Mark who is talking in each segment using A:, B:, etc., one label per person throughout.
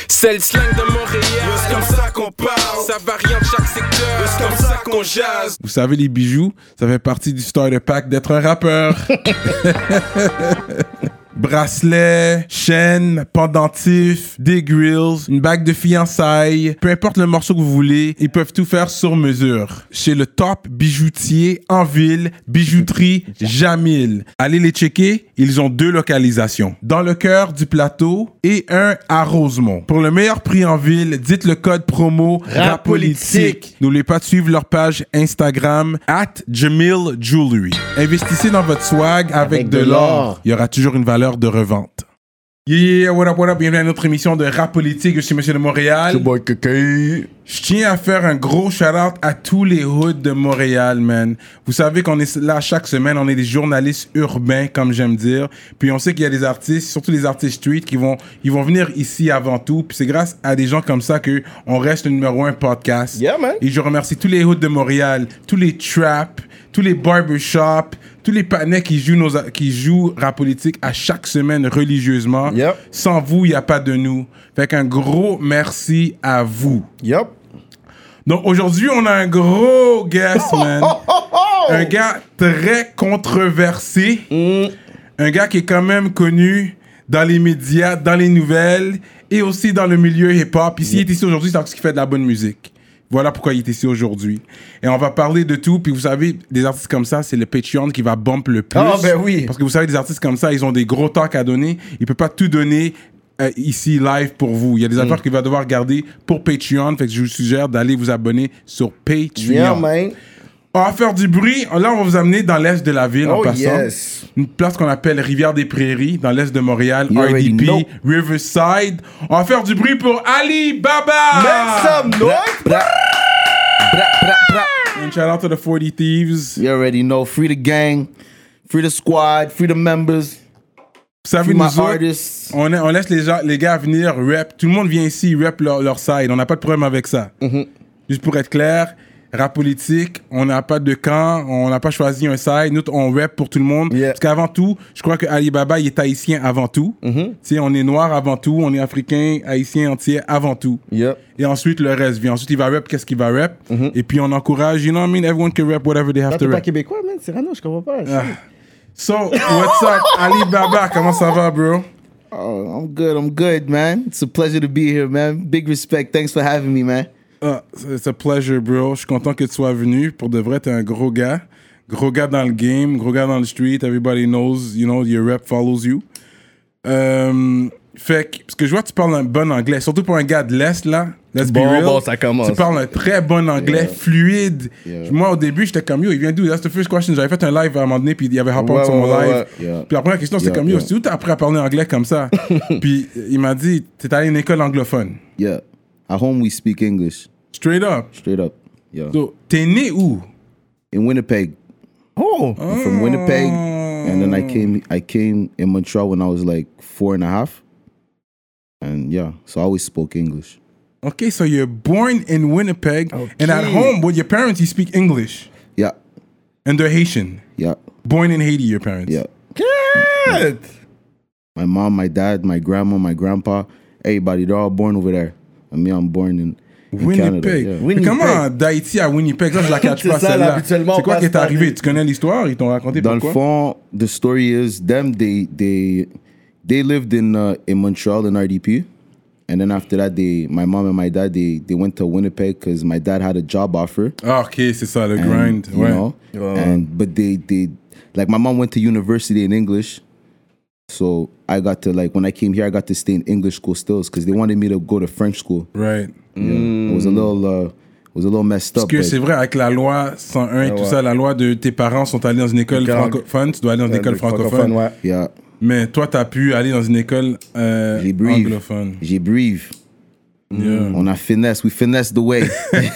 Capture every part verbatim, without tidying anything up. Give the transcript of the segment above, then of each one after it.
A: C'est le slang de Montréal, c'est comme ça qu'on parle. Ça varie en chaque secteur, c'est comme ça qu'on jase.
B: Vous savez, les bijoux, ça fait partie du starter pack d'être un rappeur. Bracelet, chaîne, pendentif, des grills, une bague de fiançailles, peu importe le morceau que vous voulez, ils peuvent tout faire sur mesure. Chez le top bijoutier en ville, bijouterie Jamil. Allez les checker, ils ont deux localisations. Dans le cœur du plateau et un à Rosemont. Pour le meilleur prix en ville, dites le code promo RAPOLITIQUE. N'oubliez pas de suivre leur page Instagram at Jamil Jewelry. Investissez dans votre swag avec, avec de, de l'or. l'or. Il y aura toujours une valeur de revente. Yeah, what up, what up, bienvenue à notre émission de Rap Politique. Je suis Monsieur de Montréal. Je tiens à faire un gros shout-out à tous les hoods de Montréal, man. Vous savez qu'on est là chaque semaine, on est des journalistes urbains, comme j'aime dire. Puis on sait qu'il y a des artistes, surtout les artistes street, qui vont, ils vont venir ici avant tout. Puis c'est grâce à des gens comme ça qu'on reste le numéro un podcast.
C: Yeah, man.
B: Et je remercie tous les hoods de Montréal, tous les traps, tous les barbershops, tous les panais qui jouent, nos, qui jouent Rap Politique à chaque semaine religieusement.
C: Yep.
B: Sans vous, il n'y a pas de nous. Fait qu'un gros merci à vous.
C: Yep.
B: Donc aujourd'hui, on a un gros guest, man. Un gars très controversé. Mm. Un gars qui est quand même connu dans les médias, dans les nouvelles et aussi dans le milieu hip-hop. Ici, yep. Il est ici aujourd'hui, c'est parce qu'il fait de la bonne musique. Voilà pourquoi il est ici aujourd'hui. Et on va parler de tout. Puis vous savez, des artistes comme ça, c'est le Patreon qui va bump le plus.
C: Ah, ben oui.
B: Parce que vous savez, des artistes comme ça, ils ont des gros talks à donner. Ils ne peuvent pas tout donner euh, ici, live, pour vous. Il y a des mm. affaires qu'il va devoir garder pour Patreon. Fait que je vous suggère d'aller vous abonner sur Patreon.
C: Yeah, man.
B: On va faire du bruit. Là, on va vous amener dans l'est de la ville
C: oh,
B: en passant.
C: Yes.
B: Une place qu'on appelle Rivière-des-Prairies, dans l'est de Montréal. You R D P, Riverside. On va faire du bruit pour Ali Baba.
C: Make some noise. Bra, bra, bra, bra.
B: And shout out to the forty Thieves.
C: You already know. Free the gang, free the squad, free the members.
B: Vous savez,
C: free
B: nous
C: my
B: autres,
C: artists.
B: On, est, on laisse les, gens, les gars venir rap. Tout le monde vient ici rap leur, leur side. On n'a pas de problème avec ça. Mm-hmm. Juste pour être clair, Rap Politique, on n'a pas de camp, on n'a pas choisi un side. Nous, on rap pour tout le monde.
C: Yeah.
B: Parce qu'avant tout, je crois que Ali Baba, il est haïtien avant tout. Mm-hmm. Tu sais, on est noir avant tout, on est africain, haïtien entier avant tout.
C: Yep.
B: Et ensuite, le reste vient. Ensuite, il va rap, qu'est-ce qu'il va rap. Mm-hmm. Et puis, on encourage, you know what I mean? Everyone can rap whatever they have
C: Là,
B: to
C: t'es
B: rap.
C: pas québécois, man. C'est Rano, je comprends pas.
B: Ah. So, what's up, Ali Baba? Comment ça va, bro?
C: Oh, I'm good, I'm good, man. It's a pleasure to be here, man. Big respect. Thanks for having me, man.
B: Uh, it's a pleasure, bro. Je suis content que tu sois venu. Pour de vrai, t'es un gros gars. Gros gars dans le game, gros gars dans le street. Everybody knows, you know, your rep follows you. Um, fait que, parce que je vois que tu parles un bon anglais, surtout pour un gars de l'Est, là. Let's
C: bon,
B: be real.
C: Bon, ça commence.
B: Tu parles un très bon anglais, yeah. fluide. Yeah. Moi, au début, j'étais comme, yo, il vient d'où? That's the first question. J'avais fait un live à un moment donné, puis il y avait rapport
C: ouais,
B: sur mon
C: ouais,
B: live.
C: Ouais, yeah.
B: Puis la première question, c'était yeah, comme, yo, yeah. c'est où t'as appris à parler anglais comme ça? Puis il m'a dit, t'es allé à une école anglophone.
C: Yeah. At home, we speak English.
B: Straight up.
C: Straight up, yeah.
B: So, t'es né où?
C: In Winnipeg.
B: Oh.
C: I'm from Winnipeg, and then I came. I came in Montreal when I was like four and a half, and yeah, so I always spoke English.
B: Okay, so you're born in Winnipeg,
C: okay.
B: and at home, with your parents, you speak English.
C: Yeah.
B: And they're Haitian.
C: Yeah.
B: Born in Haiti, your parents.
C: Yeah.
B: Good.
C: My mom, my dad, my grandma, my grandpa, everybody, they're all born over there. And me, I'm born in.
B: Winnipeg.
C: Yeah.
B: Winnipeg. Comment d'Haïti à Winnipeg? Ça, je la catch pas, celle-là. C'est quoi qui est arrivé? Tu connais l'histoire? Ils t'ont raconté
C: Dans
B: pourquoi?
C: le fond, the story is them, they, they, they lived in, uh, in Montreal in R D P. And then after that, they, my mom and my dad, they, they went to Winnipeg because my dad had a job offer.
B: Ah, OK, c'est ça, le
C: and,
B: grind.
C: You
B: ouais.
C: know, oh. and, but they, they, like my mom went to university in English. So I got to, like, when I came here, I got to stay in English school still because they wanted me to go to French school.
B: Right.
C: Yeah. Mm. It was a little, uh, it was a little messed
B: up. Parce que
C: but...
B: c'est vrai, avec la loi cent un et
C: yeah,
B: tout
C: ouais.
B: ça, la loi de tes parents sont allés dans une école
C: Car...
B: francophone, tu dois aller dans une
C: yeah,
B: école francophone.
C: francophone ouais. yeah.
B: Mais toi, t'as pu aller dans une école euh,
C: J'ai brief.
B: anglophone.
C: J'ai brief.
B: Yeah.
C: On a finesse, we finesse the way.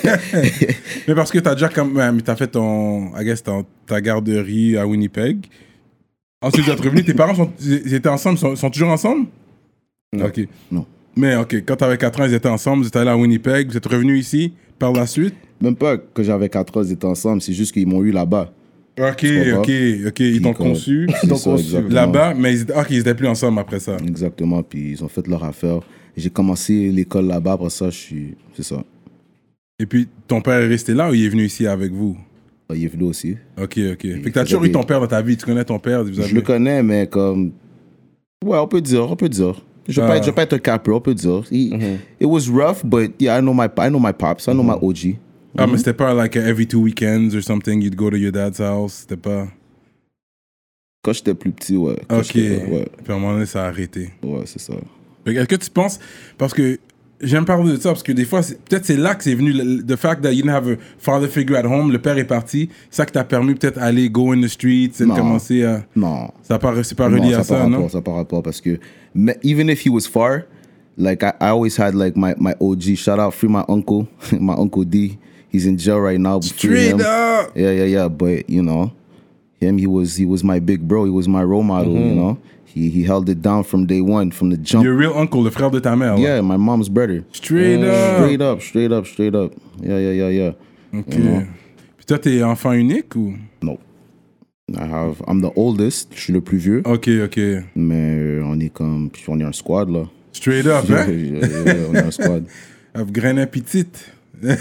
B: Mais parce que t'as déjà comme, mais t'as fait ton, I guess, ton, ta garderie à Winnipeg. Ensuite, tu es revenu, tes parents sont, ils étaient ensemble, sont, sont toujours ensemble?
C: Non.
B: Ok.
C: Non.
B: Mais ok, quand t'avais quatre ans, ils étaient ensemble, vous êtes allé à Winnipeg, vous êtes revenu ici par la suite?
C: Même pas que j'avais quatre ans, ils étaient ensemble, c'est juste qu'ils m'ont eu là-bas.
B: Ok, ok, ok, ils t'ont conçu,
C: ils t'ont conçu
B: là-bas, mais ils étaient, ok, ils étaient plus ensemble après ça.
C: Exactement, puis ils ont fait leur affaire. j'ai commencé l'école là-bas. Après ça, je suis, c'est ça.
B: Et puis, ton père est resté là ou il est venu ici avec vous?
C: Il est venu aussi.
B: Ok, ok. Fait que t'as toujours eu ton père dans ta vie. Tu connais ton père? Vous avez...
C: Je le connais, mais comme... Ouais, on peut dire, on peut dire. Je ne vais, uh, pas être un capper, on peut dire. He, mm-hmm. It was rough, but yeah, I know my, I know my pops. I know mm-hmm. my O G.
B: Ah, mm-hmm. mais c'était pas like every two weekends or something, you'd go to your dad's house? C'était pas...
C: Quand j'étais plus petit, ouais. Quand
B: ok. Ouais. Puis à un moment donné, ça a arrêté.
C: Ouais, c'est ça.
B: Fait que est-ce que tu penses... Parce que... J'aime parler de ça parce que des fois, c'est, peut-être c'est là que c'est venu, le, the fact that you didn't have a father figure at home, le père est parti, c'est ça qui t'a permis peut-être aller go in the streets et
C: non,
B: commencer à...
C: Non.
B: Ça part, c'est pas relié
C: non,
B: à ça,
C: rapport,
B: non?
C: Ça par rapport parce que, even if he was far, like I, I always had like my, my O G, shout out, free my uncle, my uncle D, he's in jail right now.
B: Straight him. Up!
C: Yeah, yeah, yeah, but you know, him, he was, he was my big bro, he was my role model, mm-hmm. you know? He, he held it down from day one, from the jump.
B: Your real uncle, le frère de ta mère.
C: Yeah,
B: là.
C: my mom's brother.
B: Straight
C: uh,
B: up.
C: Straight up, straight up, straight up. Yeah, yeah, yeah, yeah.
B: Ok. You know? Puis toi, t'es enfant unique ou?
C: No. I have, I'm the oldest, je suis le plus vieux.
B: Ok, ok.
C: Mais on est comme, on est un squad là.
B: Straight up, hein?
C: yeah, yeah, on est un squad.
B: I've grain petite.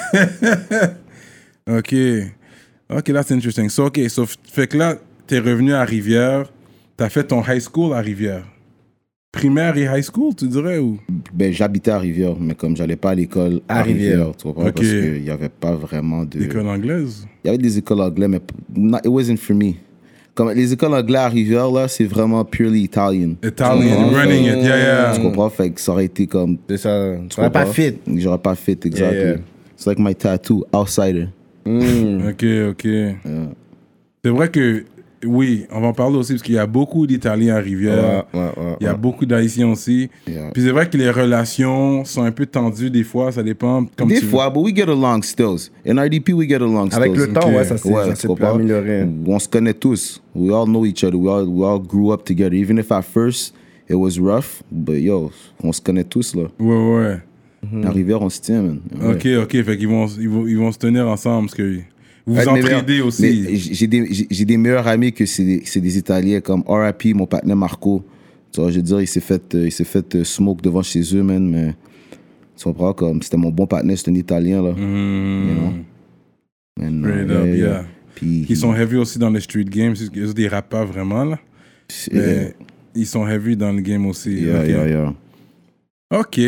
B: Ok. Ok, that's interesting. So, ok, so, fait que là, t'es revenu à Rivière. T'as fait ton high school à Rivière? Primaire et high school, tu dirais, ou?
C: Ben, j'habitais à Rivière, mais comme j'allais pas à l'école à, à Rivière, Rivière, tu comprends? Okay. Parce qu'il n'y avait pas vraiment de...
B: École anglaise?
C: Il y avait des écoles anglaises, mais not, it wasn't for me. Comme les écoles anglaises à Rivière, là, c'est vraiment purely Italian.
B: Italian, running it, yeah, yeah.
C: Tu comprends? Fait que ça aurait été comme...
D: C'est ça, tu n'aurais pas fit.
C: J'aurais pas fit, exactly. Yeah, yeah. It's like my tattoo, outsider.
B: Mm. Ok, ok. Yeah. C'est vrai que... Oui, on va en parler aussi parce qu'il y a beaucoup d'Italiens à Rivière.
C: Ouais, ouais, ouais,
B: il y a
C: ouais.
B: beaucoup d'Haïtiens aussi.
C: Yeah.
B: Puis c'est vrai que les relations sont un peu tendues des fois, ça dépend. Comme
C: des
B: tu
C: fois, but we get along still. In R D P, we get along still.
D: Avec le temps, okay. ouais, ça s'est
C: ouais,
D: amélioré.
C: On se connaît tous. We all know each other. We all, we all grew up together. Even if at first it was rough, but yo, on se connaît tous là.
B: Ouais, ouais.
C: Mm-hmm. À Rivière, on se tient, man. Ouais.
B: Ok, ok. Fait qu'ils vont, ils vont, ils vont se tenir ensemble parce que... Vous vous entraidez aussi.
C: J'ai des, j'ai des meilleurs amis que c'est des, c'est des Italiens, comme R I P, mon partenaire Marco. Tu vois, je veux dire, il s'est fait, il s'est fait smoke devant chez eux, man, mais tu comprends, comme c'était mon bon partenaire, c'est un Italien, là.
B: Mm.
C: You know? And,
B: Straight
C: uh,
B: up,
C: yeah.
B: yeah.
C: yeah. Puis,
B: ils sont heavy aussi dans les street games. Ils ne rappent pas vraiment, là. Mais yeah. Ils sont heavy dans le game aussi.
C: Yeah,
B: okay.
C: yeah, yeah.
B: OK.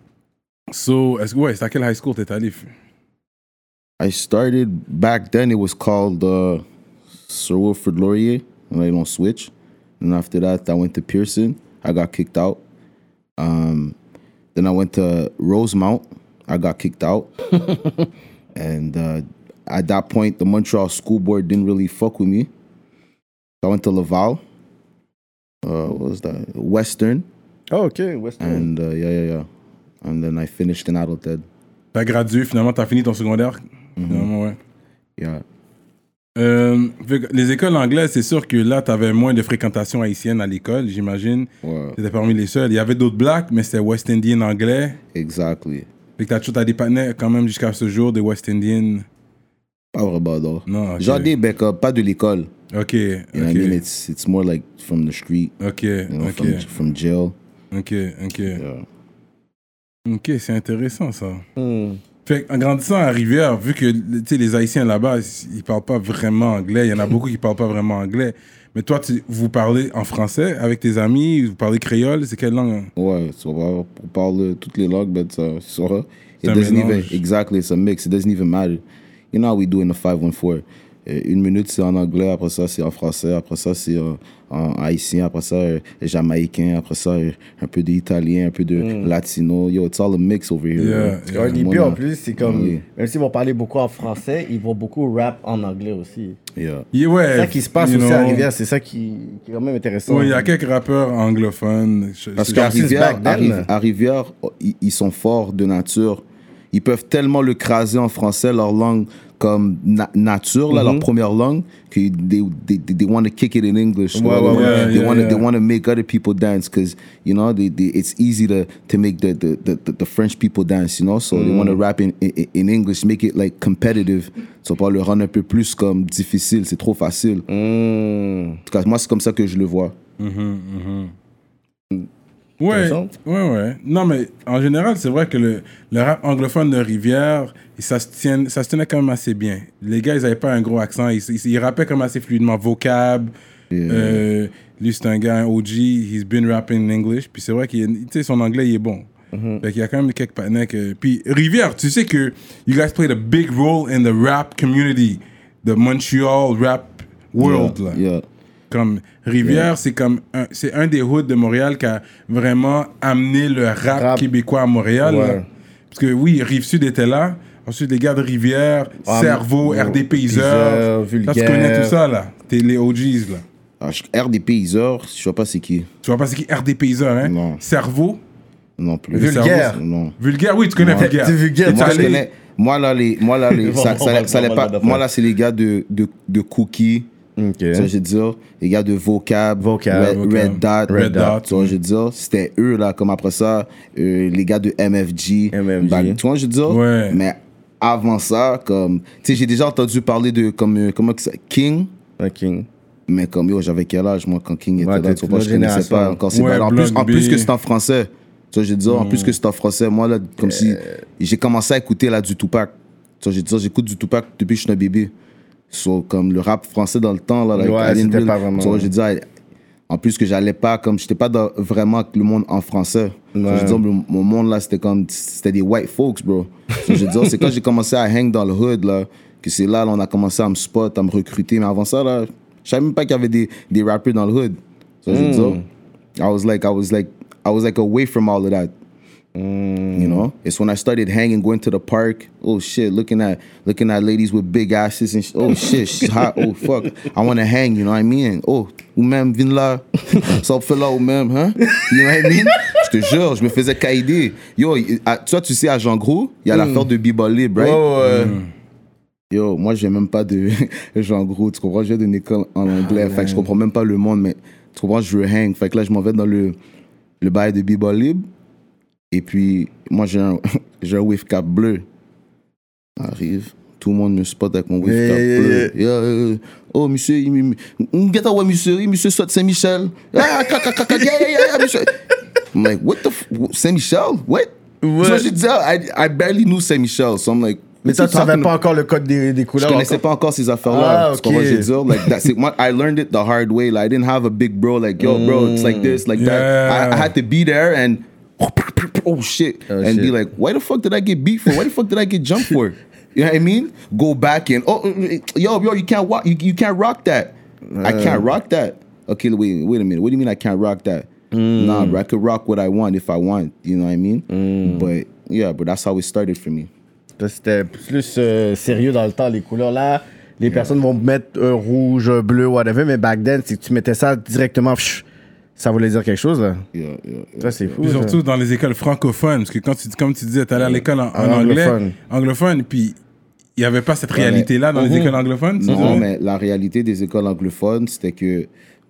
B: So, est-ce, ouais, c'est à quel high school t'es allé?
C: I started, back then it was called uh, Sir Wilfrid Laurier, and I don't switch. And after that, I went to Pearson. I got kicked out. Um, then I went to Rosemount. I got kicked out. And uh, at that point, the Montreal School Board didn't really fuck with me. So I went to Laval. Uh, what was that? Western.
D: Oh, okay, Western.
C: And uh, yeah, yeah, yeah. And then I finished in Adelaide.
B: T'as gradué, finalement, t'as fini ton secondaire?
C: Mm-hmm.
B: Finalement, ouais.
C: Yeah.
B: Euh, les écoles anglaises, c'est sûr que là, t'avais moins de fréquentation haïtienne à l'école, j'imagine.
C: Ouais.
B: T'étais parmi les seuls. Il y avait d'autres blacks, mais c'était West Indian anglais.
C: Exactly.
B: Fait que t'as, t'as des partenaires quand même jusqu'à ce jour, des West Indian.
C: Pas vraiment, non.
B: Non, okay.
C: Genre des becs, pas de l'école.
B: OK,
C: You know
B: OK.
C: what I mean? It's, it's more like from the street.
B: OK,
C: you know,
B: OK.
C: From, from jail.
B: OK, OK.
C: Yeah.
B: OK, c'est intéressant, ça.
D: Mm.
B: Fait en grandissant à Rivière, vu que les Haïtiens là-bas, ils parlent pas vraiment anglais, il y en a beaucoup qui parlent pas vraiment anglais. Mais toi, tu, vous parlez en français avec tes amis, vous parlez créole, c'est quelle langue?
C: Ouais, so, on parle toutes les langues, mais ça, ça, it
B: un
C: doesn't
B: mélange.
C: even, exactly, it's a mix, it doesn't even matter. You know how we do in the five one four. Une minute, c'est en anglais, après ça, c'est en français, après ça, c'est en, en haïtien, après ça, euh, jamaïcain, après ça, euh, un peu d'italien, un peu de mm. latino. Yo, it's all a mix over here.
B: Yeah,
D: yeah. R D P, en plus, c'est comme,
C: oui.
D: même s'ils vont parler beaucoup en français, ils vont beaucoup rap en anglais aussi.
C: Yeah.
B: Yeah, ouais,
D: c'est ça qui se passe aussi
B: know,
D: à Rivière, c'est ça qui, qui est quand même intéressant.
B: Oui, il y a quelques rappeurs anglophones.
C: Parce qu'à Rivière, à, Rivière, à Rivière, ils, ils sont forts de nature. Ils peuvent tellement le craser en français, leur langue comme na- nature, là, mm-hmm. leur première langue, que they, they, they want to kick it in English.
B: Ouais, ouais, yeah,
C: they
B: yeah,
C: want to
B: yeah.
C: they want to make other people dance because you know they, they, it's easy to to make the the, the, the French people dance, you know. So mm. they want to rap in, in in English, make it like competitive. So pour le rendre un peu plus comme difficile, c'est trop facile.
D: Mm.
C: En tout cas, moi c'est comme ça que je le vois.
B: Mm-hmm, mm-hmm. Ouais, ouais, ouais. Non, mais en général, c'est vrai que le, le rap anglophone de Rivière, ça se, tient, ça se tenait quand même assez bien. Les gars, ils n'avaient pas un gros accent. Ils, ils, ils rappaient comme assez fluidement. Vocab. Yeah. Euh, lui, c'est un gars, un O G. He's been rapping in English. Puis c'est vrai que son anglais, il est bon. Mm-hmm. Fait qu'il y a quand même quelques partenaires que... Puis Rivière, tu sais que you guys played a big role in the rap community. The Montreal rap world,
C: yeah,
B: là.
C: Yeah.
B: Comme Rivière, yeah. c'est comme un, c'est un des hoods de Montréal qui a vraiment amené le rap, rap. québécois à Montréal. Ouais. Parce que oui, Rive-Sud était là. Ensuite, les gars de Rivière, ah, Cerveau, oh, R D Payseur. Là, tu connais tout ça, là. T'es les O Gs, là.
C: Ah, R D Payseur, je vois pas c'est qui.
B: Tu vois pas c'est qui R D Payseur, hein?
C: Non.
B: Cerveau?
C: Non plus.
B: Vulgaire?
C: Cerveau, non.
B: Vulgaire, oui, tu connais
C: non.
B: Vulgaire.
C: C'est Vulgaire. Moi, je connais... Moi, là, les... Moi, là, les... ça, ça, ça, ça, ça pas... Moi, là, c'est les gars de, de, de Cookie. Okay. Ça, je veux dire, les gars de Vocab,
B: Vocab
C: Red,
B: Vocab.
C: Red Dot,
B: Red Dot,
C: tu vois, je veux dire, c'était eux, là, comme après ça, euh, les gars de M F G,
B: M F G.
C: Bah, tu vois, je veux dire,
B: ouais.
C: mais avant ça, comme, tu sais, j'ai déjà entendu parler de, comme, euh, comment ça, King,
D: un King,
C: mais comme, yo, j'avais quel âge, moi, quand King était
D: ouais,
C: là, tu vois, je connaissais pas encore, c'est
B: ouais,
C: en plus, en plus que c'est en français, tu vois, je veux dire, mm. en plus que c'est en français, moi, là, comme euh... si, j'ai commencé à écouter, là, du Tupac, tu vois, je veux dire, j'écoute du Tupac depuis que je suis un bébé. So, comme le rap français dans le temps, là, like,
D: ouais, c'était really, pas vraiment.
C: So, je disais, en plus que j'allais pas, comme, j'étais pas dans, vraiment avec le monde en français. Ouais. So, je disais, le, mon monde là, c'était comme, c'était des white folks, bro. So, je disais, c'est quand j'ai commencé à hang dans le hood, là, que c'est là, là, on a commencé à me spot, à me recruter. Mais avant ça, là, je savais même pas qu'il y avait des, des rappers dans le hood. So, mm. je disais, I was like, I was like, I was like away from all of that. Mm. You know, it's when I started hanging, going to the park. Oh shit, looking at looking at ladies with big asses and sh- oh shit, she's hot. Oh fuck, I want to hang. You know what I mean? Oh, ou même vin là, ça fait là ou même, hein? You know what I mean? Je te jure, je me faisais caïder. Yo, à, toi tu sais à Jean Gros, il y a mm. l'affaire de B-Ball Libre, right?
D: Oh, ouais.
C: Mm. Yo, moi je viens même pas de Jean Gros, tu comprends? Je viens d'une école en anglais, ah, fait que je comprends même pas le monde, mais tu comprends? Je veux hang, fait que là je m'en vais dans le le bail de B-Ball Libre. Et puis, moi, j'ai un, j'ai un wave cap bleu. Arrive, tout le monde me spot avec mon wave hey, cap hey, bleu. Hey. Yeah, yeah. Oh, monsieur, il get away, monsieur, monsieur soit Saint-Michel. Ah, yeah, yeah, yeah, monsieur. I'm like, what the f- Saint-Michel? What? What? So, je disais, I, I barely knew Saint-Michel. So I'm like,
D: mais toi, tu savais pas encore le code des, des couleurs?
C: Je connaissais
D: encore?
C: pas encore ces affaires-là.
D: Ah,
C: okay. Tu comprends, je veux dire? Like, that's it. I learned it the hard way. Like, I didn't have a big bro like, yo, bro, it's like this, like
B: yeah.
C: that. I, I had to be there and oh shit,
D: oh,
C: and
D: shit.
C: be like, why the fuck did I get beat for? Why the fuck did I get jumped for? You know what I mean? Go back and oh, yo, yo, you can't walk, you, you can't rock that. Uh, I can't rock that. Okay, wait, wait a minute. What do you mean I can't rock that? Mm. Nah, bro, I could rock what I want if I want. You know what I mean? Mm. But yeah, but that's how it started for me.
D: C'était plus euh, sérieux dans le temps, les couleurs là. Les yeah. personnes vont mettre un rouge, bleu, whatever, mais back then, c'est que tu mettais ça directement. Pff, ça voulait dire quelque chose, là.
C: Yeah, yeah, yeah.
D: Ça, c'est fou.
B: Puis surtout ça. Dans les écoles francophones, parce que quand tu, comme tu disais, tu allais à l'école en, en anglais, anglophone, anglophone puis il n'y avait pas cette ouais, réalité-là dans uh-huh. les écoles anglophones.
C: Non, mais la réalité des écoles anglophones, c'était que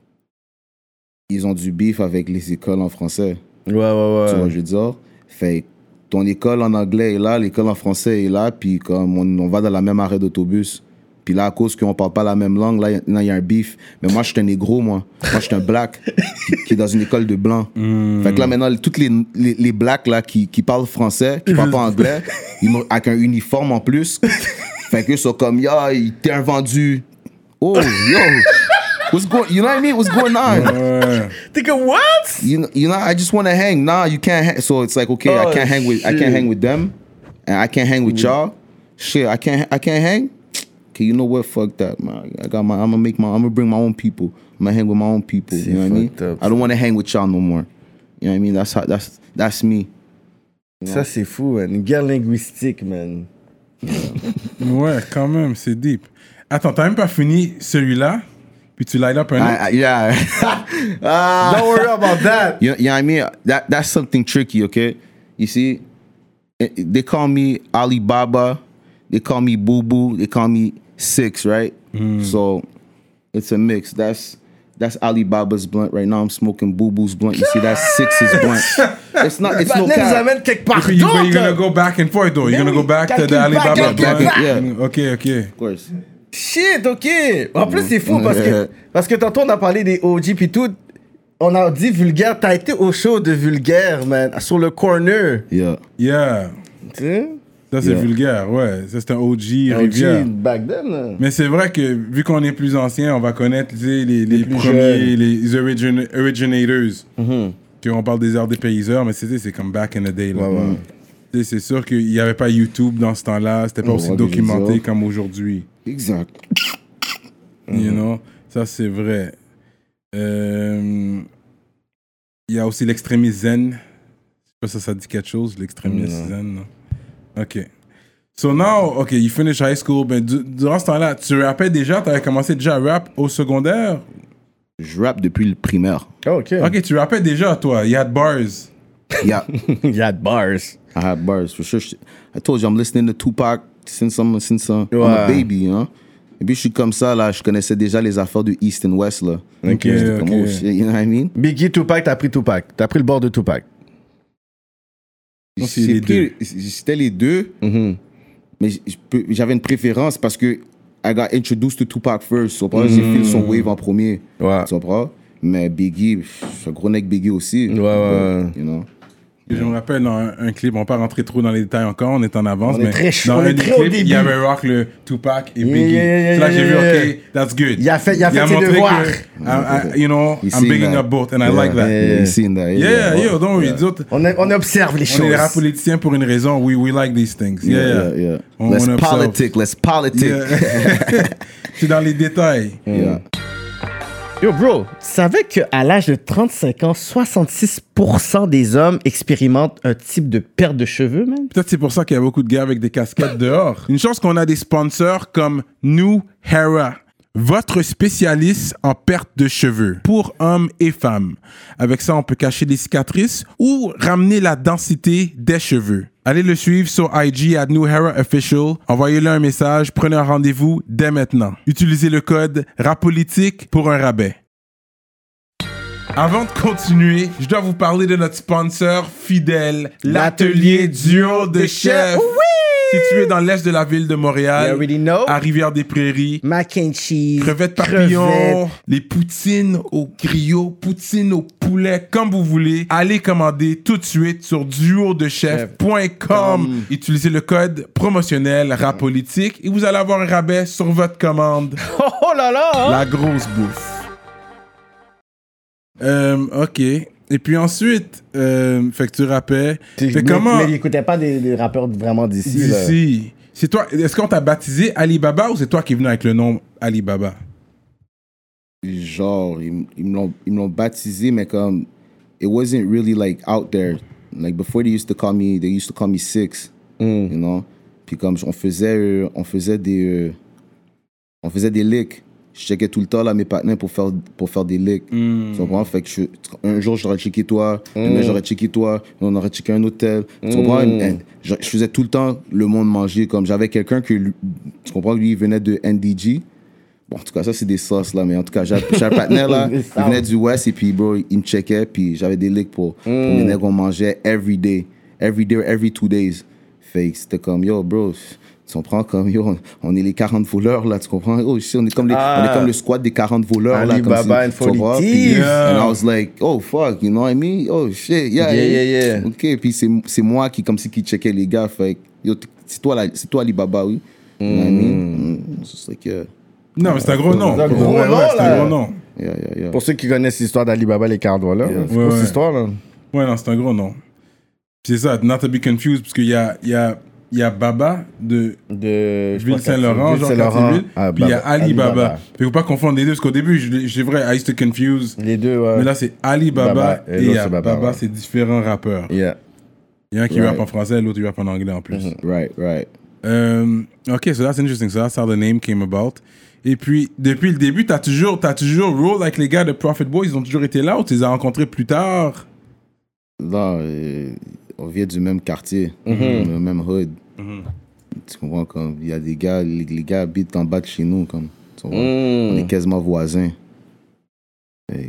C: ils ont du beef avec les écoles en français.
D: Ouais, ouais, ouais.
C: Tu vois, je veux dire. Fait ton école en anglais est là, l'école en français est là, puis comme on, on va dans la même arrêt d'autobus. Puis là, à cause qu'on parle pas la même langue, là, il y a un beef. Mais moi, je suis un négro, moi. Moi, je suis un black qui, qui est dans une école de blancs. Mm. Fait que là, maintenant, toutes les, les, les blacks là, qui, qui parlent français, qui parlent pas anglais, ils m'ont, avec un uniforme en plus. Fait que ils sont comme, yo, t'es un vendu. Oh, yo. What's going, you know what I mean? What's going on?
B: Uh,
D: Think of what?
C: You know, you know, I just want to hang. Nah, you can't hang. So it's like, okay, oh, I can't hang with, shit. I can't hang with them, and I can't hang with mm. y'all. Shit, I can't, I can't hang. Okay, you know what? Fuck that, man. I got my. I'm gonna make my. I'm gonna bring my own people. I'm gonna hang with my own people. You know what I mean? Up, I don't want to hang with y'all no more. You know what I mean? That's how. That's that's me.
D: You know? Ça c'est fou, man. Une guerre linguistique, man.
B: Ouais, quand même, c'est deep. Attends, t'as même pas fini celui-là, puis tu light up un autre.
C: I, I, yeah.
D: uh, don't worry about that.
C: You, you know what I mean? That that's something tricky. Okay, you see, they call me Alibaba. They call me Boo Boo. They call me Six, right? Mm. So it's a mix. That's that's Alibaba's blunt right now. I'm smoking Boo Boo's blunt. You see, that's Six's blunt. It's not. It's no cap.
B: You, you're gonna go back and forth though. You're gonna go back to the Alibaba blunt.
C: Yeah.
B: Ok, ok.
C: Of course.
D: Shit, ok. En plus, c'est fou parce que parce que tantôt on a parlé des O G puis tout. On a dit Vulgaire, t'as été au show de Vulgaire, man, sur le corner.
C: Yeah.
B: Yeah.
D: Tu sais?
B: Ça, c'est
C: Yeah.
B: Vulgaire, ouais. Ça, c'est un O G Rivière.
D: O G back then. Là.
B: Mais c'est vrai que, vu qu'on est plus ancien, on va connaître tu sais, les, les,
D: Les plus
B: premiers,
D: jeunes.
B: les origin- originators.
D: Mm-hmm.
B: Que on parle des arts des payseurs, mais c'est, c'est comme back in the day. Là.
D: Ouais, ouais.
B: Tu sais, c'est sûr qu'il n'y avait pas YouTube dans ce temps-là. C'était pas
C: Ouais,
B: aussi
C: ouais,
B: documenté
C: je
B: comme aujourd'hui.
C: Exact.
B: You know? Ça, c'est vrai. Euh, Il y a aussi l'extrémisme zen. Je sais pas si ça, ça dit quelque chose, l'extrémisme zen. Non? OK. So now, OK, you finish high school. Ben, du- durant ce temps-là, tu rappais déjà? Tu avais commencé déjà à rap au secondaire?
C: Je rappe depuis le primaire.
D: Oh, OK.
B: OK, tu rappais déjà, toi. You had bars.
C: Yeah.
D: Il y a de bars.
C: I had bars for sure. I told you I'm listening to Tupac since I'm since uh, I'm
D: Ouais.
C: a baby, you know. Et puis je suis comme ça là, je connaissais déjà les affaires de East and West là.
B: Ok,
C: J'étais comme,
B: ok.
C: oh shit, you know what I mean?
D: Biggie, Tupac, t'as pris Tupac. T'as pris le bord de Tupac.
B: Non, c'est
C: J'ai
B: les
C: pris- C'était les deux,
D: Mm-hmm.
C: mais j- je peux- j'avais une préférence parce que I got introduced to Tupac first. Tu comprends? J'ai fait son wave en premier.
D: Ouais.
C: Tu comprends? Mais Biggie, pff, je suis un gros nec Biggie aussi.
D: Ouais, ouais.
C: You know?
B: Je me rappelle dans un, un clip, on va pas rentrer trop dans les détails encore, on est en avance,
D: On est
B: mais
D: très chaud,
B: dans
D: on
B: un
D: est
B: des
D: très au
B: clips, il y
D: début.
B: avait Rock, le Tupac et
D: Yeah,
B: Biggie.
D: yeah, yeah,
B: So là, j'ai
D: yeah,
B: vu,
D: yeah.
B: OK, that's good.
D: Il a fait, il a fait ses
B: montré
D: devoirs.
B: que, I- I- you know,
C: You
B: I'm
C: seen
B: bigging
C: that.
B: up both, and I
C: Yeah,
B: like that.
C: yeah, you seen that.
B: Yeah,
C: yeah.
B: yo, don't worry. Les autres,
D: On, a- on observe les
B: on
D: choses.
B: est des rap politiciens pour une raison. We, we like these things. Yeah,
C: Yeah,
B: yeah.
C: yeah, yeah.
B: On-
C: Let's
B: on observe.
C: politic, let's politic.
B: Yeah. C'est dans les détails.
C: Yeah.
D: Yo, bro, tu savais qu'à l'âge de trente-cinq ans, soixante-six pour cent des hommes expérimentent un type de perte de cheveux, man?
B: Peut-être c'est pour ça qu'il y a beaucoup de gars avec des casquettes dehors. Une chance qu'on a des sponsors comme New Hera, votre spécialiste en perte de cheveux pour hommes et femmes. Avec ça, on peut cacher les cicatrices ou ramener la densité des cheveux. Allez le suivre sur I G at New Hera Official. Envoyez-le un message, prenez un rendez-vous dès maintenant. Utilisez le code RAPOLITIQUE pour un rabais. Avant de continuer, je dois vous parler de notre sponsor fidèle, l'atelier duo de chef. Situé dans l'est de la ville de
D: You
B: Montréal,
D: already know.
B: à Rivière-des-Prairies.
D: Mac and cheese.
B: Crevettes papillons,
D: crevettes.
B: les poutines au griot, poutines au poulet, comme vous voulez. Allez commander tout de suite sur duo de chef point com. Utilisez le code promotionnel RAPOLITIQUE et vous allez avoir un rabais sur votre commande.
D: Oh, oh là là! hein?
B: La grosse bouffe. Euh, ok. Et puis ensuite, euh, fait que tu rappais.
D: Tu-
B: Fait
D: mais,
B: comment
D: mais il écoutait pas des, des rappeurs vraiment d'ici. là.
B: d'ici. C'est toi. Est-ce qu'on t'a baptisé Alibaba ou c'est toi qui es venu avec le nom Alibaba?
C: Genre, ils, ils me l'ont- ils me l'ont baptisé, mais comme, it wasn't really like out there. Like before they used to call me, they used to call me Six,
D: Mm.
C: you know. Puis comme on faisait, euh, on faisait des, euh, on faisait des licks. Je checkais tout le temps là mes partenaires pour faire, pour faire des licks. Tu comprends? Fait que je- un jour j'aurais checké toi, demain j'aurais checké toi, on aurait checké un hôtel. Tu comprends? And je, je faisais tout le temps le monde manger. Comme j'avais quelqu'un que, lui- tu comprends? Lui il venait de N D G. Bon, en tout cas, ça, c'est des sauces, là. Mais en tout cas, j'avais j'avais un partenaire, là.
D: Des
C: Il venait du West, et puis, bro, il me checkait. Puis j'avais des licks pour, pour les nègres qu'on mangeait every day. Every day, every two days. Fait que c'était comme, yo, bro, tu comprends? Comme, yo, on, on est les quarante voleurs, là. Tu comprends? Oh, shit, on est comme, les,
D: Ah.
C: on est comme le squad des quarante voleurs, là. Comme
D: Alibaba
C: si-
D: and
C: tu comprends?
D: forty
C: Puis,
D: thieves.
C: And I was like, oh, fuck, you know what I mean? Oh, shit, yeah.
D: Yeah, yeah, yeah.
C: OK, puis c'est c'est moi qui, comme si, qui checkait les gars. Fait que, yo, t- c'est toi, là, c'est toi, Alibaba, oui. You know what I mean? Mm. It's just like, yeah.
B: Non, mais c'est un gros nom.
D: C'est un gros
B: Ouais,
D: nom,
B: ouais, c'est
D: là.
B: un gros nom.
C: Yeah, yeah, yeah.
D: Pour ceux qui connaissent l'histoire d'Alibaba, les quarante là.
C: Yeah.
D: C'est
B: Ouais,
D: quoi
B: ouais.
D: cette histoire, là?
B: Ouais, non, c'est un gros nom. Puis c'est ça, not to be confused, parce qu'il y a, il y, a, il y a Baba de
D: De je
B: Ville
D: pense,
B: Saint-Laurent, genre
D: Ville-Saint-Laurent.
B: Cartierville,
D: Ah,
B: puis il y a
D: Baba-
B: Alibaba.
D: Alibaba.
B: Fait qu'il faut pas confondre les deux, parce qu'au début, je- c'est vrai, I used to confuse.
D: Les deux, ouais.
B: Mais là, c'est Alibaba
D: Baba, et
B: et il y
D: l'autre,
B: a
D: c'est Baba,
B: Baba,
D: ouais.
B: c'est différents rappeurs.
D: Yeah.
B: Il y a un qui
C: Right.
B: rappe en français, l'autre il rappe en anglais en plus.
C: Right, right.
B: Euh, ok, so that's interesting. So that's how the name came about. Et puis, depuis le début, t'as toujours, t'as toujours roll avec les gars de Prophet Boys, ils ont toujours été là ou tu les as rencontrés plus tard?
C: Là, euh, on vient du même quartier, le même hood. Tu comprends? Comme, il y a des gars, les, les gars habitent en bas de chez nous. Comme, tu comprends? On est quasiment voisins. Fait-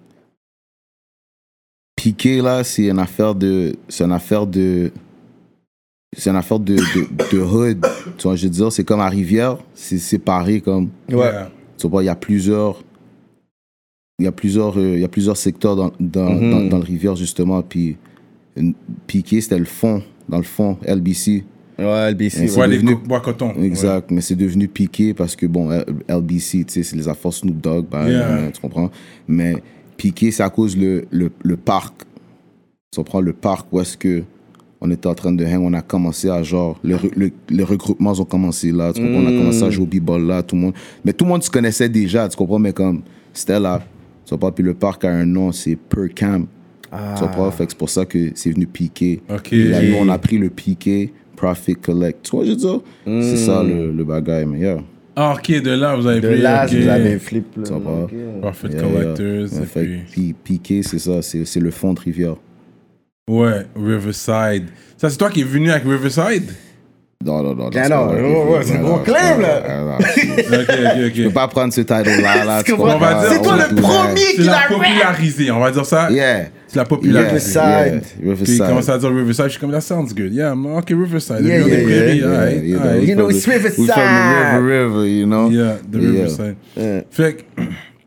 C: Piqué, là, c'est une affaire de. C'est une affaire de. C'est une affaire de, de, de hood. Tu vois, je veux dire, c'est comme à Rivière, c'est séparé comme.
D: Ouais.
B: Yeah.
C: Tu vois, il y a plusieurs. il y a plusieurs, euh, il y a plusieurs secteurs dans, dans,
D: Mm-hmm.
C: dans, dans le rivière, justement. Puis, une- Piqué, c'était le fond, dans le fond, L B C.
D: Ouais, L B C.
C: C'est
B: Ouais, les
C: devenu-
B: co- bois coton.
C: Exact, mais c'est devenu Piqué parce que, bon, L- LBC, tu sais, c'est les affaires Snoop Dogg, ben,
B: Yeah.
C: euh, tu comprends? Mais Piqué, c'est à cause le, le, le parc. Tu comprends? Le parc où est-ce que on était en train de hang, on a commencé à genre, le, re- le- les regroupements ont commencé là, tu comprends? On a commencé à jouer au b-ball là, tout le monde. Mais tout le monde se connaissait déjà, tu comprends? Mais comme, c'était là, tu comprends? Puis le parc a un nom, c'est Per Cam. Tu comprends? Fait que c'est pour ça que c'est venu Piqué.
B: Ok.
C: Puis là, nous, on a pris le Piqué, Profit Collect. Tu vois, je veux dire? C'est ça le, le bagaille, mais yeah.
B: Ah, ok, de là, vous avez
D: De
B: pris.
D: là,
B: ok.
D: vous avez flip. Là.
C: Tu comprends?
D: Ok.
B: Profit
C: Yeah,
B: Collectors.
C: yeah.
B: et
C: Ouais, fait
B: puis-
C: que Pi- Piqué, c'est ça, c'est c'est le fond de rivière.
B: Ouais, Riverside. Ça, c'est toi qui es venu avec Riverside?
C: Non, non, non.
D: Ah
C: c'est
D: non,
C: pas vrai.
D: ouais, ouais, c'est
C: Non,
D: gros
C: non,
D: claim,
C: non,
D: là.
C: non, non, c'est-
B: Ok, ok,
C: Je peux
B: ok.
C: pas prendre ce title-là, là.
D: Tu
C: tu
D: comprends?
C: comprends?
B: On va dire-
D: C'est toi
C: On
D: le
C: va tout
D: premier
B: C'est
D: qui
B: la
D: l'a rap.
B: popularisé, on va dire ça.
C: Yeah.
B: C'est la popularisé.
D: Riverside.
C: Yeah,
B: Puis il
C: Riverside.
B: commence à dire Riverside, je suis comme, that sounds good. Yeah, ok, Riverside.
D: Yeah,
B: Le
D: yeah,
B: prairies,
D: yeah,
C: Yeah,
B: alright,
C: you know,
B: alright.
C: we
D: You know,
C: from
D: it's
C: the- we from the
D: Riverside.
C: river, river, you know?
B: Yeah, the
C: Yeah.
B: Riverside.
D: Yeah.
B: Fait que,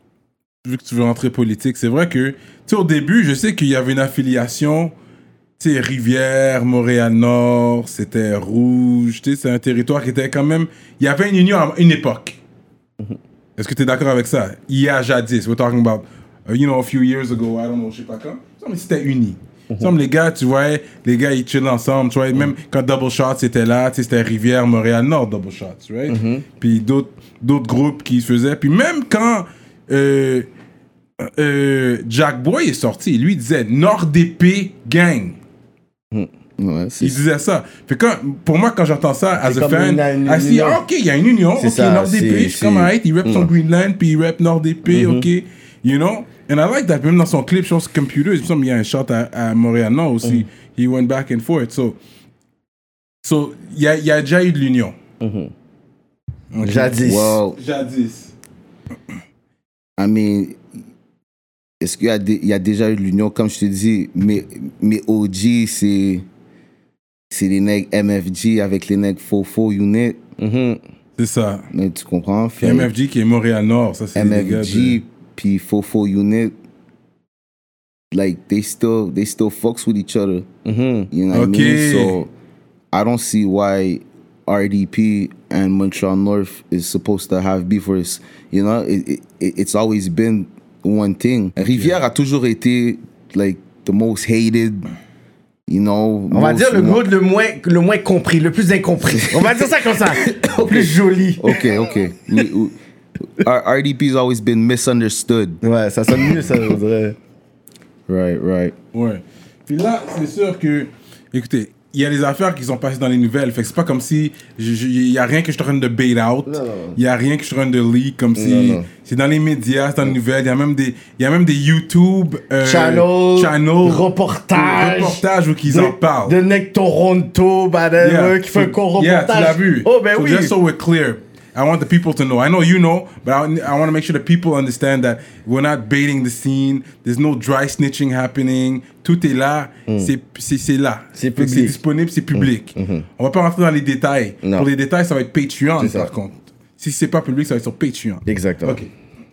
B: vu que tu veux rentrer politique, c'est vrai que, tu sais, au début, je sais qu'il y avait une affiliation, tu sais, Rivière, Montréal-Nord, c'était rouge, tu sais, c'est un territoire qui était quand même. Il y avait une union à une époque. Est-ce que tu es d'accord avec ça? Il y a jadis, we're talking about, uh, you know, a few years ago, I don't know, je sais pas quand. Il semble que c'était uni. Il semble que les gars, tu vois, les gars, ils chillaient ensemble, tu vois, même quand Double Shots était là, tu sais, c'était Rivière, Montréal-Nord, Double Shots, right? Puis d'autres d'autres groupes qui se faisaient. Puis même quand euh, euh, Jack Boy est sorti, lui, il disait Nord D P Gang.
C: Ouais, c'est
B: Il disait ça. Fait que quand, pour moi, quand j'entends ça, as a
D: comme
B: fan,
D: une- une
B: I see,
D: union.
B: ah, ok, il y a une union.
D: C'est
B: Ok,
D: ça,
B: Nord D P,
D: c'est-
B: je suis comme,
D: c'est-
B: alright, il rap son Greenland, puis il rap Nord D P, ok. You know? And I like that. Même dans son clip, je pense, Computer, il me semble qu'il y a un shot à, à Montréal-Nord aussi. He went back and forth. So, so il y a, il y a déjà eu de l'union. Ok.
D: Jadis.
C: Well,
B: Jadis.
C: I mean, est-ce qu'il y, a des- il y a déjà eu de l'union? Comme je te dis, mes, mes O G, c'est c'est les nègres M F G avec les nègres Fofo Unit.
B: C'est ça.
C: Mais tu comprends?
B: Puis M F G qui est Montréal-Nord, ça c'est les gars
C: M F G
B: de...
C: puis Fofo Unit, like they still they still fucks with each other. You know what
B: Okay.
C: I mean? So I don't see why R D P and Montreal North is supposed to have beef. Or is, you know, it, it, it's always been one thing. Rivière a toujours été like the most hated. You know,
D: On va
C: most-
D: dire le
C: mo-
D: mot le moins, le moins compris, le plus incompris. On va dire ça comme ça. Le plus joli.
C: Okay, okay. We- we- R- RDP's always been misunderstood.
D: Ouais, ça sonne mieux, ça, je dirais.
C: Right, right.
B: Ouais. Puis là, c'est sûr que, écoutez, il y a des affaires qui sont passées dans les nouvelles. Fait que c'est pas comme si il y a rien que je suis en train de bait out. Il y a rien que je suis en train de leak comme si
D: non.
B: c'est dans les médias, c'est dans les nouvelles. Il y a même des, il y a même des YouTube euh,
D: Channel,
B: channels,
D: reportage,
B: reportages où ils
D: de,
B: en parlent.
D: de Nick Toronto, whatever,
B: Yeah.
D: qui fait un court
B: Yeah,
D: reportage.
B: tu l'as vu.
D: Oh, ben
B: so
D: oui.
B: just so we're clear, I want the people to know. I know you know, but I, I want to make sure the people understand that we're not baiting the scene. There's no dry snitching happening. Tout est là. C'est, c'est, c'est là.
D: C'est
B: Fait que
D: public.
B: C'est disponible, c'est public. On va pas rentrer dans les détails.
D: Non.
B: Pour les détails, ça va être Patreon,
D: C'est ça.
B: par contre. Si c'est pas public, ça va être sur Patreon.
D: Exactement.
B: OK.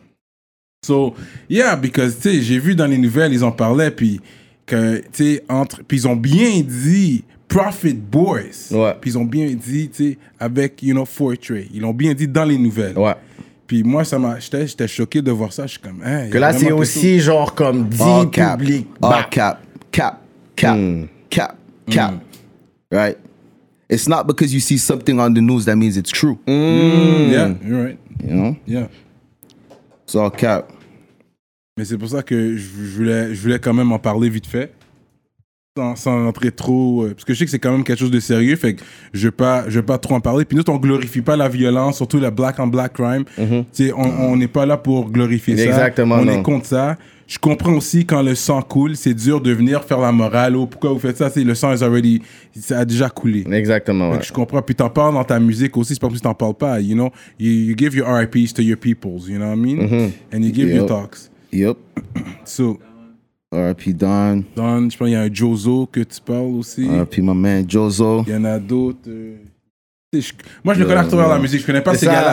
B: So, yeah, because, tu sais, j'ai vu dans les nouvelles, ils en parlaient, puis que, tu sais, entre... Puis ils ont bien dit Profit Boys.
D: Ouais.
B: Puis ils ont bien dit, tu sais, avec, you know, Fortray. Ils l'ont bien dit dans les nouvelles.
D: Ouais.
B: Puis moi, ça m'a... J'étais, j'étais choqué de voir ça. Je suis comme, hein, il y
D: Que
B: a
D: là,
B: vraiment
D: c'est
B: quelque
D: aussi genre comme dit
C: All cap.
D: public.
C: All
D: Bah.
C: cap. Cap. Cap. Cap. Cap. Right? It's not because you see something on the news that means it's true.
B: chose. Yeah, you're right.
C: You know?
B: Yeah.
C: It's all cap.
B: Mais c'est pour ça que je je voulais, je voulais quand même en parler vite fait. Sans, sans rentrer trop... euh, parce que je sais que c'est quand même quelque chose de sérieux, fait que je ne vais pas, je vais pas trop en parler. Puis nous, on glorifie pas la violence, surtout la black on black crime. Tu sais, on on n'est pas là pour glorifier ça.
D: Exactement,
B: On
D: non.
B: est contre ça. Je comprends aussi quand le sang coule, c'est dur de venir faire la morale. Oh, pourquoi vous faites ça? C'est, le sang is already, ça a déjà coulé.
D: Exactement,
B: Fait
D: ouais.
B: que je comprends. Puis t'en parles dans ta musique aussi. C'est pas comme si t'en parles pas. You know, you, you give your R I Ps to your peoples. You know what I mean? And you give your
C: Yep.
B: talks.
C: Yep.
B: So,
C: R I P Don.
B: Don, je pense qu'il y a un Jozo que tu parles aussi.
C: R I P my man Jozo.
B: Il y en a d'autres. euh, tu sais, je- moi, je le connais à travers la musique. Je connais pas
D: C'est
B: ces
D: ça.
B: gars-là.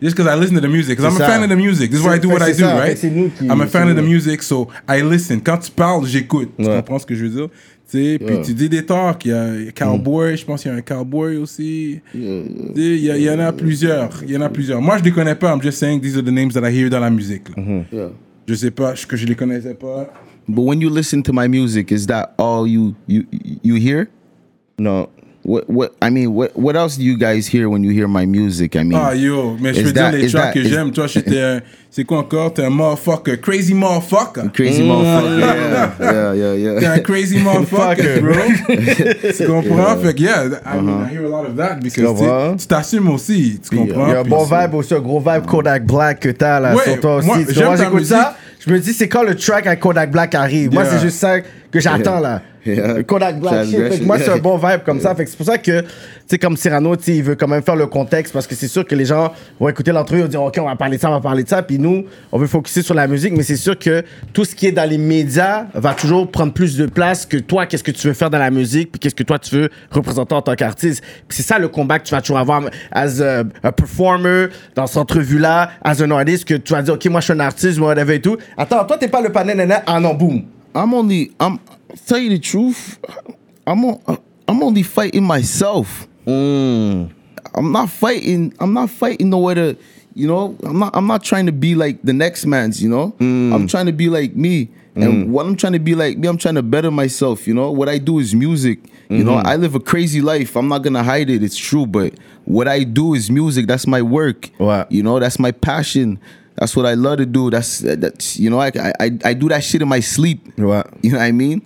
B: just because I listen to the music. Because I'm
D: C'est
B: a
D: ça.
B: fan of the music. This is why I do
D: C'est-
B: what I
D: c'est
B: do,
D: ça.
B: right?
D: C'est nous qui-
B: I'm a fan
D: c'est
B: of the
D: nous.
B: music, so I listen. Quand tu parles, j'écoute. Tu
D: Ouais.
B: comprends ce que je veux dire? Tu sais, puis tu dis des talks. Il y a Cowboy, je pense qu'il y a un Cowboy aussi. Tu sais, Il y, a- il y en a plusieurs. Il y en a plusieurs. Moi, je les connais pas. I'm just saying these are the names that I hear dans la musique. là.
C: Yeah.
B: Je sais pas, que je les connaissais pas.
C: But when you listen to my music, is that all you you you hear?
D: Non.
C: What what I mean, what what else do you guys hear when you hear my music? I mean,
B: Ah yo, mais je
C: Is
B: peux
C: that-
B: dire les
C: is
B: tracks
C: that-
B: que
C: is-
B: j'aime. Toi, j'étais un... C'est quoi encore? T'es un motherfucker. Crazy motherfucker.
C: crazy motherfucker. Yeah, yeah, yeah,
B: T'es un
C: yeah.
B: crazy motherfucker, bro. Tu comprends? Fait que, yeah, I, mean, I hear a lot of that because
D: comprends?
B: tu tu t'assumes aussi. Tu comprends?
D: Il y a un
B: Puis
D: bon
B: c'est-
D: vibe aussi, un gros vibe Kodak Black que t'as là
B: Ouais,
D: sur toi aussi.
B: moi,
D: Tu
B: j'aime
D: vois,
B: ta
D: j'écoute
B: musique.
D: ça, je me dis c'est quand le track avec Kodak Black arrive. Moi,
B: Yeah.
D: c'est juste ça que j'attends là.
C: Yeah.
D: Le Kodak Black shit. Fait que moi, c'est un bon vibe comme ça. Fait que c'est pour ça que, tu sais, comme Cyrano, tu sais, il veut quand même faire le contexte parce que c'est sûr que les gens vont écouter l'entrevue, ils vont dire, OK, on va parler de ça, on va parler de ça. Puis nous, on veut focuser sur la musique, mais c'est sûr que tout ce qui est dans les médias va toujours prendre plus de place que toi, qu'est-ce que tu veux faire dans la musique, puis qu'est-ce que toi, tu veux représenter en tant qu'artiste. Puis c'est ça le combat que tu vas toujours avoir as a, a performer dans cette entrevue-là, as an artist, que tu vas dire, OK, moi, je suis un artiste, moi, whatever et tout. Attends, toi, t'es pas le panel, nana, ah non, boum.
C: I'm only I'm tell you the truth. I'm on, I'm only fighting myself.
D: Mm.
C: I'm not fighting. I'm not fighting nowhere to, you know. I'm not. I'm not trying to be like the next man's. You know. I'm trying to be like me. And what I'm trying to be like me, I'm trying to better myself. You know. What I do is music. You know. I live a crazy life. I'm not gonna hide it. It's true. But what I do is music. That's my work.
D: Wow.
C: You know. That's my passion. That's what I love to do. That's that's you know. I I I do that shit in my sleep.
D: Ouais.
C: You know what I mean?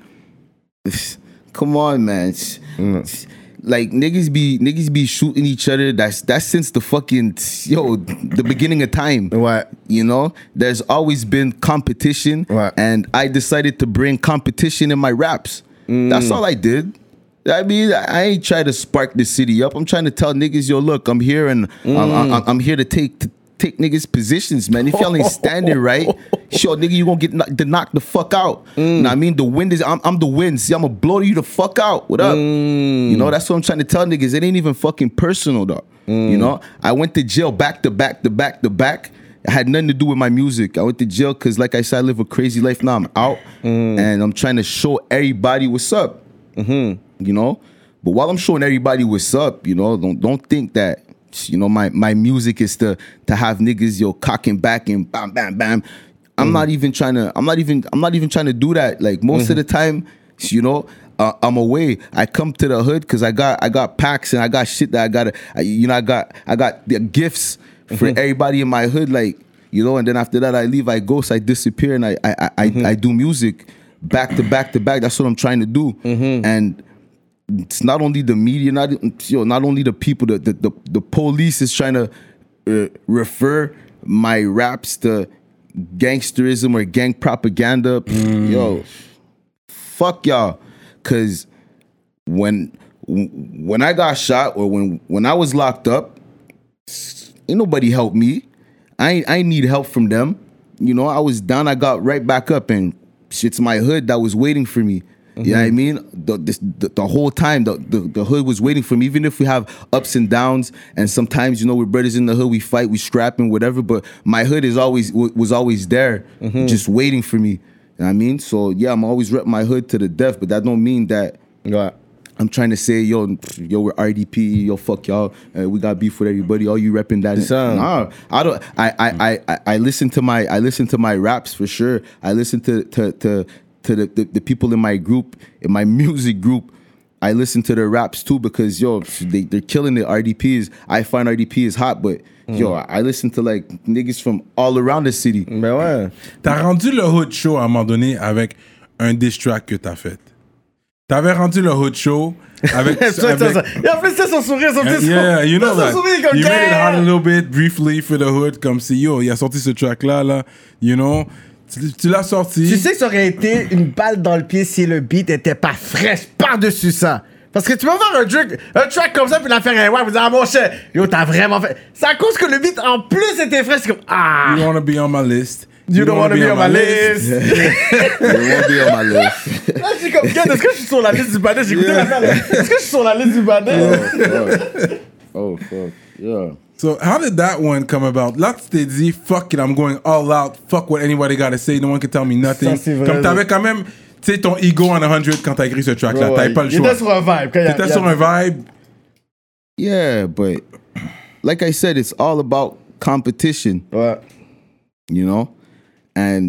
C: Come on, man. Like niggas be niggas be shooting each other. That's that's since the fucking yo the beginning of time.
D: Ouais.
C: You know, there's always been competition,
D: Right.
C: and I decided to bring competition in my raps. That's all I did. I mean, I ain't trying to spark the city up. I'm trying to tell niggas, yo, look, I'm here and I'm, I'm, I'm here to take to take niggas positions, man. If y'all ain't standing right, sure, nigga, you gonna get knocked, to knock the fuck out. Know I mean, the wind is, I'm, I'm the wind. See, I'm gonna blow you the fuck out. What up? You know, that's what I'm trying to tell niggas. It ain't even fucking personal, though. You know, I went to jail back to back to back to back. It had nothing to do with my music. I went to jail because, like I said, I live a crazy life. Now I'm out and I'm trying to show everybody what's up. You know, but while I'm showing everybody what's up, you know, don't don't think that, you know, my my music is to to have niggas yo cocking back and bam bam bam. I'm not even trying to. I'm not even. I'm not even trying to do that. Like most of the time, you know, uh, I'm away. I come to the hood because I got I got packs and I got shit that I gotta. I, you know, I got I got the gifts for everybody in my hood. Like, you know, and then after that I leave. I ghost. I disappear and I I I, I, I do music back to back to back. That's what I'm trying to do. And it's not only the media, not you know, not only the people. The the the, the police is trying to uh, refer my raps to gangsterism or gang propaganda. Yo, fuck y'all, cause when when I got shot or when when I was locked up, ain't nobody helped me. I ain't, I ain't need help from them. You know, I was down. I got right back up, and shit's my hood that was waiting for me. You know what I mean? The, this, the the whole time, the, the the hood was waiting for me. Even if we have ups and downs, and sometimes, you know, we're brothers in the hood, we fight, we scrap and whatever. But my hood is always was always there, just waiting for me. You know what I mean? So yeah, I'm always rep my hood to the death. But that don't mean that
D: Ouais.
C: I'm trying to say, yo, yo, we're R D P, yo, fuck y'all, uh, we got beef with everybody. All you repping that?
D: Ça.
C: Nah, I don't. I, I, I, I listen to my, I listen to my raps for sure. I listen to to to to the, the, the people in my group, in my music group. I listen to their raps too because yo, they they're killing it. R D Ps. I find R D P is hot, but yo, I listen to like niggas from all around the city.
D: Ben ouais.
B: T'as rendu le Hood Show à un moment donné avec un diss track que t'as fait. T'avais rendu le Hood Show avec...
D: Ça, ça,
B: avec
D: ça. Et en plus, c'est son sourire, son petit
B: yeah, you know
D: son
B: that.
D: sourire comme
B: You made it hot a
D: yeah.
B: little bit briefly for the Hood, comme si yo, il a sorti ce track-là, là, you know. Tu, tu l'as sorti.
D: Tu sais que ça aurait été une balle dans le pied si le beat était pas fraîche par-dessus ça. Parce que tu peux faire un track, un track comme ça puis la faire un ouais, vous dites ah mon cher, yo t'as vraiment fait. C'est à cause que le beat en plus était frais, c'est comme ah.
B: You wanna be on my list.
D: You don't wanna be on my list.
C: They won't be on my list.
D: Là, je suis comme, est-ce que je suis sur la liste du panel? J'ai écouté l'affaire là. Est-ce que je suis sur la liste du panel?
C: Oh, fuck. Yeah.
B: So how did that one come about? Là, tu t'es dit, fuck it, I'm going all out. Fuck what anybody gotta say. No one can tell me nothing.
D: Ça, c'est vrai,
B: Comme t'avais
D: là.
B: quand même, tu sais, ton ego on one hundred quand t'as écrit ce track-là.
D: Ouais,
B: T'avais
D: ouais.
B: pas le
D: Il
B: choix.
D: était sur un vibe. quand il y a-
B: T'étais
D: il y a-
B: sur un vibe.
C: Yeah, but like I said, it's all about competition,
D: Ouais.
C: you know? And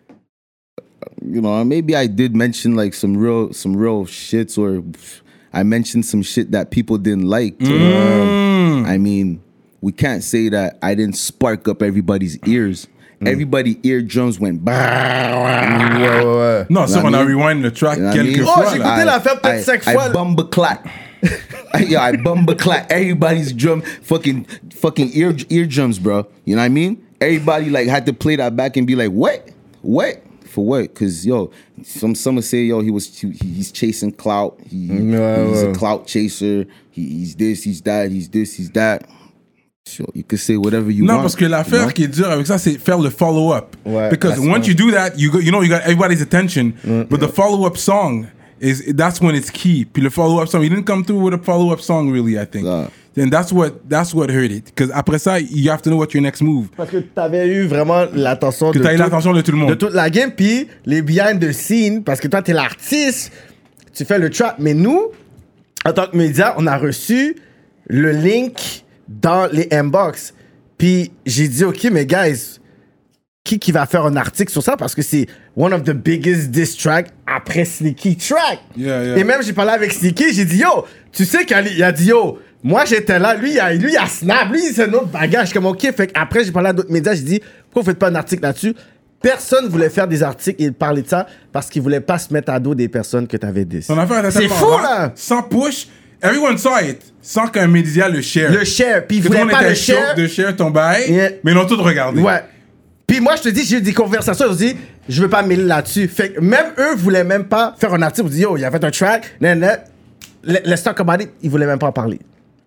C: you know, maybe I did mention like some real some real shits, or I mentioned some shit that people didn't like.
B: Mm.
C: I mean, we can't say that I didn't spark up everybody's ears.
B: Mm.
C: Everybody eardrums went bah.
D: Ouais, ouais, ouais.
B: Non, ça,
C: You
B: on
C: know
B: a
C: what I mean?
B: rewind le track
C: You know what I
B: quelques
C: mean?
D: Oh,
B: fois.
D: j'ai
B: là.
D: écouté l'affaire peut-être
C: I,
D: cinq
C: I
D: fois.
C: bumba clap. Yo, I bumba clap. Everybody's drum, fucking, fucking ear eardrums, bro. You know what I mean? Everybody like had to play that back and be like, what, what, for what? Because yo, some some would say yo, he was he, he's chasing clout. He,
D: Yeah,
C: he's
D: well.
C: a clout chaser. He, he's this, he's that, he's this, he's that. Sure, you could say whatever you
B: Non,
C: want.
B: parce que l'affaire
C: you know?
B: qui est dure avec ça, c'est faire le follow-up.
D: Ouais,
B: Because
D: that's
B: once
D: right.
B: you do that, you go, you know, you got everybody's attention. But the follow-up song is that's when it's key. Puis le follow-up song, you didn't come through with a follow-up song, really. I think.
C: Nah.
B: And that's what that's what hurt it. Because après ça, you have to know what your next move.
D: Parce que t'avais eu vraiment l'attention
B: Que
D: de
B: t'as eu
D: tout-
B: l'attention de tout le monde.
D: de toute la game, puis les behind the scene, parce que toi, t'es l'artiste, tu fais le trap. Mais nous, en tant que média, on a reçu le link dans les inbox. Puis j'ai dit, OK, mais guys, qui qui va faire un article sur ça? Parce que c'est one of the biggest diss tracks après Sneaky Track.
B: Yeah, yeah.
D: Et même, j'ai parlé avec Sneaky, j'ai dit, yo, tu sais qu'il a dit, yo, moi j'étais là, lui, il a, lui, il a snap, lui, c'est un autre bagage. Comme, OK, fait après, j'ai parlé à d'autres médias, j'ai dit, pourquoi vous faites pas un article là-dessus? Personne voulait faire des articles et parler de ça parce qu'ils voulaient pas se mettre à dos des personnes que t'avais diss.
B: Ton affaire était
D: C'est
B: tellement
D: fou,
B: rare,
D: là!
B: Sans push, everyone saw it. Sans qu'un média le share.
D: Le share, puis ils
B: Tout le
D: voulaient
B: monde
D: pas
B: était
D: le
B: chaud
D: share.
B: de share ton bail,
D: Yeah.
B: mais ils l'ont tout regardé.
D: Ouais. Puis moi, je te dis, j'ai eu des conversations, je dis, je veux pas me mêler là-dessus. Fait que même eux voulaient même pas faire un article, ils disent, yo, il a fait un track, nan, nan. Le- Let's talk about it, ils voulaient même pas en parler.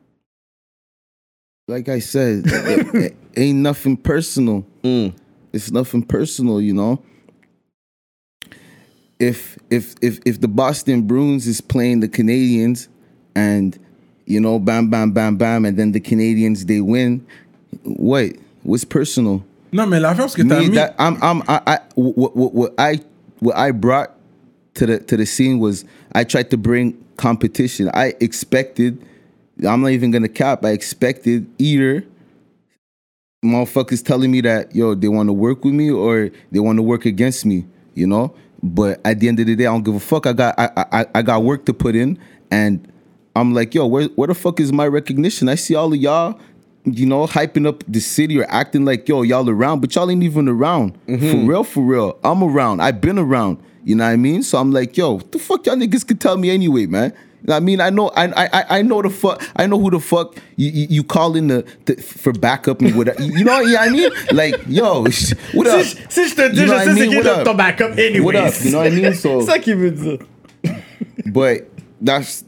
C: Like I said, it, it ain't nothing personal. It's nothing personal, you know. If if if if the Boston Bruins is playing the Canadians, and you know, bam, bam, bam, bam, and then the Canadians they win, what? What's personal?
B: Non, mais l'affaire, c'est que t'as
C: Me,
B: mis...
C: that I'm I'm I, I what, what what I what I brought to the to the scene was I tried to bring competition. I expected. I'm not even gonna cap. I expected either motherfuckers telling me that yo they want to work with me or they want to work against me, you know. But at the end of the day, I don't give a fuck. I got I I, I got work to put in, and I'm like, yo, where where the fuck is my recognition? I see all of y'all, you know, hyping up the city or acting like yo y'all around, but y'all ain't even around. For real, for real. I'm around. I've been around. You know what I mean? So I'm like, yo, what the fuck y'all niggas could tell me anyway, man. I mean, I know, I, I, I know the fuck, I know who the fuck you, you, you call in the, the for backup and whatever. You know what I mean? Like, yo, what up?
D: Si, si je te dis,
C: You know
D: je
C: what
D: sais
C: I
D: c'est
C: mean?
D: qui
C: What
D: le-
C: up?
D: ton backup anyways.
C: What up? You know what I mean? So,
D: C'est ça qu'il veut dire.
C: but that's,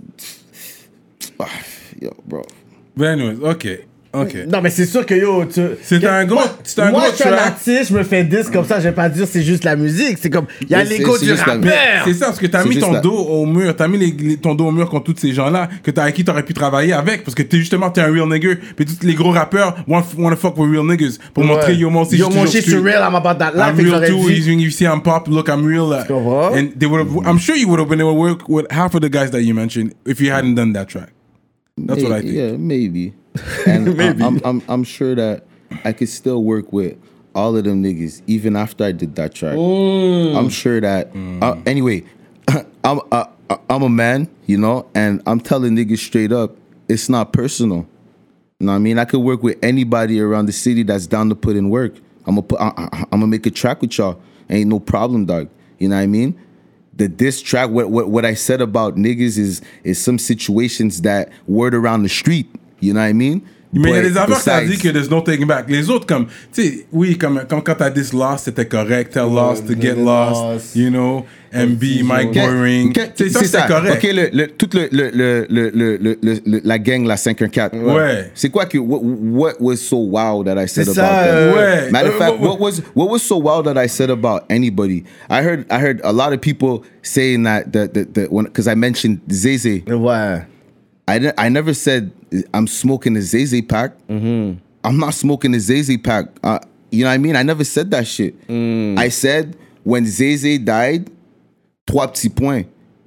C: yo, bro.
B: But anyways, OK. OK.
D: Non, mais c'est sûr que yo, tu.
B: C'était
D: que-
B: un gros-
D: Moi,
B: c'était un
D: moi,
B: gros
D: je suis un
B: track.
D: artiste, je me fais disque comme ça, je vais pas dire c'est juste la musique. C'est comme, il y a
C: Mais c'est-
D: l'ego
C: c'est
D: du
C: juste la-
D: rappeur.
B: C'est ça, parce que t'as
C: C'est
B: mis
C: juste
B: ton
C: la-
B: dos au mur, t'as mis les, les- ton dos au mur contre tous ces gens-là, que t'as, avec qui t'aurais pu travailler avec, parce que t'es justement, t'es un real nigger, puis tous les gros rappeurs wanna, wanna fuck with real niggas, pour montrer, yo, moi aussi,
D: Yo,
B: je suis
D: mon
B: toujours
D: shit,
B: street.
D: c'est real, I'm about that life.
B: I'm
D: Fait que
B: real
D: j'aurais
B: too.
D: dit-
B: He's, you see, I'm pop. Look, I'm real. Uh,
D: comprends?
B: and they would have. I'm sure you would have been able to work with half of the guys that you mentioned if you hadn't done that track. That's what I think.
C: Yeah, maybe. And
D: Maybe.
C: I, I'm, I'm I'm sure that I could still work with all of them niggas even after I did that track. I'm sure that. Uh, anyway, I'm uh, I'm a man, you know, and I'm telling niggas straight up, it's not personal. You know what I mean? I could work with anybody around the city that's down to put in work. I'm gonna put, I, I, I'm gonna make a track with y'all. Ain't no problem, dog. You know what I mean? The diss track, what what what I said about niggas is is some situations that word around the street. You know what I mean?
B: Mais il y a
C: But
B: des affaires que ça dit
C: besides-
B: que there's no taking back. Les autres, comme, tu sais, oui, comme, comme quand t'as dit Lost, c'était correct. Tell Lost to get
D: Get
B: lost,
D: Lost.
B: you know. M B, Mike
C: Qu'est-
B: Boring.
C: qu'est-
B: Tu sais, ça,
C: c'est
B: c'était correct.
C: OK, le, le, toute le, le, le, le, le, le, le- le- la gang, la cinq un quatre.
B: Ouais.
C: C'est quoi que, what, what was so wow that I said
D: C'est
C: about
D: ça,
C: them?
D: euh,
B: Ouais.
C: Matter of
B: Euh,
C: fact,
B: ouais,
C: what was what was so wild that I said about anybody? I heard I heard a lot of people saying that that that, that when because I mentioned Zeze,
D: Ouais.
C: I I didn't, I never said I'm smoking a Zay pack. Mm-hmm. I'm not smoking a Zay pack. Uh, you know what I mean? I never said that shit. Mm. I said when Zay died, trois petits points.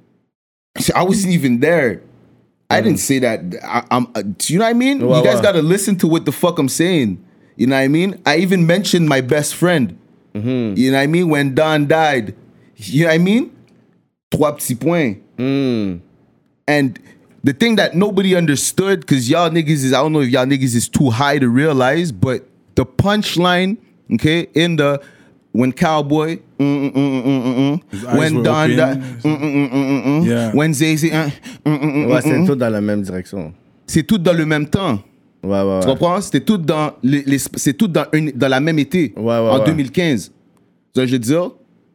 C: I wasn't even there. I mm. didn't say that. I, I'm. Uh, do you know what I mean? Well, you guys well. gotta listen to what the fuck I'm saying. You know what I mean? I even mentioned my best friend. Mm-hmm. You know what I mean? When Don died. You know what I mean? Trois petits points. Mm. And the thing that nobody understood, because y'all niggas is, I don't know if y'all niggas is too high to realize, but the punchline, okay, in the, when Cowboy, mm, mm, mm, mm, mm, when Don died, mm, mm, mm, mm, mm, yeah. when Zay-Z, mm, mm, mm,
D: ouais, c'est tout dans la même direction.
C: C'est tout dans le même temps.
D: Ouais, ouais,
C: tu comprends? C'était tout dans, les, les, c'est tout dans, une, dans la même été,
D: ouais, ouais,
C: en
D: ouais.
C: deux mille quinze. Ça, je veux dire,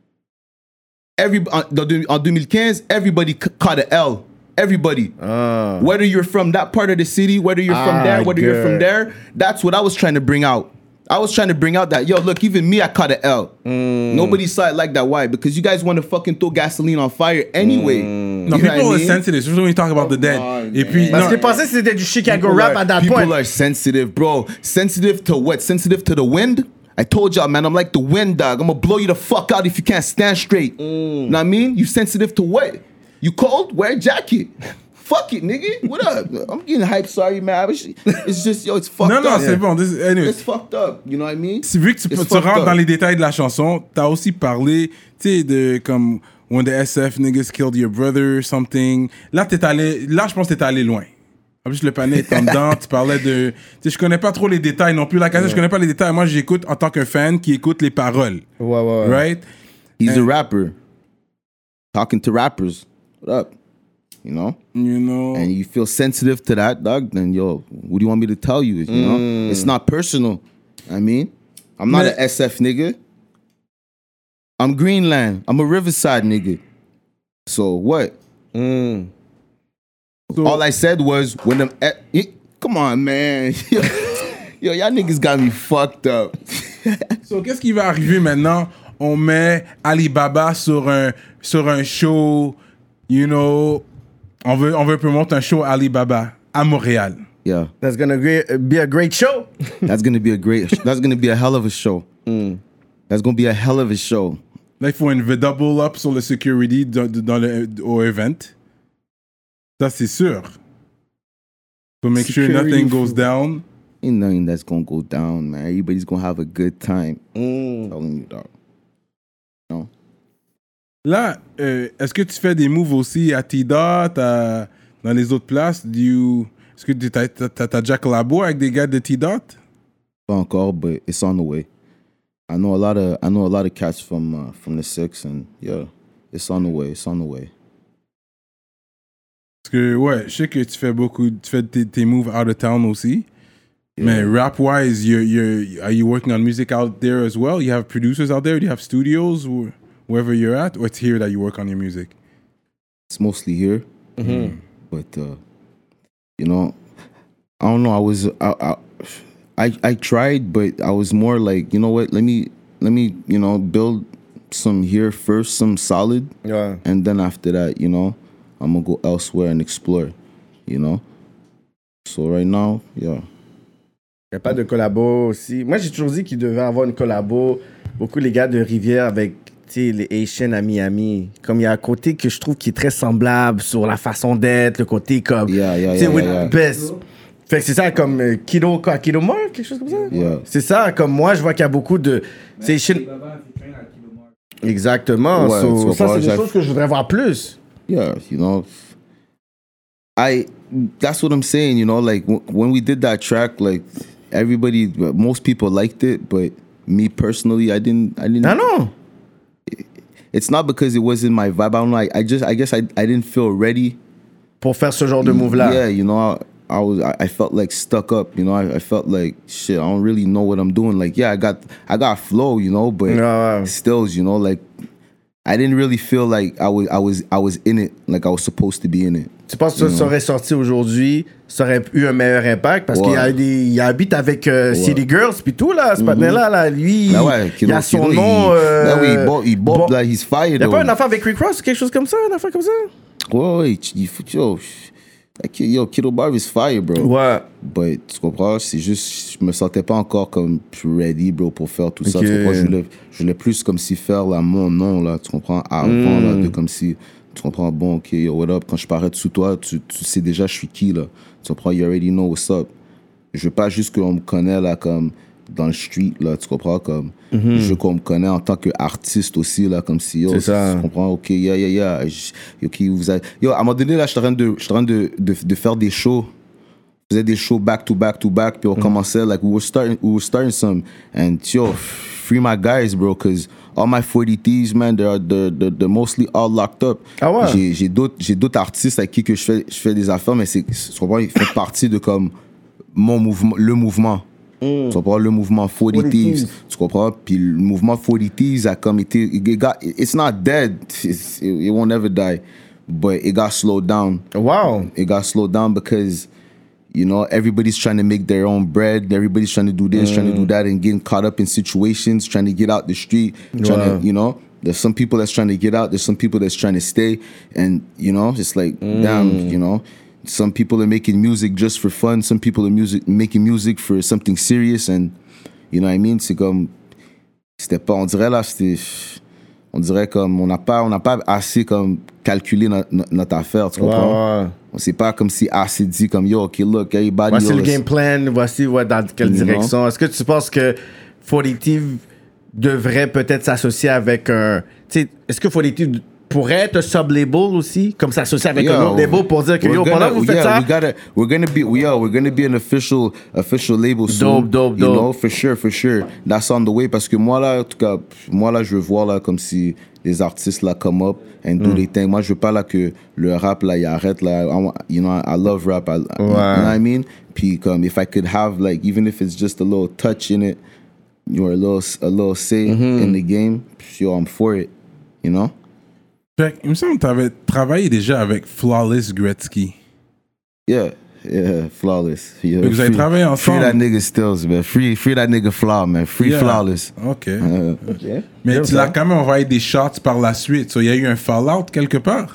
C: every, en, dans, en deux mille quinze, everybody caught an L. Everybody. Uh. Whether you're from that part of the city, whether you're from ah, there, whether good. you're from there, that's what I was trying to bring out. I was trying to bring out that, yo, look, even me, I caught an L. Mm. Nobody saw it like that. Why? Because you guys want to fucking throw gasoline on fire anyway.
B: Mm. No, people are I mean? sensitive, especially when you talk about the dead.
C: On,
B: Et puis,
D: Parce que pensais que c'était du Chicago rap
C: are,
D: at that
C: people
D: point.
C: People are sensitive, bro. Sensitive to what? Sensitive to the wind? I told y'all, man, I'm like the wind, dog. I'm gonna blow you the fuck out if you can't stand straight. Mm. Know what I mean? You sensitive to what? You cold? Wear a jacket. Fuck it, nigga. What up? I'm getting hyped. Sorry, man. It's just, yo, it's fucked
B: non,
C: up.
B: Non, non, c'est bon. This, anyway.
C: It's fucked up. You know what I mean?
B: C'est vu que tu, tu rentres up. dans les détails de la chanson, t'as aussi parlé, tu sais, de comme when the S F niggas killed your brother or something. Là, t'es allé, là, je pense que t'es allé loin. En plus, le panier est en dedans. Tu parlais de, tu sais, je connais pas trop les détails non plus. La cassette, ouais. je connais pas les détails. Moi, j'écoute en tant qu'un fan qui écoute les paroles.
D: Ouais, ouais, ouais.
B: Right?
C: He's And, a rapper. Talking to rappers. What up? You know?
B: You know.
C: And you feel sensitive to that, dog, then yo, what do you want me to tell you? You mm. know? It's not personal. I mean, I'm not an S F nigga. I'm Greenland. I'm a Riverside nigga. So what? Mm. So, all I said was when them eh, come on, man. Yo, y'all niggas got me fucked up.
B: So qu'est-ce qui va arriver maintenant? On met Alibaba sur un sur un show, you know. On veut, on veut promouvoir un show Alibaba à Montréal.
C: Yeah.
D: That's gonna be a great show.
C: That's gonna be a great, that's gonna be a hell of a show. Mm. That's gonna be a hell of a show.
B: Là, il faut une double up sur le security dans, dans le, au event. Ça, c'est sûr. So make security sure nothing goes down.
C: Ain't nothing that's gonna go down, man. Everybody's gonna have a good time. Mm. Telling you, dog. No.
B: Là, euh, est-ce que tu fais des moves aussi à T-Dot, à, dans les autres places? Do you, est-ce que tu as déjà collaboré avec des gars de T-Dot?
C: Pas encore, but it's on the way. I know a lot of I know a lot of cats from uh, from the six, and yeah, it's on the way. It's on the way.
B: Parce que ouais, je sais que tu fais beaucoup, tu fais tes, tes moves out of town aussi. Yeah. Mais rap-wise, you're you're are you working on music out there as well? You have producers out there? Do you have studios or wherever you're at, or it's here that you work on your music?
C: It's mostly here, mm-hmm. but uh, you know, I don't know. I was I, I I I tried, but I was more like, you know what? Let me let me you know build some here first, some solid,
D: yeah,
C: and then after that, you know, I'm gonna go elsewhere and explore, you know. So right now, yeah.
D: Il n'y a pas de collabo aussi. Moi, j'ai toujours dit qu'il devait avoir une collabo. Beaucoup les gars de Rivière avec les Haitians à Miami. Comme il y a un côté que je trouve qui est très semblable sur la façon d'être, le côté comme.
C: Yeah, yeah, yeah,
D: with
C: yeah.
D: Best. Fait que c'est ça comme euh, Kido, quoi, Kido Mark, quelque chose comme ça.
C: Yeah.
D: C'est ça, comme moi, je vois qu'il y a beaucoup de. C'est Haitian. Exactement.
C: Ouais,
D: so, ça, c'est des choses que je voudrais voir plus.
C: Yeah, you know. I. That's what I'm saying, you know. Like, w- when we did that track, like. Everybody, most people liked it, but me personally, I didn't. I didn't.
D: I know.
C: It's not because it wasn't my vibe. I don't like. I just. I guess I. I didn't feel ready.
D: Pour faire ce genre de move là.
C: Yeah, you know, I, I was. I, I felt like stuck up. You know, I, I felt like shit. I don't really know what I'm doing. Like, yeah, I got. I got flow. You know, but
D: no.
C: still, you know, like. I didn't really feel like I was. I was. I was in it. Like I was supposed to be in it.
D: Tu penses que ça serait sorti aujourd'hui, ça aurait eu un meilleur impact? Parce ouais. qu'il y a des, il habite avec euh, ouais. City Girls puis tout, là, ce mm-hmm. patin-là, là, lui,
C: ben ouais,
D: il a son nom...
C: Il,
D: euh,
C: ben oui, il bob, il bob bon, là, he's fired.
D: Il n'y a pas une affaire avec Rick Ross ou quelque chose comme ça, une affaire comme ça?
C: Ouais, ouais, il faut... Yo, like, yo, Kiddo Bar is fire, bro.
D: Ouais.
C: But, tu comprends? C'est juste, je me sentais pas encore comme ready, bro, pour faire tout ça.
D: Ok.
C: Tu comprends? Je voulais, je voulais plus comme si faire là, mon nom, là, tu comprends? Avant,
D: Mm.
C: là, de comme si, tu comprends? Bon, ok, yo, what up? Quand je parais sous toi, tu, tu sais déjà je suis qui, là. Tu comprends? You already know what's up. Je veux pas juste qu'on me connaisse, là, comme dans le street, là, tu comprends? Comme,
D: Mm-hmm.
C: je veux qu'on me connaisse en tant qu'artiste aussi, là, comme si, yo,
D: C'est ça.
C: tu comprends? Ok, yeah, yeah, yeah. Je- Ok, vous avez... Yo, à un moment donné, là, je suis en train de, je suis en train de, de, de faire des shows. Je faisais des shows back to back to back, puis on
D: Mm.
C: commençait, like, we were starting, we were starting some, and yo, free my guys, bro, because all my forty thieves, man, they're, they're, they're, they're mostly all locked up.
D: Ah ouais?
C: J'ai, j'ai d'autres, j'ai d'autres artistes avec qui que je fais, je fais des affaires, mais c'est, tu comprends, ils font partie de comme mon mouvement, le mouvement. Tu comprends, le mouvement forty
D: forty
C: Thieves,
D: Thieves.
C: tu comprends, puis le mouvement forty Thieves a comme été, it got, it's not dead, it's, it, it won't ever die, but it got slowed down.
D: Wow.
C: It got slowed down because, you know, everybody's trying to make their own bread. Everybody's trying to do this, trying to do that, and getting caught up in situations, trying to get out the street, trying
D: Wow.
C: to, you know, there's some people that's trying to get out. There's some people that's trying to stay, and you know, it's like, damn, you know, some people are making music just for fun. Some people are music making music for something serious, and you know what I mean. C'est comme, c'était pas, on dirait là, c'était. On dirait comme on n'a pas on n'a pas assez comme calculé notre, notre affaire, tu comprends?
D: Ouais, ouais.
C: On sait pas comme si assez dit comme yo, ok, look, everybody.
D: Voici
C: yo,
D: le
C: let's-
D: game plan, voici ouais, dans quelle
C: You know?
D: direction. Est-ce que tu penses que forty Thieves devrait peut-être s'associer avec un. Tu sais, est-ce que forty Thieves pourrait être un sub-label aussi, comme s'associer avec
C: Yeah,
D: un autre label pour dire que
C: we're
D: yo,
C: gonna-
D: pendant que vous faites
C: yeah,
D: ça.
C: we gotta, we're gonna be, yeah, we're gonna be an official, official label soon.
D: Dope, dope,
C: You
D: dope.
C: know, for sure, for sure. That's on the way parce que moi là, en tout cas, moi là, je veux voir là comme si les artistes là come up and do their thing. Moi, je veux pas là que le rap là, il arrête là. I want- you know, I love rap. I, You know what I mean? Puis comme if I could have like, even if it's just a little touch in it, or a little, a little say in the game, yo, I'm for it. You know?
B: Fait que, il me semble que tu avais travaillé déjà avec Flawless Gretzky.
C: Yeah, yeah, flawless. Yeah,
B: Fait que vous avez
C: free-
B: travaillé
C: Free
B: ensemble.
C: that nigga Stills, man. Free, free that nigga Flaw, man. Free
B: Yeah.
C: flawless.
B: OK.
C: Euh,
B: Mais
D: J'aime
B: tu
D: ça.
B: l'as quand même envoyé des shots par la suite. So, il y a eu un fallout quelque part?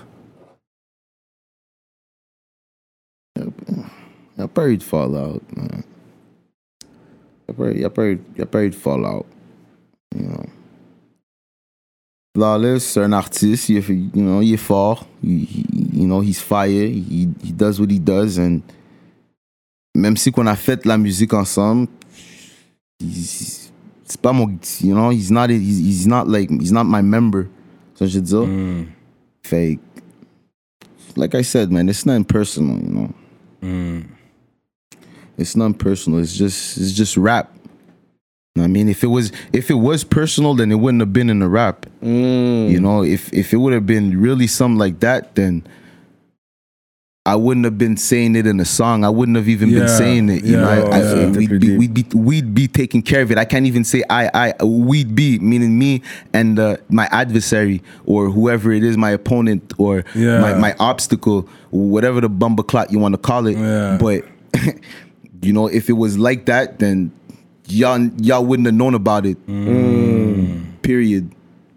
C: y a pas eu de fallout, man. Y a pas, y a pas eu, y a pas eu de fallout. You know. Flawless, c'est un artiste. Il est, you know, il est fort. He, he- you know, he's fire. He, he does what he does, and même si qu'on a fait la musique ensemble, he's- c'est pas mon, you know, he's not, he's, he's not like, he's not my member. Ça je veux dire.
B: Mm.
C: Fake. Like I said, man, it's not personal, you know.
B: Mm.
C: It's not personal. It's just, it's just rap. I mean, if it was, if it was personal, then it wouldn't have been in the rap.
D: Mm.
C: You know, if if it would have been really something like that, then I wouldn't have been saying it in a song. I wouldn't have even been
B: Yeah,
C: saying it. You know,
B: yeah,
C: I, I,
B: yeah.
C: we'd be, we'd be, we'd be taking care of it. I can't even say I, I, we'd be, meaning me and uh, my adversary or whoever it is, my opponent or
B: Yeah.
C: my, my obstacle, whatever the bumbleclot you want to call it.
B: Yeah.
C: But you know, if it was like that, then y'all y'all wouldn't have known about it. Period.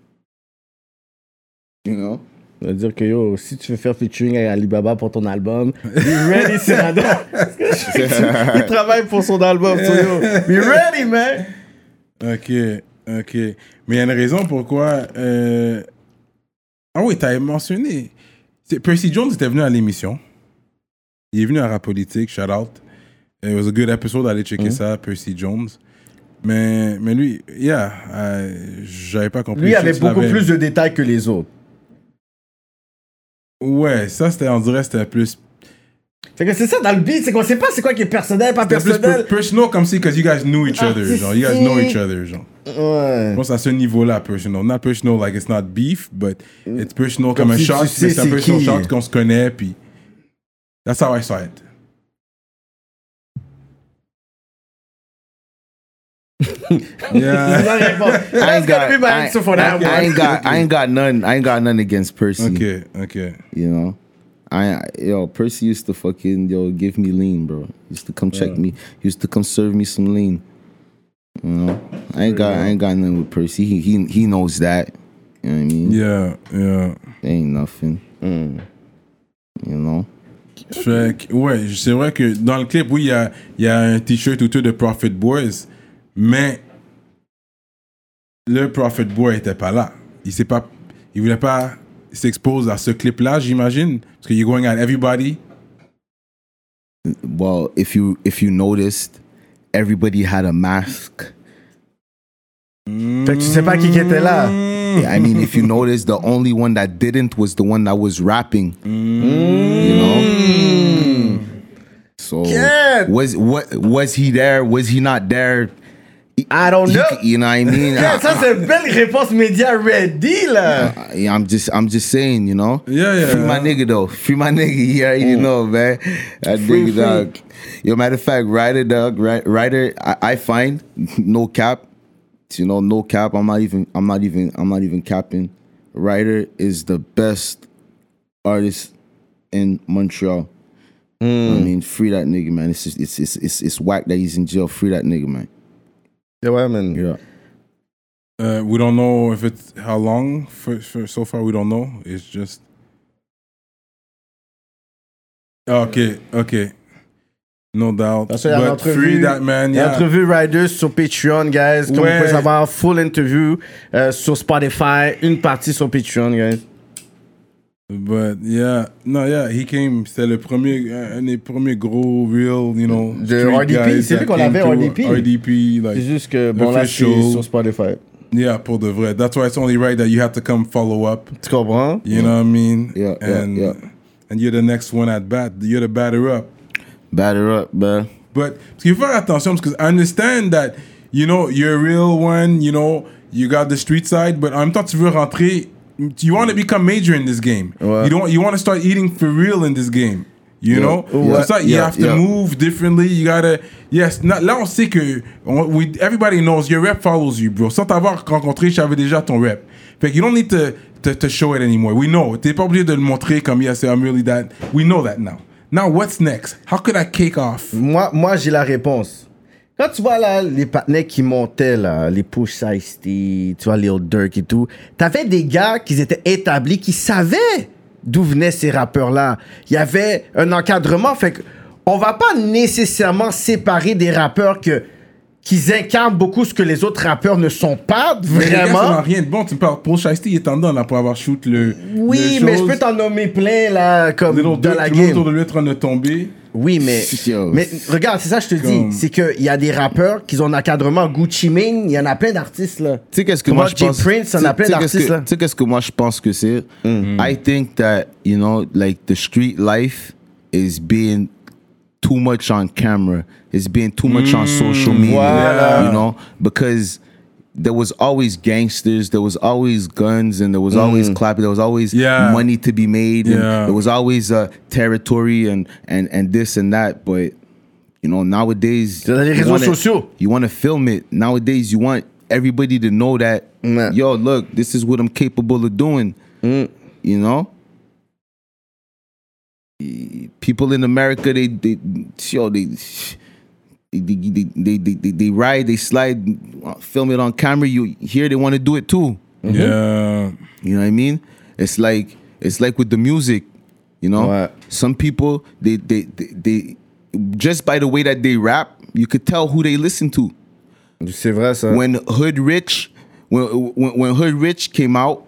C: You know.
D: Ça veut dire que yo, si tu veux faire featuring avec Alibaba pour ton album, be ready, Cyrano. Il travaille pour son album, so yo, be ready, man.
B: OK, OK. Mais il y a une raison pourquoi... euh, Ah oui, t'avais mentionné. C'est- Percy Jones était venu à l'émission. Il est venu à Rap Politique, shout out. It was a good episode, allez checker ça, Percy Jones. Mais, mais lui, yeah, euh, j'avais pas compris.
D: Lui
B: Je sais
D: avait
B: que tu
D: beaucoup
B: l'avais-
D: plus de détails que les autres.
B: Ouais, ça, c'était, on dirait, c'était plus...
D: Fait que c'est ça dans le beat, c'est qu'on sait pas c'est quoi qui est personnel, pas
B: C'était plus
D: personnel.
B: per- personal comme si, because you guys knew each other, genre. You guys know each other, genre.
D: Ouais.
B: Je pense à ce niveau-là, personal. Not personal, like it's not beef, but it's personal comme,
D: Comme
B: un
D: si
B: shot,
D: tu sais
B: mais c'est un
D: c'est
B: personal
D: qui.
B: shot qu'on se connaît, puis... That's how I saw it. Yeah.
D: I
C: I ain't got,
D: be my
C: I,
D: answer for that
C: I, I
D: one.
C: ain't got, I ain't got none. I ain't got none against Percy.
B: Okay, okay.
C: You know, I, yo, Percy used to fucking yo give me lean, bro. He used to come check me. He used to come serve me some lean. You know, I ain't got, I ain't got nothing with Percy. He, he, he knows that. You know what I mean?
B: Yeah, yeah.
C: Ain't nothing. You know.
B: Fait que, ouais, c'est vrai que dans le clip, oui, il y a, il y a un t-shirt autour de Prophet Boys, mais le Prophet Boy était pas là. Il s'est pas, il voulait pas s'exposer à ce clip-là, j'imagine, parce que you're going at everybody.
C: Well, if you if you noticed, everybody had a mask.
D: Fait que tu sais pas qui qui était là.
C: I mean, if you notice, the only one that didn't was the one that was rapping. You know. So
D: Yeah.
C: was what was he there? Was he not there?
D: I don't
C: You,
D: know.
C: you know what I mean?
D: Yeah, ça c'est une belle réponse média ready là.
C: I, I'm just I'm just saying, you know.
B: Yeah, yeah.
C: Free my nigga though. Free my nigga. You already know, man. That
D: Free,
C: nigga dog. Yo, matter of fact, Ryder dog, Ry- Ryder, I, I find no cap. You know, no cap. I'm not even. I'm not even. I'm not even capping. Ryder is the best artist in Montreal. I mean, free that nigga, man. It's just, it's it's it's it's whack that he's in jail. Free that nigga, man.
D: Yeah, ouais, man.
C: Yeah.
B: Uh, we don't know if it's how long. For, for so far, we don't know. It's just okay, okay, no doubt.
D: Parce qu'il y a
B: But
D: l'entrevue,
B: free that man.
D: il y a
B: Yeah.
D: l'entrevue Riders sur Patreon, guys. Comme
B: Ouais.
D: vous pouvez savoir, full interview euh, sur Spotify, une partie sur Patreon, guys.
B: But yeah, no, yeah, he came. C'était le premier, un des premiers gros real, you know.
D: De
B: street
D: R D P,
B: guys
D: c'est lui
B: that
D: qu'on
B: came
D: avait,
B: through.
D: R D P.
B: R D P, like.
D: C'est juste que, bon, là, c'est
B: official.
D: sur Spotify.
B: Yeah, pour de vrai. That's why it's only right that you have to come follow up.
D: Tu comprends?
B: You know what I mean?
C: Yeah, yeah,
B: and,
C: yeah.
B: And you're the next one at bat. You're the batter up.
C: Batter up, man.
B: But parce qu'il faut faire attention because I understand that, you know, you're a real one, you know, you got the street side, but en même temps, tu veux rentrer, you want to become major in this game.
C: Ouais.
B: You don't, you want to start eating for real in this game. You
C: Yeah.
B: know?
C: Yeah.
B: C'est ça, you
C: Yeah.
B: have to
C: Yeah.
B: move differently. You gotta, yes, na- là on sait que, on- we, everybody knows your rep follows you, bro. Sans t'avoir rencontré, je savais déjà ton rep. Fait que you don't need to, to, to show it anymore. We know. T'es pas obligé de le montrer comme, yes, I'm really that. We know that now. Now, what's next? How could I kick off?
D: Moi, moi j'ai la réponse. Quand tu vois là, les partenaires qui montaient, là, les Push Ice-T, tu vois, Lil Durk et tout, t'avais des gars qui étaient établis, qui savaient d'où venaient ces rappeurs-là. Il y avait un encadrement, fait que on va pas nécessairement séparer des rappeurs que qu'ils incarnent beaucoup ce que les autres rappeurs ne sont pas
B: Mais les gars, ça n'a
D: vraiment.
B: rien de bon. Tu me parles, Paul Shiesty, il est en dedans là, pour avoir shoot le.
D: Oui,
B: le
D: mais je
B: chose.
D: peux t'en nommer plein là, comme
B: Little
D: dans
B: Durk,
D: la
B: tout le monde
D: game.
B: autour de lui est en train de tomber.
D: Oui, mais,
C: Yo.
D: mais regarde, c'est ça que je te
B: Comme-
D: dis. C'est qu'il y a des rappeurs qui ont un encadrement. Gucci Mane, il y en a plein d'artistes, là.
C: Tu sais qu'est-ce que
D: Comment
C: moi je
D: Jay
C: pense?
D: Prince, on
C: tu-
D: a plein
C: tu sais qu'est-ce
D: d'artistes,
C: que-
D: là.
C: Tu sais qu'est-ce que moi je pense que c'est? I think that, you know, like the street life is being too much on camera. It's being too much on social media.
D: Voilà.
C: You know, because there was always gangsters, there was always guns, and there was always clapping. There was always
B: Yeah.
C: money to be made. And
B: Yeah.
C: there was always uh, territory and and and this and that. But you know, nowadays
D: C'est dans les
C: you
D: réseaux
C: wanna-
D: sociaux.
C: You want to film it. Nowadays, you want everybody to know that,
D: Yeah.
C: yo, look, this is what I'm capable of doing. You know? People in America, they, they, yo, they, they, they, they, they, they, they ride, they slide, film it on camera. You here, they want to do it too.
B: Yeah.
C: You know what I mean? It's like it's like with the music, you know.
D: Ouais.
C: Some people they, they they they just by the way that they rap, you could tell who they listen to.
D: C'est vrai, ça.
C: When Hood Rich, when when, when Hood Rich came out,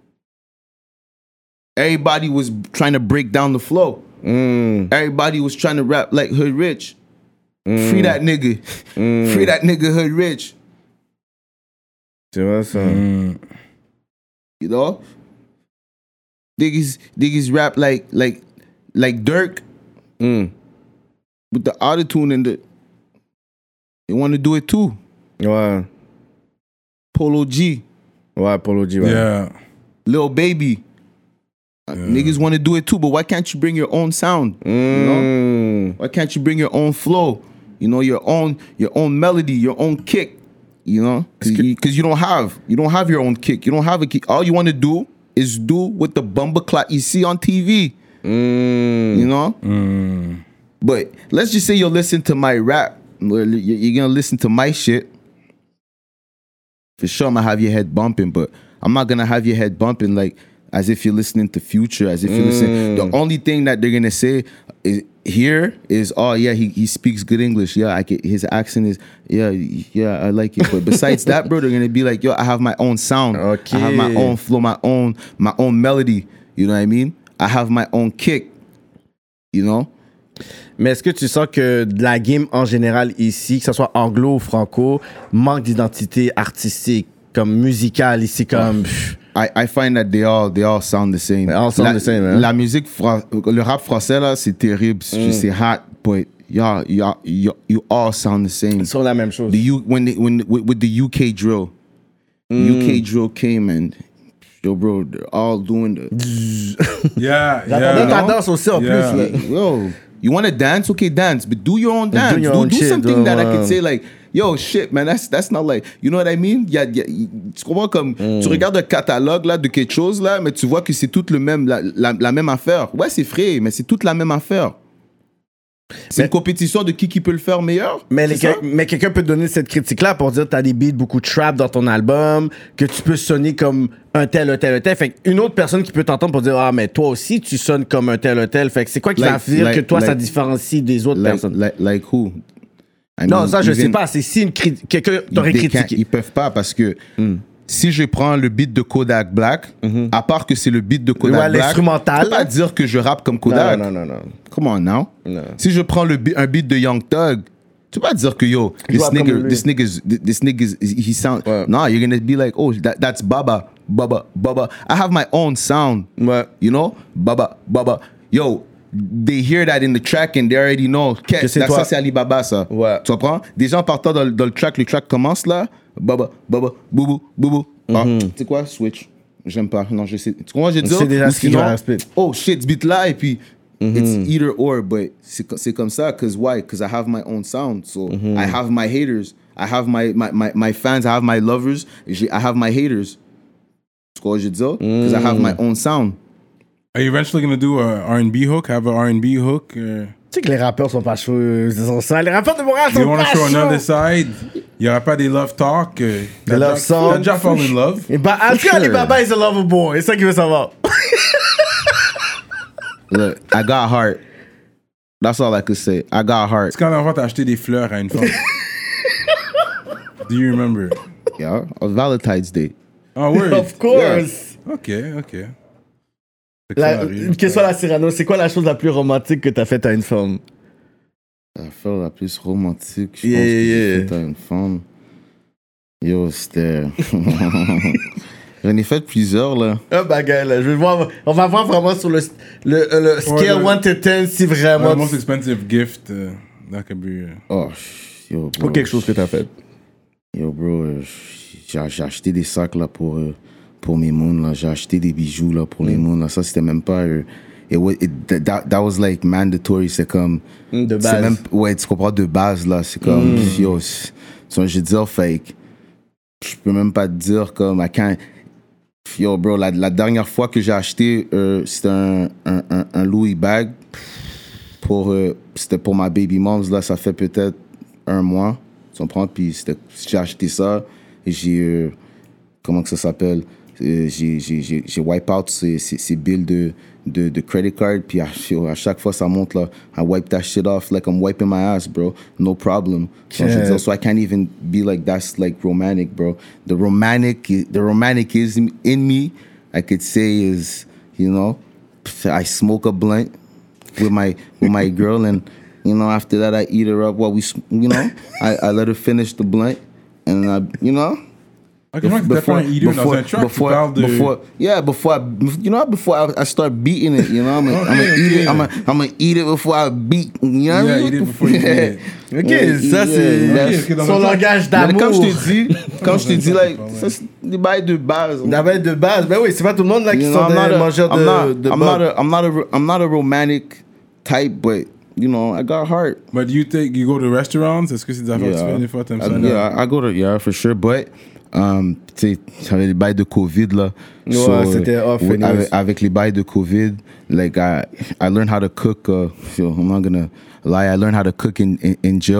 C: everybody was trying to break down the flow.
D: Mm.
C: Everybody was trying to rap like Hood Rich. Free that nigga. Free that nigga Hood Rich.
D: C'est vrai, ça.
C: You know? Niggas, niggas rap like like like Dirk
D: Mm.
C: with the autotune and the they want to do it too.
D: Ouais.
C: Polo G,
D: Ouais, Polo G, ouais.
B: Yeah.
C: Lil Baby. Uh, Niggas want to do it too, but why can't you bring your own sound? You know?
D: Mm.
C: Why can't you bring your own flow? You know, your own your own melody, your own kick. You know, because you, 'cause you don't have you don't have your own kick. You don't have a kick. All you want to do is do what the bumper clock you see on T V.
D: Mm.
C: You know. But let's just say you'll listen to my rap. You're you're gonna listen to my shit. For sure, I'm gonna have your head bumping, but I'm not gonna have your head bumping like as if you're listening to Future, as if you're listening. The only thing that they're gonna say is, here is, oh yeah, he, he speaks good English. Yeah, I get his accent is, yeah, yeah, I like it. But besides that, bro, they're gonna be like, yo, I have my own sound.
D: Okay.
C: I have my own flow, my own, my own melody. You know what I mean? I have my own kick. You know?
D: Mais est-ce que tu sens que la game en général ici, que ce soit anglo ou franco, manque d'identité artistique, comme musicale ici, comme...
C: I, I find that they all they all sound the same.
D: They all sound
C: la,
D: the same, hein?
C: La musique, fra- le rap français là, c'est terrible, mm. c'est hot, but y'all, y'all, y'all, you all sound the same.
D: Ils sont la même chose.
C: The U, when they, when with, with the U K drill, mm. U K drill came and yo bro, they're all doing the.
B: Yeah,
D: J'attendais
B: yeah.
D: ta danse aussi en
B: Yeah.
D: plus. Là.
C: Yo, you want to dance? Okay, dance, but do your own dance.
D: Do your
C: do
D: own
C: do
D: shit,
C: something
D: do,
C: that I
D: um,
C: could say like, yo, shit, man, that's that's not like, you know what I mean? Y a, y a, tu comprends comme,
D: Mm.
C: tu regardes un catalogue là de quelque chose là, mais tu vois que c'est tout le même, la, la, la même affaire. Ouais, c'est frais, mais c'est toute la même affaire. C'est
D: Mais-
C: une compétition de qui qui peut le faire meilleur.
D: Mais, les-
C: c'est ça?
D: mais quelqu'un peut te donner cette critique-là pour dire que t'as des beats beaucoup de trap dans ton album, que tu peux sonner comme un tel, un tel, un tel. Fait qu'une autre personne qui peut t'entendre pour dire ah, mais toi aussi, tu sonnes comme un tel, un tel. Fait que c'est quoi qui
C: Like-
D: va faire
C: like-
D: que toi, ça
C: like-
D: différencie des autres
C: Like,
D: personnes?
C: like, like who? I
D: Non,
C: mean,
D: ça, je sais
C: even-
D: pas. C'est si une cri- quelqu'un t'aurait
C: They can't-
D: critiqué.
C: Ils peuvent pas parce que si je prends le beat de Kodak Black, à part que c'est le beat de Kodak
D: Ouais,
C: Black,
D: l'instrumental,
C: je peux pas
D: là.
C: dire que je rappe comme Kodak.
D: Non, non, non, non.
C: Come on now.
D: Non.
C: Si je prends le bi- un beat de Young Thug, tu peux pas dire que yo,
D: Je
C: this
D: rappe comme
C: nigga,
D: lui.
C: this nigga, this nigga, he sound.
D: Ouais.
C: No, you're gonna be like, oh, that, that's Baba, Baba, Baba. I have my own sound.
D: Ouais.
C: You know, Baba, Baba. Yo, they hear that in the track and they already know.
D: Que c'est
C: ça,
D: toi.
C: ça, c'est Ali Baba, ça.
D: Ouais.
C: Tu comprends? Déjà en partant dans, le- dans le track, le track commence là. Baba, Baba, boubou, boubou. Ah, tu sais quoi? Switch. J'aime pas. Non, je sais. Tu comprends? Je dis.
D: sais déjà
C: Ou
D: ce qu'il
C: sinon,
D: va spit.
C: oh shit, ce beat là, et puis. It's either or, but c'est, co- c'est comme ça, cause why? Cause I have my own sound, so I have my haters, I have my, my, my, my fans, I have my lovers, et j'ai- I have my haters. Tu comprends ce que je veux dire? Cause I have my own sound.
B: Are you eventually gonna do a R and B hook? Have a R and B hook? Uh,
D: Tu sais que les rappeurs sont pas chauds. Ils sont ça. Les rappeurs de Montréal
B: do you
D: sont
B: want
D: pas
B: to show another
D: chauds.
B: side? Il y aura pas des love talk? Uh,
D: Des love songs.
B: T'as déjà fall in love?
D: Et bah, en tout cas,
C: sure.
D: Alibaba is a lover boy. C'est ça qu'il veut savoir.
C: Look, I got heart. That's all I could say. I got heart.
B: C'est quand la fois t'as acheté des fleurs à une femme. Do you remember?
C: Yeah, on Valentine's Day.
B: Oh, word.
D: Of course.
B: Ok, ok. Fait que
D: La-
B: ça arrive.
D: une question à la Cyrano. C'est quoi la chose la plus romantique que t'as faite à une femme?
C: L'affaire la plus romantique, je
D: Yeah,
C: pense que
D: yeah.
C: j'ai fait à une femme. Yo, c'était... J'en ai fait plusieurs, là.
D: Un bagage, là. Je vais voir. On va voir vraiment sur le, le, le scale
B: le-
D: one to ten si
B: Ouais,
D: vraiment.
B: the most expensive gift uh, that could be. Uh,
C: Oh, yo, bro.
D: Ou quelque chose que t'as fait.
C: Yo, bro, euh, j'ai j'ai acheté des sacs, là, pour, euh, pour mes moons, là. J'ai acheté des bijoux, là, pour les
D: Mm.
C: moons, là. Ça, c'était même pas... euh, it wa- it- that, that was, like, mandatory. C'est comme...
D: Mm, de
C: c'est
D: base.
C: Même, ouais, tu comprends, de base, là. C'est comme...
D: Mm.
C: Yo, c'est- so, je veux dire, fake. Je peux même pas te dire, comme... I can't... Yo, bro, la, la dernière fois que j'ai acheté, euh, c'était un, un, un, un Louis bag. Pour, euh, c'était pour ma baby moms, là, ça fait peut-être un mois. Tu comprends? Puis c'était- j'ai acheté ça et j'ai... euh, comment que ça s'appelle? Euh, j'ai, j'ai, j'ai, j'ai wipe out ces, ces, ces bills de, de, de credit card. Puis à, yo, à chaque fois, ça monte, là. I wipe that shit off like I'm wiping my ass, bro. No problem. So, je veux dire, so I can't even be like, that's like romantic, bro. The romantic, the romanticism in me, I could say is, you know, I smoke a blunt with my with my girl, and you know, after that I eat her up while we, you know, I, I let her finish the blunt, and I, you know,
B: Ok, moi, t'es pas un eater dans un truck, tu
C: before,
B: parles de...
C: before, yeah, before I, you know, before I, I start beating it, you know, I'm gonna, I'm gonna
B: Okay,
C: eat
B: okay.
C: it, I'm gonna, I'm gonna eat it before I beat, you know, what I
B: Yeah,
C: mean?
B: eat it before you eat it.
D: Ok,
C: Yeah,
D: ça
C: yeah,
D: c'est
C: that's-
B: Ok, ok, dans
D: son
B: un truck.
D: langage
C: Mais
D: d'amour.
C: comme je t'ai dit, comme je t'ai dit, like,
B: Ouais.
C: ça, c'est des bails de base.
D: D'abord de base. Ben oui, c'est pas tout le monde là qui
C: You
D: sont
C: know, I'm not
D: des
C: a,
D: mangeurs
C: I'm
D: de,
C: not,
D: de
C: I'm
D: bob.
C: not a, I'm not a, I'm not a romantic type, but you know, I got heart.
B: But do you take, you go to restaurants? Est-ce que c'est des affaires que tu fais des fois, t'aimes
C: I,
B: ça?
C: yeah, I go to yeah for sure, but um, tu sais, j'avais les bails de Covid là.
D: Ouais, c'était off
C: with-
D: anyways.
C: avec, avec les bails de Covid, like I, I learned how to cook. Uh, so I'm not gonna lie, I learned how to cook in in, in jail.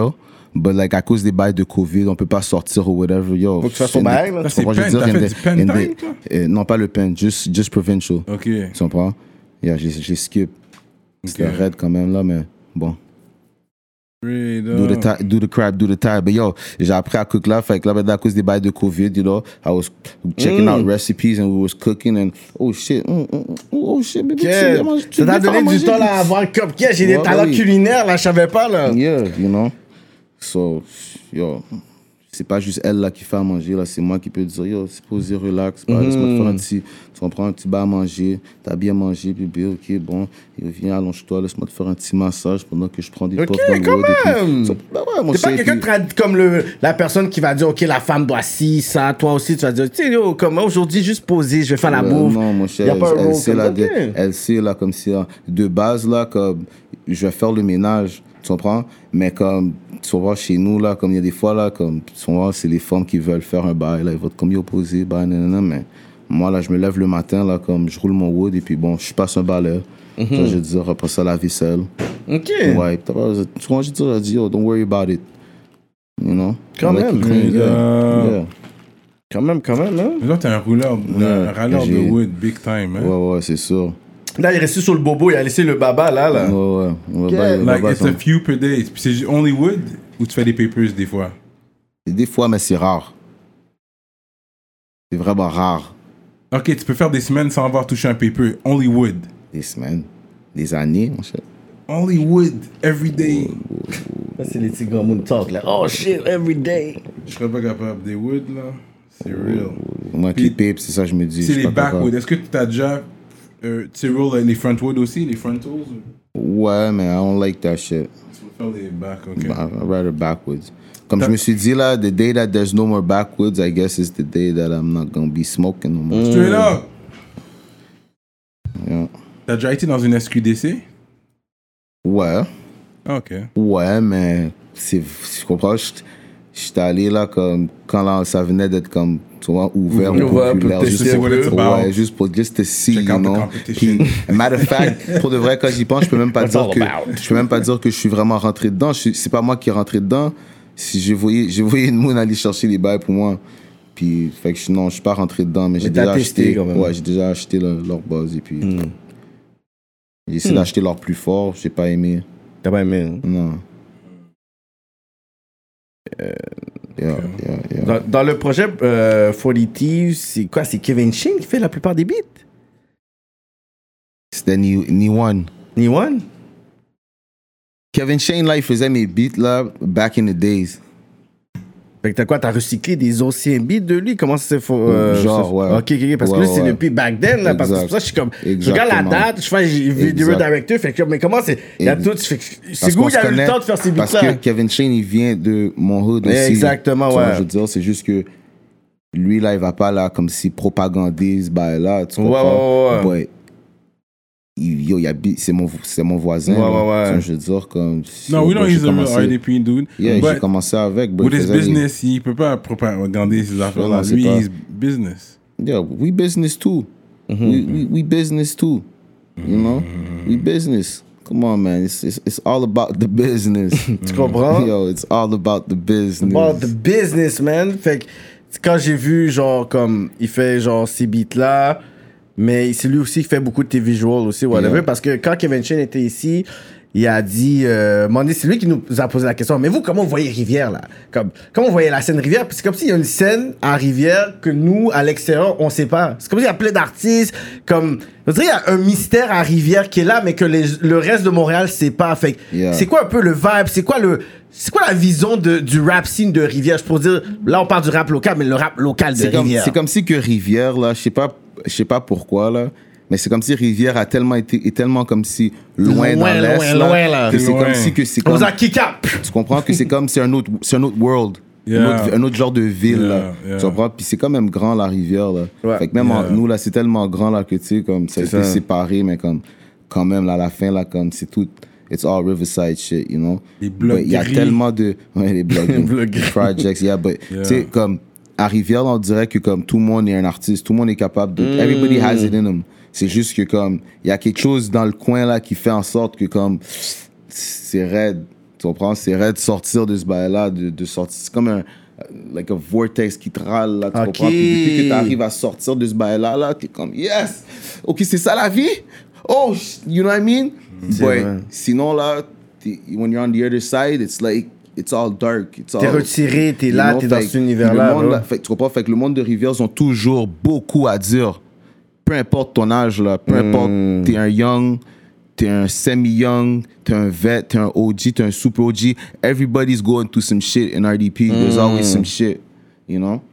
C: But like, à cause des bails de COVID, on peut pas sortir ou whatever. Yo,
D: Faut que tu fasses ton bail, là.
B: Ça, c'est
C: comprends, je
B: pen.
C: veux dire,
B: T'as
C: in
B: fait
C: the-
B: du pen
C: in
B: time,
C: the-
B: toi?
C: euh, non, pas le pen, juste, just provincial.
B: Ok.
C: Tu comprends? Yeah, j'ai, j'ai skip. C'était
B: Ok.
C: raide quand même, là, mais bon.
B: Straight
C: Do the,
B: up.
C: ti- do the crap, do the time. But yo, j'ai appris à cook là. Fait que là, maintenant, à cause des bails de COVID, you know, I was checking out recipes and we was cooking and oh shit, mm, mm, mm, oh shit, baby, tu
D: Yeah.
C: viens manger- tu
D: Ça t'a
C: viens faire
D: donné du
C: manger
D: temps
C: des-
D: là, à avoir un cupcake. J'ai des
C: Ouais,
D: talents
C: oui.
D: culinaires, là, je savais pas, là.
C: Yeah, you know. So, yo, c'est pas juste elle là qui fait à manger, là, c'est moi qui peux dire, yo, c'est posé, relax, bah, laisse-moi te faire un petit, tu comprends, un petit bas à manger, t'as bien mangé, bébé, ok, bon, et viens, allonge-toi, laisse-moi te faire un petit massage pendant que je prends des
D: Ok,
C: puffs dans le
D: quand
C: wood et puis-
D: même.
C: So, bah ouais, mon
D: T'es pas
C: cher,
D: quelqu'un
C: puis-
D: de trad- comme le, la personne qui va dire, OK, la femme doit ci, ça. Toi aussi, tu vas dire, tu sais, yo, comme aujourd'hui, juste poser, je vais faire la
C: Ouais,
D: bouffe.
C: non, mon
D: Y
C: cher,
D: a pas un
C: elle,
D: rôle
C: sait
D: comme
C: là,
D: ça,
C: de,
D: ok.
C: elle sait là comme si, hein, de base là, comme je vais faire le ménage, tu comprends? Mais comme, tu vois, chez nous là, comme il y a des fois là, comme, tu vois, c'est les femmes qui veulent faire un bail là, ils vont être comme y opposer, bah, nanana, mais moi là, je me lève le matin là, comme je roule mon wood et puis bon, je passe un balai. Ça, je veux dire, après ça, la vaisselle.
D: OK.
C: Ouais, tu vois, tu vois, je dis, je dis, yo, don't worry about it. You know?
D: Quand
C: I like
D: même.
C: to clean, yeah.
B: Yeah.
C: Yeah.
D: Quand même, quand même, hein.
B: Mais là, t'es un rouleur, un râleur de
C: j'ai-
B: wood, big time, hein?
C: Ouais, ouais, c'est sûr.
D: Là, il est resté sur le bobo, il a laissé le baba, là, là.
C: Ouais, ouais. On va
D: Ok.
C: pas- on va
B: Like,
C: pas
B: it's
C: s'en-
B: a few per day. Puis c'est only wood ou tu fais des papers des fois?
C: Des fois, mais c'est rare. C'est vraiment rare.
B: Ok, tu peux faire des semaines sans avoir touché un paper. Only wood.
C: Des semaines, des années, mon cher.
B: Only wood, every day.
D: Ça, c'est les petits grands moon talk, là. Oh, shit, every day.
B: Je serais pas capable. Des wood, là, c'est real.
C: Moi,
B: Puis-
C: qui pape, c'est ça que je me dis.
B: C'est
C: je suis
B: les
C: pas capable.
B: backwood. Est-ce que tu as déjà... Euh, tu sais, roll les frontwood aussi, les frontals?
C: Ouais, mais I don't like that shit.
B: Tu veux faire les back, ok.
C: I'd rather backwoods. Comme
B: T'as-
C: je me suis dit là, the day that there's no more backwoods, I guess is the day that I'm not gonna be smoking no more.
B: Straight up!
C: Yeah.
B: T'as déjà été dans une S Q D C?
C: Ouais,
B: Ok.
C: ouais, mais c'est, tu comprends, je- j'étais allé là comme, quand là, ça venait d'être comme, tu vois, ouvert,
D: Ouvert,
C: ouvert populaire.
D: peut-être
C: Juste
B: c'est
C: pour,
B: what it's about.
C: ouais, juste pour, just to see,
B: Check
C: you
B: out the
C: know.
B: competition.
C: Puis, matter of fact, pour de vrai, quand j'y pense, je peux même pas
D: What's
C: dire
D: all
C: que,
D: about?
C: je peux même pas dire que je suis vraiment rentré dedans. Je suis- c'est pas moi qui est rentré dedans. Si j'ai voyé, j'ai voyé une moune aller chercher les bails pour moi. Puis, fait que je- non, je suis pas rentré dedans, mais j'ai
D: t'as
C: déjà
D: testé
C: acheté,
D: quand même.
C: ouais, j'ai déjà acheté le- leur buzz et puis, j'ai essayé d'acheter leur plus fort, j'ai pas aimé.
D: T'as pas aimé, hein?
C: Non. Yeah, yeah, yeah.
D: Dans, dans le projet euh, quarante Thieves, c'est quoi? C'est Kevin Shane qui fait la plupart des beats?
C: C'était ni, ni one.
D: Ni one?
C: Kevin Shane, là, il faisait mes beats, là, back in the days.
D: Fait que t'as quoi? T'as recyclé des anciens beats de lui? Comment ça c'est faux? euh,
C: Genre,
D: ça-
C: ouais.
D: Ok, ok, ok. Parce que
C: Ouais,
D: là, c'est
C: ouais.
D: depuis back then, là. Parce que c'est
C: Exact.
D: pour ça que je suis comme. Je regarde la
C: Exactement.
D: date, je fais j'ai vidéo
C: Exact.
D: director. Fait que, mais comment c'est. Il y a
C: Exact.
D: tout. fait que C'est
C: Parce
D: où
C: qu'on
D: il y a
C: se
D: eu le
C: connaît,
D: temps de faire ces
C: Parce
D: beats-là?
C: que Kevin Shane, il vient de mon hood aussi.
D: Exactement,
C: Tu vois,
D: ouais.
C: Je veux dire, c'est juste que lui, là, il va pas là comme si propagandise, bah là, tu
D: Ouais,
C: comprends?
D: ouais, ouais.
C: But, il- yo, il habite, c'est mon, c'est mon voisin.
D: Ouais,
C: là.
D: ouais, ouais.
C: Tu vois, je veux dire, comme.
B: Non, we know
C: j'ai
B: he's a real
C: commencé-
B: R D P dude.
C: Yeah, j'ai
B: But
C: commencé avec. but
B: with
C: il
B: his
C: faisait les-
B: business, il peut pas propagandiser ses affaires-là.
C: Non, c'est
B: Lui,
C: pas-
B: he's business.
C: Yeah, we business too.
D: Mm-hmm.
C: we, we we business too. You know, we business. Come on, man. It's it's, it's all about the business.
D: Tu comprends?
C: Yo, it's all about the business.
D: About the business, man. Fait que quand j'ai vu, genre, comme, il fait, genre, ces beats-là, mais c'est lui aussi qui fait beaucoup de tes visuals aussi, whatever.
C: Yeah.
D: Parce que quand Kevin Shane était ici, il a dit, euh, Mandy, c'est lui qui nous a posé la question, mais vous, comment vous voyez Rivière, là? Comme, comment vous voyez la scène Rivière? Puis c'est comme s'il y a une scène à Rivière que nous, à l'extérieur, on sait pas. C'est comme s'il y a plein d'artistes, comme, je dirais, il y a un mystère à Rivière qui est là, mais que les- le reste de Montréal sait pas. Fait que
C: Yeah.
D: c'est quoi un peu le vibe? C'est quoi le, c'est quoi la vision de, du rap scene de Rivière? Je pourrais dire, là, on parle du rap local, mais le rap local de
C: C'est comme,
D: Rivière.
C: c'est comme si que Rivière, là, je sais pas, je sais pas pourquoi, là, mais c'est comme si Rivière a tellement été, est tellement comme si loin,
D: Loin,
C: dans l'Est,
D: loin,
C: là,
D: loin, là.
C: que c'est
B: Loin.
C: comme si que c'est
D: On
C: comme,
D: vous a kick up.
C: tu comprends que c'est comme, c'est un autre, c'est un autre world.
B: Yeah.
C: Un, autre, un autre genre de ville,
B: Yeah,
C: là.
B: yeah.
C: Tu comprends? Puis c'est quand même grand, la rivière, là.
D: Ouais.
C: Fait que même en-
B: Yeah.
C: nous, là, c'est tellement grand, là, que tu sais, comme, ça a
D: C'est
C: été
D: ça.
C: séparé, mais comme, quand même, là, à la fin, là, comme, c'est tout, it's all Riverside shit, you know?
B: Les blocs
C: But il y a
B: gris.
C: tellement de, ouais, les blocs,
D: blocs
C: les
D: gris.
C: projects, yeah, but,
B: Yeah.
C: tu sais, comme, à Rivière, là, on dirait que, comme, tout le monde est un artiste, tout le monde est capable de, everybody has it in them. C'est juste que, comme, il y a quelque chose dans le coin, là, qui fait en sorte que, comme, c'est raide. Tu comprends? C'est vrai de sortir de ce bail-là, de, de sortir. C'est comme un like a vortex qui te râle, là, tu
D: Ok.
C: comprends? Puis depuis que tu arrives à sortir de ce bail-là, là, t'es comme, yes! OK, c'est ça la vie? Oh, you know what I mean?
D: C'est
C: But
D: vrai.
C: sinon, là, t'es- when you're on the other side, it's like, it's all dark. It's
D: T'es
C: all,
D: retiré, t'es
C: you
D: là,
C: know,
D: t'es dans
C: fait-
D: cet
C: puis le
D: univers-là.
C: monde,
D: bro.
C: là, fait que tu comprends? Fait que le monde de Rivière, ils ont toujours beaucoup à dire. Peu importe ton âge, là, peu importe, t'es un young, t'es un semi-young, t'es un vet, t'es un O G, t'es un super O G. Everybody's going through some shit in R D P. There's always some shit, you know?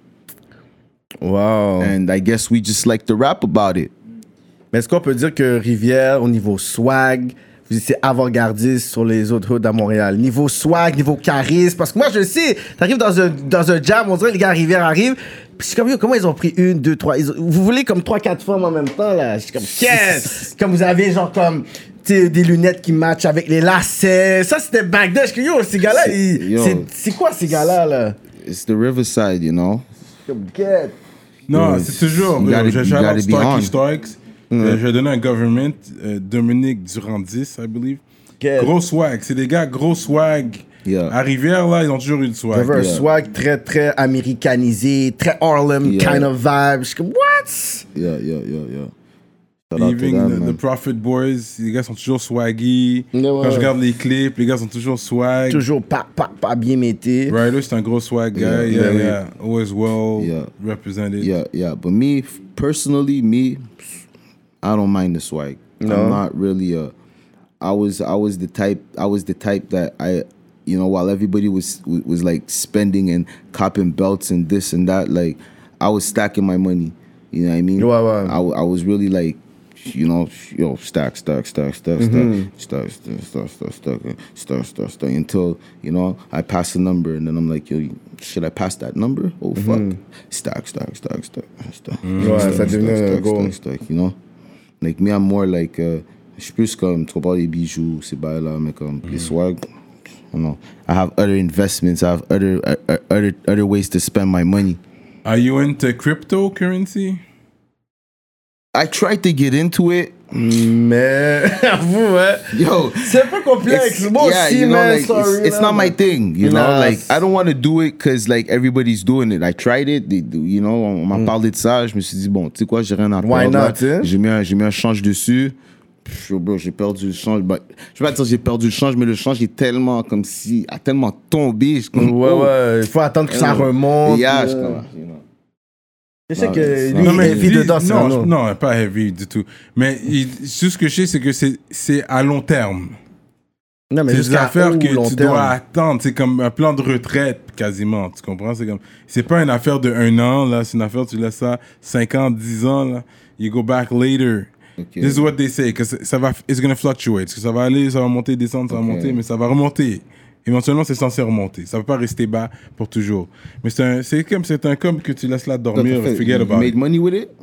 D: Wow.
C: And I guess we just like to rap about it.
D: Mais est-ce qu'on peut dire que Rivière, au niveau swag, vous étiez avant-gardiste sur les autres hoods à Montréal? Niveau swag, niveau charisme. Parce que moi, je le sais, t'arrives dans un, dans un jam, on dirait les gars à Rivière arrivent. Puis je suis comme, yo, comment ils ont pris une, deux, trois. Ils ont- vous voulez comme trois, quatre femmes en même temps, là? Je suis comme, yes! Comme vous avez, genre, comme, tu sais, des lunettes qui matchent avec les lacets. Ça, c'était back then. Je suis comme, yo, ces gars-là, ils-
C: Yo.
D: c'est c'est quoi ces gars-là, là?
C: It's the Riverside, you know?
D: Comme, get.
B: Non,
C: Ouais,
B: c'est toujours.
C: you gotta-
B: euh, Je
C: you
B: shout
C: gotta
B: out
C: be on.
B: Starkey Starks. Euh, Je vais donner un government. euh, Dominique Durandis, I believe.
D: Get.
B: Gros swag. C'est des gars gros swag.
C: Yeah.
B: À Rivière, là, ils ont toujours eu le swag.
D: Vous avez un
C: Yeah.
D: swag très, très américanisé, très Harlem
C: Yeah.
D: kind of vibe. Je suis comme, what?
C: Yeah, yeah, yeah, yeah. Shout out to
B: Even
C: them,
B: the,
C: man.
B: the Prophet Boys, les gars sont toujours swaggy.
D: Ouais, ouais,
B: Quand je
D: ouais.
B: regarde les clips, les gars sont toujours swag.
D: Toujours pas, pas, pas bien mété.
B: Ryder, c'est un gros swag guy.
C: Yeah,
B: Yeah, yeah.
C: yeah,
B: Always well
C: Yeah.
B: represented.
C: Yeah, yeah. But me, f- personally, me, I don't mind the swag.
D: No?
C: I'm not really a. I was I was the type I was the type that I, you know, while everybody was was like spending and copping belts and this and that, like I was stacking my money. You know what I mean?
D: Ouais, ouais.
C: I, w- I was really like, you know, yo, stack, stack, stack, stack,
D: Mm-hmm.
C: stack, stack, stack, stack, stack, stack, stack, stack, stack, until, you know, I pass a number and then I'm like, yo, should I pass that number? Oh, fuck. Stack, stack, stack, stack, stack.
D: Ouais, ça
C: stack,
D: devenait un
C: stack,
D: goal.
C: stack, stack, you know? Like, me, I'm more like, uh, je suis plus comme, tu comprends, les bijoux, ces bails-là, mais comme, les swag, you know, I have other investments, I have other, uh, other, other ways to spend my money.
B: Are you into cryptocurrency?
C: I tried to get into it.
D: Mais, avoue, hein.
C: Yo,
D: C'est un peu complexe.
C: it's-
D: Moi
C: yeah,
D: aussi,
C: you know,
D: man,
C: like,
D: sorry.
C: it's, it's
D: là,
C: not my
D: man.
C: thing, you know.
D: Nah,
C: Like,
D: it's-
C: I don't want to do it because like everybody's doing it. I tried it, they, you know. On m'a parlé de ça, je me suis dit bon, tu sais quoi, j'ai rien à
D: Why
C: perdre.
D: not,
C: là.
D: hein?
C: J'ai mis un, j'ai mis un change dessus. Pff, bro, j'ai perdu le change. Bah, je vais pas dire j'ai perdu le change, mais le change est tellement comme si a tellement tombé. Je suis comme,
D: Ouais,
C: oh.
D: ouais. Il faut attendre que ça remonte.
C: Yeah,
D: là.
C: je suis comme, you know.
D: Je sais
C: Non,
D: que
C: c'est-
D: lui,
C: Non,
D: il
C: mais
D: est heavy
B: dis-
D: dedans, c'est un
B: non,
D: autre.
B: je- non, pas heavy du tout. Mais il- tout ce que je sais, c'est que c'est c'est à long terme.
D: Non, mais
B: C'est des
D: jusqu'à
B: affaires
D: où,
B: que
D: long
B: tu
D: terme?
B: dois attendre. C'est comme un plan de retraite, quasiment. Tu comprends? C'est comme, c'est pas une affaire de un an, là. C'est une affaire, tu laisses ça cinq ans, dix ans, là. You go back later.
C: Okay.
B: This is what they say. Que ça ça va, it's gonna fluctuate. Parce que ça va aller, ça va monter, descendre, ça va
C: Ok.
B: monter, mais ça va remonter. Éventuellement, c'est censé remonter. Ça va pas rester bas pour toujours. Mais c'est un, c'est comme, c'est un com que tu laisses là dormir,
C: T'as fait-
B: forget
C: you
B: about
C: made
B: it.
C: money with it?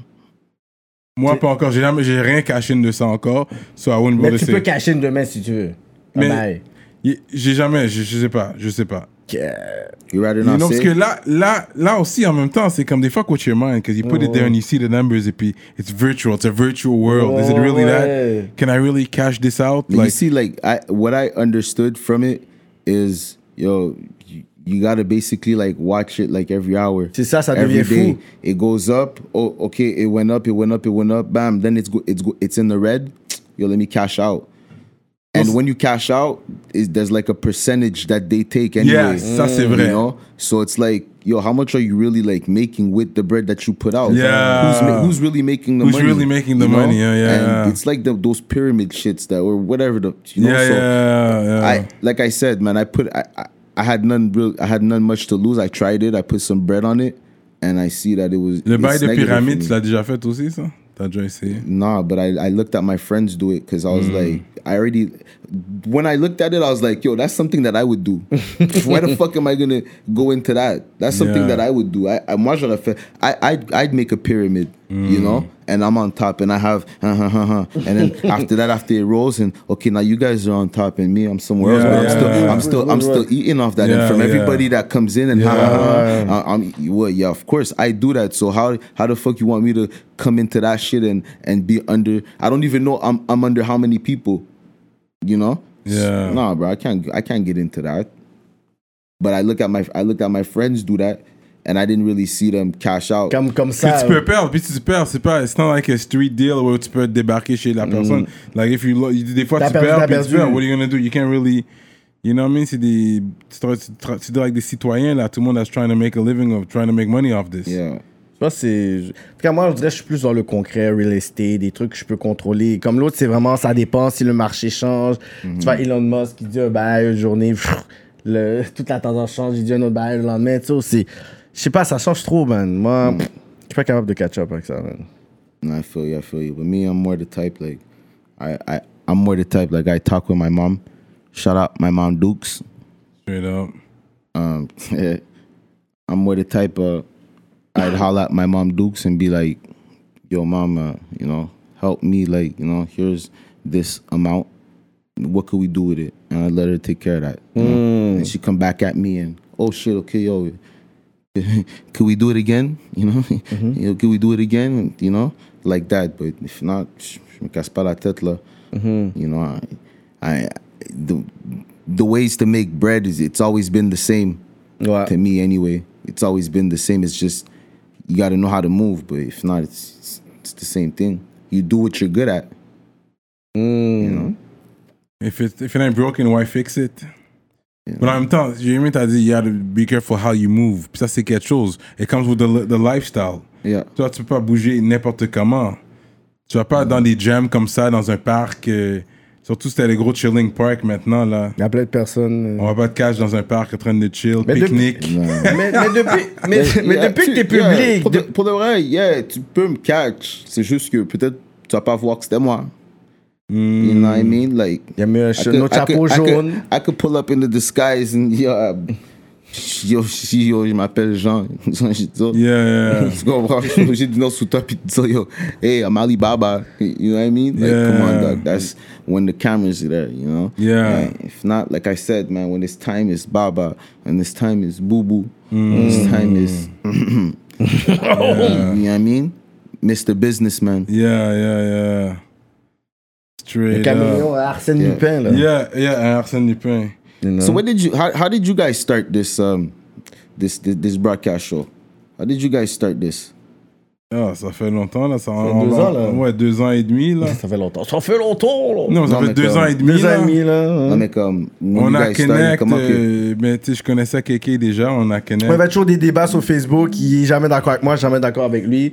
B: Moi, pas encore. J'ai jamais, j'ai rien caché de ça encore. So I wouldn't
D: Mais
B: bother
D: tu
B: saying-
D: peux cacher une demain si tu veux.
B: Mais-
D: Bye
B: Y- J'ai jamais, je, je sais pas, je sais pas.
D: bye.
C: You rather
B: You
C: not
B: know, parce
C: say?
B: que là, là, là aussi, en même temps, c'est comme des fuck with your mind, because you put it there and you see the numbers, et puis it's virtual, it's a virtual world. Is it really
D: Ouais.
B: that? Can I really cash this out?
C: But you
B: Like,
C: see, like I, what I understood from it is, yo, you, you gotta basically like watch it like every hour.
D: C'est ça, ça
C: every
D: devient
C: day.
D: fou.
C: It goes up. Oh, okay, it went up. It went up. It went up. Bam. Then it's go, it's go, it's in the red. Yo, let me cash out. And when you cash out, is there's like a percentage that they take anyway.
B: Yes, ça, c'est vrai.
C: You know, so it's like, yo, how much are you really like making with the bread that you put out?
B: Yeah.
C: Who's ma- who's really making the
B: Who's
C: money?
B: really making the
C: you know?
B: money? Yeah, yeah,
C: And
B: yeah.
C: it's like the, those pyramid shits that or whatever the you know.
B: yeah,
C: so
B: yeah, yeah.
C: I like I said, man, I put I, I I had none real I had none much to lose. I tried it. I put some bread on it, and I see that it was
B: Le
C: it's
B: bail de
C: negative
B: pyramide,
C: for
B: tu
C: me.
B: l'as déjà fait aussi, ça? T'as déjà essayé?
C: Nah, but I, I looked at my friends do it because I was like, I already, when I looked at it, I was like, yo, that's something that I would do. Why the fuck am I going to go into that? That's something
B: Yeah.
C: that I would do. I, I, moi, j'aurais fait, I, I'd, I'd make a pyramid, you know, and I'm on top and I have, uh, uh, uh, uh, and then after that, after it rolls and, okay, now you guys are on top and me, I'm somewhere else,
B: Yeah,
C: but I'm
B: yeah,
C: still,
B: yeah.
C: I'm still, I'm still eating off that.
B: Yeah,
C: And from
B: yeah.
C: everybody that comes in and, ha, ha, ha, ha, I'm, well, yeah, of course, I do that. So how, how the fuck you want me to come into that shit and, and be under, I don't even know I'm, I'm under how many people, you know?
B: Yeah.
C: No, bro, I can't. I can't get into that. But I look at my I looked at my friends do that, and I didn't really see them cash out.
D: Comme, comme
B: Puis
D: ça.
B: tu peux perdre, puis si tu perds, c'est pas, it's not like a street deal où tu peux débarquer chez la personne. Like if you, lo- des fois
D: T'as
B: tu
D: perdu,
B: perds,
D: t'as
B: puis tu
D: perdu.
B: perds. What are you gonna do? You can't really, you know what I mean? C'est des, tu te- tu te- tu te dis avec des citoyens là, tout le monde that's trying to make a living of, trying to make money off this.
C: Yeah.
D: Je pense que c'est. En tout cas, moi, je dirais que je suis plus dans le concret, real estate, des trucs que je peux contrôler. Comme l'autre, c'est vraiment, ça dépend si le marché change. Tu vois, Elon Musk qui dit un bail une journée, pff, le, toute la tendance change, il dit un autre bail le lendemain. Tu sais, c'est. Je sais pas, ça change trop, man. Moi, pff, je suis pas capable de catch up avec ça, man.
C: No, I feel you. I feel you. But me, I'm more the type like, I, I, I'm more the type like I talk with my mom. Shout out my mom Dukes.
B: Straight up.
C: Um, yeah. I'm more the type of, I'd holler at my mom Dukes and be like, yo, mom, uh, you know, help me. Like, you know, here's this amount. What could we do with it? And I'd let her take care of that. You know? And she'd come back at me and, oh, shit, okay, yo, could we do it again? You know, you know, could we do it again? You know, like that. But if not, je me casse pas la tête là. You know, I, I, the, the ways to make bread is it's always been the same.
D: Ouais.
C: To me anyway, it's always been the same. It's just you got to know how to move. But if not, it's, it's it's the same thing. You do what you're good at. You know.
B: If it, if it ain't broken, why fix it? Mais en même temps, Jérémy t'a dit, you have to be careful how you move. Puis ça, c'est quelque chose. It comes with the, the lifestyle.
C: Yeah.
B: Toi, tu peux pas bouger n'importe comment. Tu vas pas dans des jams comme ça, dans un parc. euh, surtout c'était les gros chilling park maintenant, là.
D: Il y a plein de personnes.
B: On va pas te cacher dans un parc en train de chill,
D: Mais
B: pique-nique.
D: mais, mais depuis, mais, mais
C: Yeah,
D: depuis que
C: tu-
D: t'es
C: yeah,
D: public.
C: pour, de,
D: de-
C: pour de vrai, yeah, tu peux me catch. C'est juste que peut-être tu vas pas voir que c'était moi. You know what I mean? Like,
D: Il y a mis un
C: I
D: cha-
C: could-
D: notre
C: I
D: chapeau
C: could- I could-
D: jaune.
C: I could pull up in the disguise and yo, uh, yo, si, yo, je m'appelle Jean. Je dis, oh,
B: Yeah, yeah.
C: tu comprends? Je suis obligé de venir sous toi puis de dire, yo, hey, I'm Alibaba. You know what I mean? Like,
B: Yeah.
C: come on, dog. That's when the cameras are there, you know?
B: Yeah.
C: Like, if not, like I said, man, when it's time is Baba, and this time is Boo Boo, and this time is, you know what I mean? Mister Businessman.
B: Yeah, yeah, yeah.
D: Le
B: Straight up.
D: caméléon Arsène
C: Yeah.
D: Lupin, là.
B: Yeah, yeah, un Arsène Lupin.
D: You know?
C: So when did you? How, how did you guys start this um this, this this broadcast show? How did you guys start this?
B: Ah, ça fait longtemps, là. Ça,
D: fait
B: on-
D: deux
B: on-
D: ans, là.
B: Ouais, deux ans et demi, là.
D: Ça fait longtemps. Ça fait longtemps, là.
B: Non, ça
C: Non,
B: fait
C: mais
B: deux
C: comme-
B: ans et demi,
D: Deux ans
B: là.
D: et demi, là. hein.
C: Non, mais comme when
B: On
C: you
B: a
C: guys started,
B: connect,
C: comment que
B: euh, ben, tu sais, je connaissais Kéké déjà, on a connect.
D: Ouais, il y a toujours des débats sur Facebook. Il est jamais d'accord avec moi, jamais d'accord avec lui.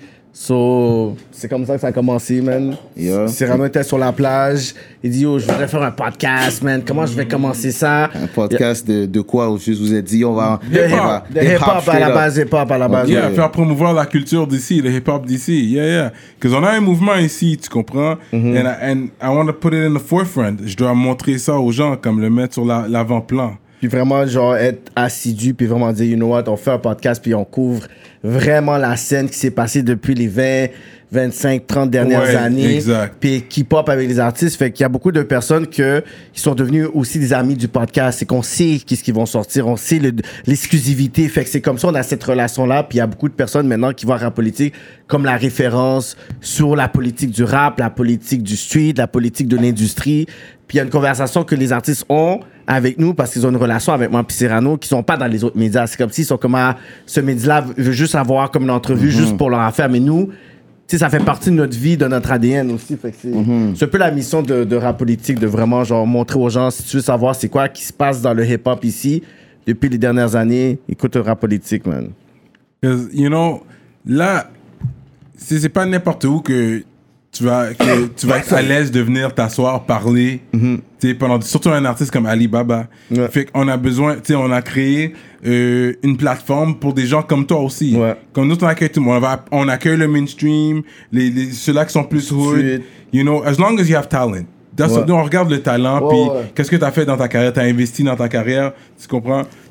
D: So, c'est comme ça que ça a commencé, man.
C: Yeah.
D: Cyrano était sur la plage. Il dit, oh, je voudrais faire un podcast, man. Comment je vais commencer ça?
C: un podcast de, de quoi où je vous ai dit on va
D: De
C: on
D: hip-
C: va-
D: de hip-hop à
C: straight
D: la
C: up.
D: base, hip-hop à la base.
B: Yeah,
C: Ouais.
B: faire promouvoir la culture d'ici, le hip-hop d'ici. Yeah, yeah. Parce qu'on a un mouvement ici, tu comprends?
C: Mm-hmm.
B: And, I, and I want to put it in the forefront. Je dois montrer ça aux gens, comme le mettre sur la- l'avant-plan.
D: Puis vraiment, genre, être assidu, puis vraiment dire, you know what, on fait un podcast, puis on couvre vraiment la scène qui s'est passée depuis les vingt, vingt-cinq, trente dernières
B: Ouais,
D: années.
B: exact.
D: Puis qui pop avec les artistes. Fait qu'il y a beaucoup de personnes que, qui sont devenues aussi des amis du podcast. C'est qu'on sait qu'est-ce qu'ils vont sortir, on sait le- l'exclusivité. Fait que c'est comme ça, on a cette relation-là. Puis il y a beaucoup de personnes maintenant qui voient rap politique comme la référence sur la politique du rap, la politique du street, la politique de l'industrie. Puis il y a une conversation que les artistes ont avec nous parce qu'ils ont une relation avec moi et Cyrano qui sont pas dans les autres médias. C'est comme s'ils sont comme, ah, ce média-là veut juste avoir comme une entrevue juste pour leur affaire. Mais nous, tu sais, ça fait partie de notre vie, de notre A D N aussi. Fait que c'est c'est un peu la mission de, de rap politique, de vraiment genre montrer aux gens, si tu veux savoir c'est quoi qui se passe dans le hip-hop ici depuis les dernières années, écoute le rap politique, man.
B: Because, you know, là, c'est c'est pas n'importe où que tu vas, que tu vas être à l'aise de venir t'asseoir, parler. Tu sais, pendant, surtout un artiste comme Alibaba.
D: Ouais.
B: Fait qu'on a besoin, tu sais, on a créé euh, une plateforme pour des gens comme toi aussi.
D: Ouais.
B: Comme nous, on accueille tout le monde. On, va- on accueille le mainstream, les, les, ceux-là qui sont plus hood.
D: Suite.
B: You know, as long as you have talent. That's
D: Ouais.
B: nous, on regarde le talent,
D: Ouais,
B: puis
D: ouais.
B: qu'est-ce que tu as fait dans ta carrière, tu as investi dans ta carrière, tu comprends?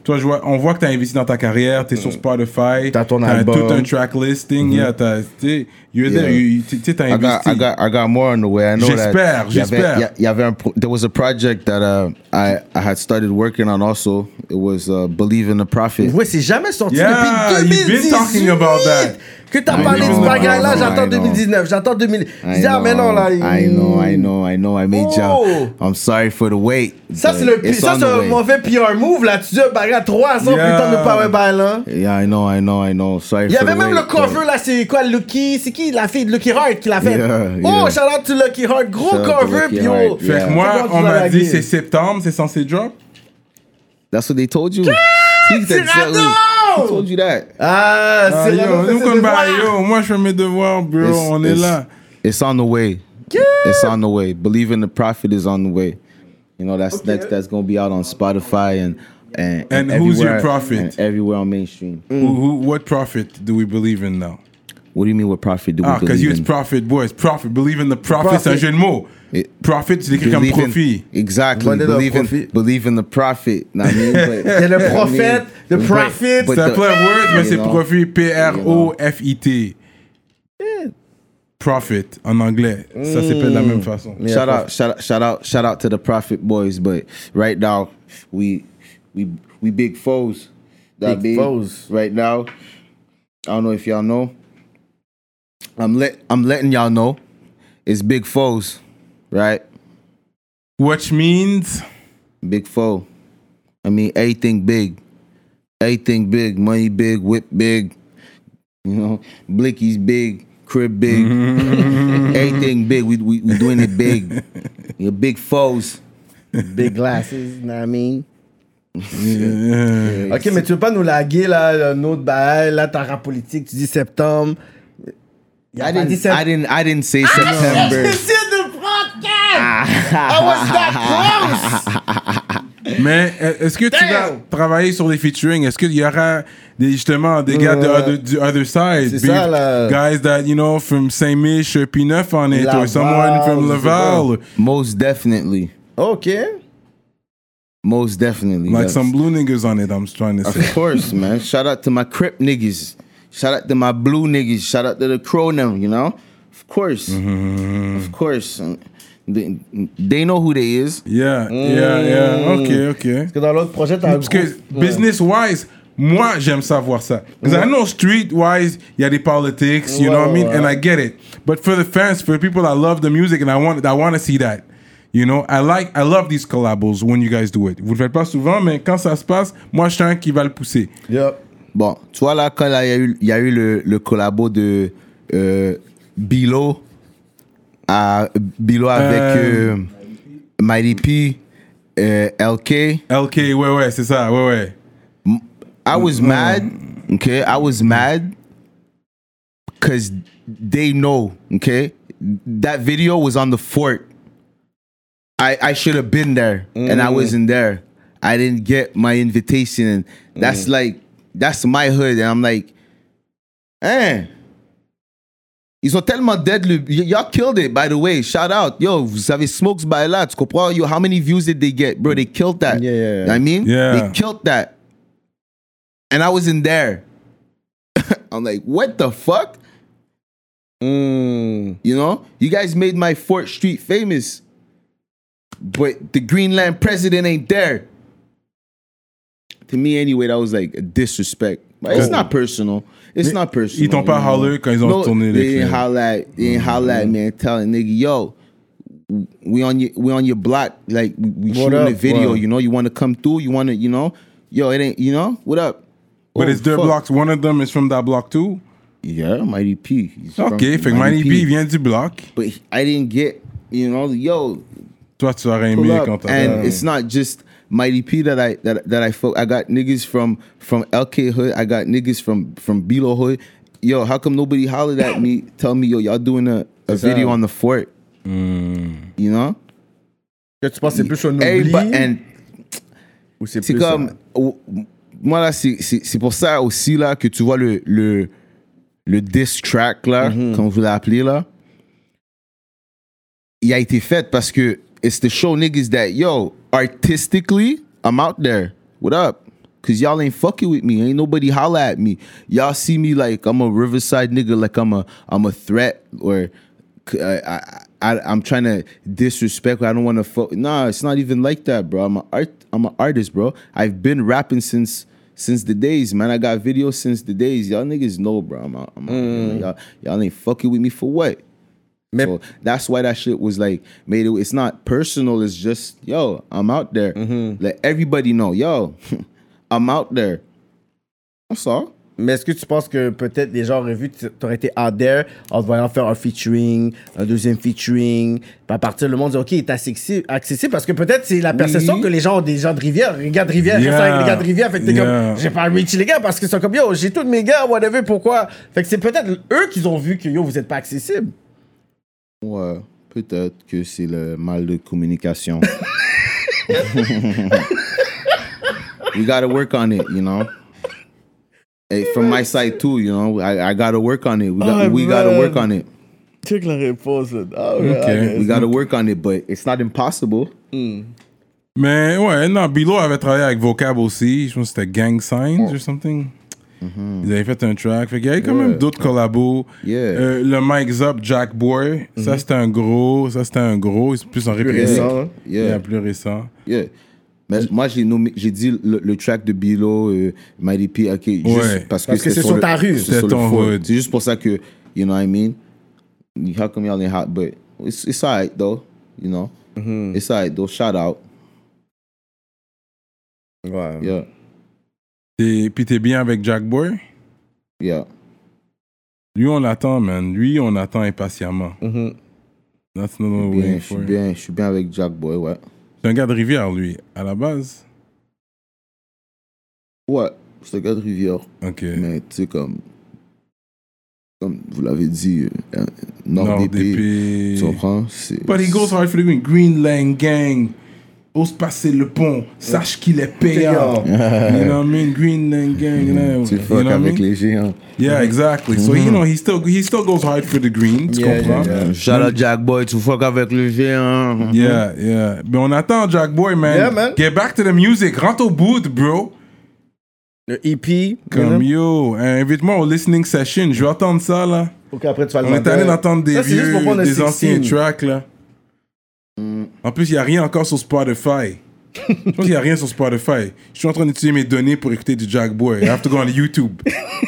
B: toi, je vois, on voit que tu as investi dans ta carrière, tu es sur Spotify,
D: T'as ton
B: t'as
D: album.
B: tout un track listing, yeah, t'as, t'sais, you're
C: Yeah.
B: there, you- tu sais, t'as
C: I got,
B: investi.
C: I got, I got more on the way. I know
B: J'espère,
C: that. il y avait-
B: j'espère.
C: il y a- il y avait un pro- there was a project that uh, I, I had started working on also. It was uh, Believe in the Prophet.
D: Ouais, c'est jamais sorti
B: Yeah,
D: depuis
B: you've been
D: deux mille dix-huit.
B: talking about that.
D: Que t'as
C: I
D: parlé de
C: know,
D: ce bagage-là,
C: I know,
D: j'attends
C: I know.
D: deux mille dix-neuf, j'attends deux mille. Je
C: I
D: dis, ah, mais non, là.
C: I know, I know, I know. I made
D: Oh.
C: y'all. I'm sorry for the wait.
D: Ça,
C: but
D: c'est le
C: it's
D: ça,
C: on
D: c'est
C: the
D: un
C: way.
D: mauvais P R move, là. Tu dis un bagage trois cents
B: Yeah.
D: putain de power by là.
C: Yeah, I know, I know, I know. Sorry
D: Il y
C: for
D: avait
C: the
D: même
C: wait,
D: le cover,
C: but-
D: là, c'est quoi, Lucky, c'est qui la fille de Lucky Heart qui l'a fait?
C: Yeah,
D: Oh,
C: yeah.
D: shout out to Lucky Heart, gros
C: Shout out to
D: cover,
C: Lucky
D: puis yo.
C: Heart,
B: Fait
C: yeah.
B: que moi,
D: C'est bon,
B: on
D: tu l'as
B: m'a dit
D: lagué.
B: c'est septembre, c'est censé drop.
C: That's what they told you. He said-
D: Cyrano!
C: He told you that.
D: Ah,
B: Ah,
D: c'est
B: yo,
D: vraiment
B: nous
D: fait
B: comme
D: ses
B: bah,
D: devoirs.
B: yo, moi je fais mes devoirs, bro,
C: It's-
B: on est
C: it's-
B: là.
C: It's on the way. It's on the way. Believe in the Prophet is on the way. You know, that's next. That's gonna be out on Spotify and and
B: And who's your
C: everywhere-
B: prophet?
C: and everywhere on mainstream.
B: Who, who, what prophet do we believe in now?
C: What do you mean? What prophet do we
B: Ah, because
C: believe
B: you
C: in?
B: it's prophet, boy, it's prophet. Believe in the prophet, c'est un
D: Prophet.
B: jeu de mots.
C: It-
B: Prophet, c'est écrit comme
C: Believe in-
B: profit.
C: Exactly.
D: Vendez le
C: Believe in,
D: profit.
C: believe in the prophet. Know what I mean? But-
D: C'est le
C: I mean,
D: prophète, the
C: but-
D: prophet.
C: but
B: C'est un
C: the-
B: play of words, mais
C: you
B: c'est
C: know,
B: profit, P R O F I T. Prophet, en anglais. Ça s'appelle de la même façon.
D: Yeah,
C: Shout
D: prophet.
C: out, shout out, shout out, shout out to the prophet boys. But right now, we we we big foes. That
D: Big
C: be
D: foes.
C: right now. I don't know if y'all know. I'm let I'm letting y'all know. It's big foes, right?
B: Which means,
C: Big foe. I mean, everything big. Everything big. Money big. Whip big. You know, Blicky's big. Crib big. Everything big. We, we, we doing it big. You're big foes.
D: Big glasses, you know what I mean?
B: euh,
D: Ok, mais tu veux pas nous laguer, là, un autre bail, là, ta rap politique, tu dis septembre. Il a
C: I
D: pas dit
C: didn't,
D: septembre.
C: I didn't, I didn't say September.
D: J'essaie de podcast! I was that close!
B: mais euh, est-ce que tu vas
D: Damn!
B: travailler sur des featuring? Est-ce qu'il y aura des, justement des gars de
D: Ouais.
B: other, du other side?
D: C'est
B: Be-
D: ça, là.
B: Guys that, you know, from Saint-Mich, P neuf on it,
D: Laval,
B: or someone from
D: je sais
B: Laval.
C: Most definitely.
D: Ok.
C: Most definitely.
B: Like
C: yes.
B: some blue niggas on it, I'm trying to say.
C: Of course, man. Shout out to my Crip niggas. Shout out to my blue niggas. Shout out to the Cronem, you know? Of course. Of course. They, they know who they is.
B: Yeah, yeah, yeah. Ok, ok.
D: Parce que dans l'autre projet, t'as un
B: Parce que
D: gros-
B: business-wise, moi, j'aime savoir ça. Because I know street-wise, il y a des politics, you know what I mean?
D: Ouais,
B: And
D: ouais.
B: I get it. But for the fans, for the people that love the music, and I want, I want to see that. You know, I like, I love these collabos when you guys do it. Vous le faites pas souvent, mais quand ça se passe, moi, je suis un qui va le pousser.
D: Yup.
C: Bon, tu vois là, quand là, il y a eu, il y a eu le, le collabo de euh, Bilo, à, Bilo avec
B: Euh,
C: euh, Mighty P, euh, L K.
B: L K, ouais, ouais, c'est ça, ouais, ouais.
C: I was mad, okay? I was mad because they know, okay? That video was on the fort. I, I should have been there, and I wasn't there. I didn't get my invitation, and that's like, that's my hood, and I'm like, eh. Ils ont tellement dead le... y- Y'all killed it, by the way. Shout out. Yo, vous avez smokes by là. Tu comprends? Yo, how many views did they get? Bro, they killed that.
D: Yeah, yeah, yeah.
C: You know what I mean?
B: Yeah.
C: They killed that. And I wasn't there. I'm like, what the fuck?
D: Mm.
C: You know? You guys made my Fort Street famous. But the Greenland president ain't there. To me, anyway, that was like a disrespect. But it's
B: Oh.
C: not personal. It's
B: Mais
C: not personal.
B: ils t'ont pas
C: you know?
B: holler quand ils ont
C: no,
B: tourné les
C: they didn't
B: clips.
C: holler at, they didn't holler at me and telling nigga, yo, we on your we on your block, like we, we
D: What
C: shooting a
D: up?
C: video,
D: Wow.
C: you know, you want to come through, you want to, you know, yo, it ain't, you know, what up?
B: But
C: Oh,
B: it's their
C: fuck.
B: blocks. One of them is from that block too.
C: Yeah, Mighty P. He's from
B: Ok, fait que Mighty P vient du bloc.
C: But he- I didn't get, you know, yo,
B: Toi, tu aurais
C: pull
B: aimé
C: up.
B: quand t'as...
C: And it's not just Mighty P that I that that I fuck. I got niggas from from L K hood. I got niggas from from Bilo hood. Yo, how come nobody hollered at me? Tell me, yo, y'all doing a, a video on the fort?
B: Mm.
C: You know?
D: Que tu penses que c'est plus un
C: Everybody,
D: oubli
C: and
D: ou c'est
C: c'est
D: plus
C: comme
D: un-
C: oh, moi là, c'est c'est c'est pour ça aussi là que tu vois le le le diss track là, comme vous l'appelez là. Il a été fait parce que it's to show niggas that yo, artistically, I'm out there. What up? Cause y'all ain't fucking with me. Ain't nobody holla at me. Y'all see me like I'm a Riverside nigga, like I'm a I'm a threat, or I, I, I I'm trying to disrespect. I don't want to fuck. Nah, it's not even like that, bro. I'm a art. I'm an artist, bro. I've been rapping since since the days, man. I got videos since the days. Y'all niggas know, bro. I'm, a, I'm a, mm. y'all, y'all ain't fucking with me for what? So that's why that shit was like made it. It's not personal. It's just yo, I'm out there. Mm-hmm. Let everybody know, yo, I'm out there. That's all.
D: Mais est-ce que tu penses que peut-être les gens auraient vu que tu aurais été out there en te voyant faire un featuring, un deuxième featuring, puis à partir le monde dit ok, il est accessible, accessible parce que peut-être c'est la perception oui. que les gens ont des gens de Rivière. Les gars de Rivière, yeah. restent avec les gars de Rivière. Fait que t'es yeah. comme, j'ai pas reach les gars parce qu'ils sont comme yo, j'ai tous mes gars, whatever, pourquoi. Fait que c'est peut-être eux qui ont vu que yo, vous êtes pas accessible.
C: Ouais, peut-être que c'est le mal de communication. We gotta work on it, you know. Hey, from my side too, you know, I, I gotta work on it. We got, oh, we gotta work on it.
D: Check la réponse. Oh,
B: okay.
C: We gotta work on it, but it's not impossible.
B: Mm. Mais ouais, non, Bilo avait travaillé avec Vocab aussi. Je pense que c'était Gang Signs oh. or something. Mm-hmm. Ils avaient fait un track. Fait qu'il y avait quand yeah. même d'autres collabos.
C: Yeah.
B: Euh, le Mike's Up, Jack Boy. Mm-hmm. Ça, c'était un gros. Ça, c'était un gros. C'est plus en réplique.
C: Yeah.
B: Yeah. Yeah, plus récent.
C: Yeah. Mais moi, j'ai, nommé, j'ai dit le, le track de Bilo, euh, Mighty P, ok, juste
B: ouais.
C: parce que,
D: parce que c'est sur, sur ta rue.
B: C'est, c'est ton hood.
C: C'est juste pour ça que, you know what I mean? How come y'all ain't hot? But it's, it's alright, though, you know? Mm-hmm. It's alright, though. Shout out.
D: Ouais.
C: Yeah.
B: Et puis t'es bien avec Jack Boy?
C: Yeah.
B: Lui, on l'attend, man. Lui, on attend impatiemment.
D: Mm-hmm.
B: That's not what we're waiting for.
C: Je suis bien, je suis bien avec Jack Boy, ouais.
B: C'est un gars de Rivière, lui, à la base?
C: Ouais, c'est un gars de Rivière.
B: OK.
C: Mais tu sais, comme, comme vous l'avez dit, euh, Nord,
B: Nord
C: D P, tu comprends? C'est,
B: But he goes hard for the green. Green Lane Gang. Ose passer le pont. Sache qu'il est payant. You know what I mean? Green Lane Gang. You know,
C: tu fuck avec les géants.
B: Yeah, exactly. So, mm-hmm. you know, he still, he still goes hard for the green. Tu
C: yeah,
B: comprends?
C: Yeah, yeah. Shout out Jack Boy, tu fuck avec le géant.
B: Yeah, yeah. Mais on attend Jack Boy, man.
D: Yeah, man.
B: Get back to the music. Rentre au bout, bro.
D: Le E P.
B: Comme yo, invite-moi au listening session. Je vais entendre ça, là.
D: Ok, après tu vas le
B: On est allé d'entendre des
D: ça,
B: vieux, des anciens tracks, là.
C: Mm.
B: En plus, il n'y a rien encore sur Spotify. Je pense qu'il n'y a rien sur Spotify. Je suis en train d'utiliser mes données pour écouter du Jack Boy. I have to go on YouTube.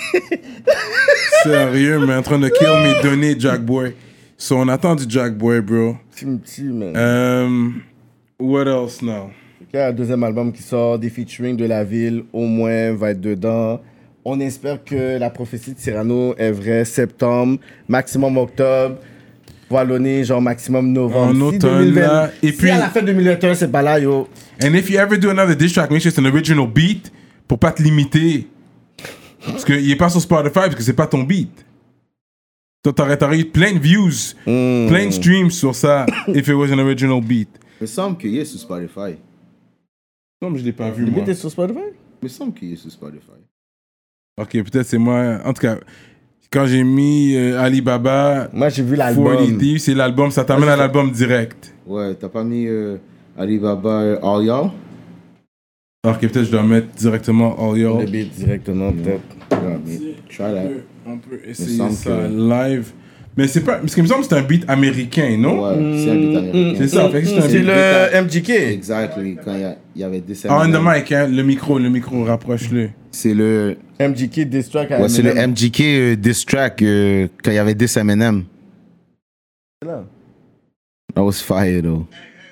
B: Sérieux, mais en train de kill mes données, Jack Boy. So, on attend du Jack Boy, bro.
D: Petit, man.
B: Um, what else now?
D: Il y a un deuxième album qui sort, des featuring de la ville, au moins, va être dedans. On espère que la prophétie de Cyrano est vraie. Septembre, maximum octobre. Wallonné, genre maximum novembre.
B: En automne, si là. Et
D: si
B: puis,
D: à la fin deux mille vingt et un, c'est pas là, yo.
B: And if you ever do another diss track, make sure it's an original beat pour pas te limiter. Parce qu'il est pas sur Spotify parce que c'est pas ton beat. Toi, t'aurais, t'aurais eu plein de views, mm. plein de streams sur ça if it was an original beat.
C: Il me semble qu'il est sur Spotify.
B: Non, mais je l'ai pas vu,
D: Le
B: moi.
D: beat est sur Spotify?
C: Il me semble qu'il est sur Spotify.
B: Ok, peut-être c'est moi. En tout cas, quand j'ai mis euh, Alibaba,
D: moi j'ai vu l'album.
B: quarante Deep, c'est l'album, ça t'amène à l'album direct.
C: Ouais, t'as pas mis euh, Alibaba euh, All Y'all?
B: Ok, peut-être je dois mettre directement All Y'all.
D: Le beat directement, peut-être.
C: Yeah, try that.
B: On peut essayer ça que... live. Mais c'est pas. Parce qu'il me semble que c'est un beat américain, non?
C: Ouais, c'est un beat américain.
B: C'est ça, fait que c'est un
D: c'est
B: beat.
D: le M G K.
C: Exactly, quand il y, a, il y avait des
B: Ah, on the mic, hein, le micro, le micro, rapproche-le.
C: C'est le.
D: M G K diss track à
C: ouais, c'est le M G K euh, diss track euh, quand il y avait diss Eminem.
D: C'est là.
C: That was fire, though.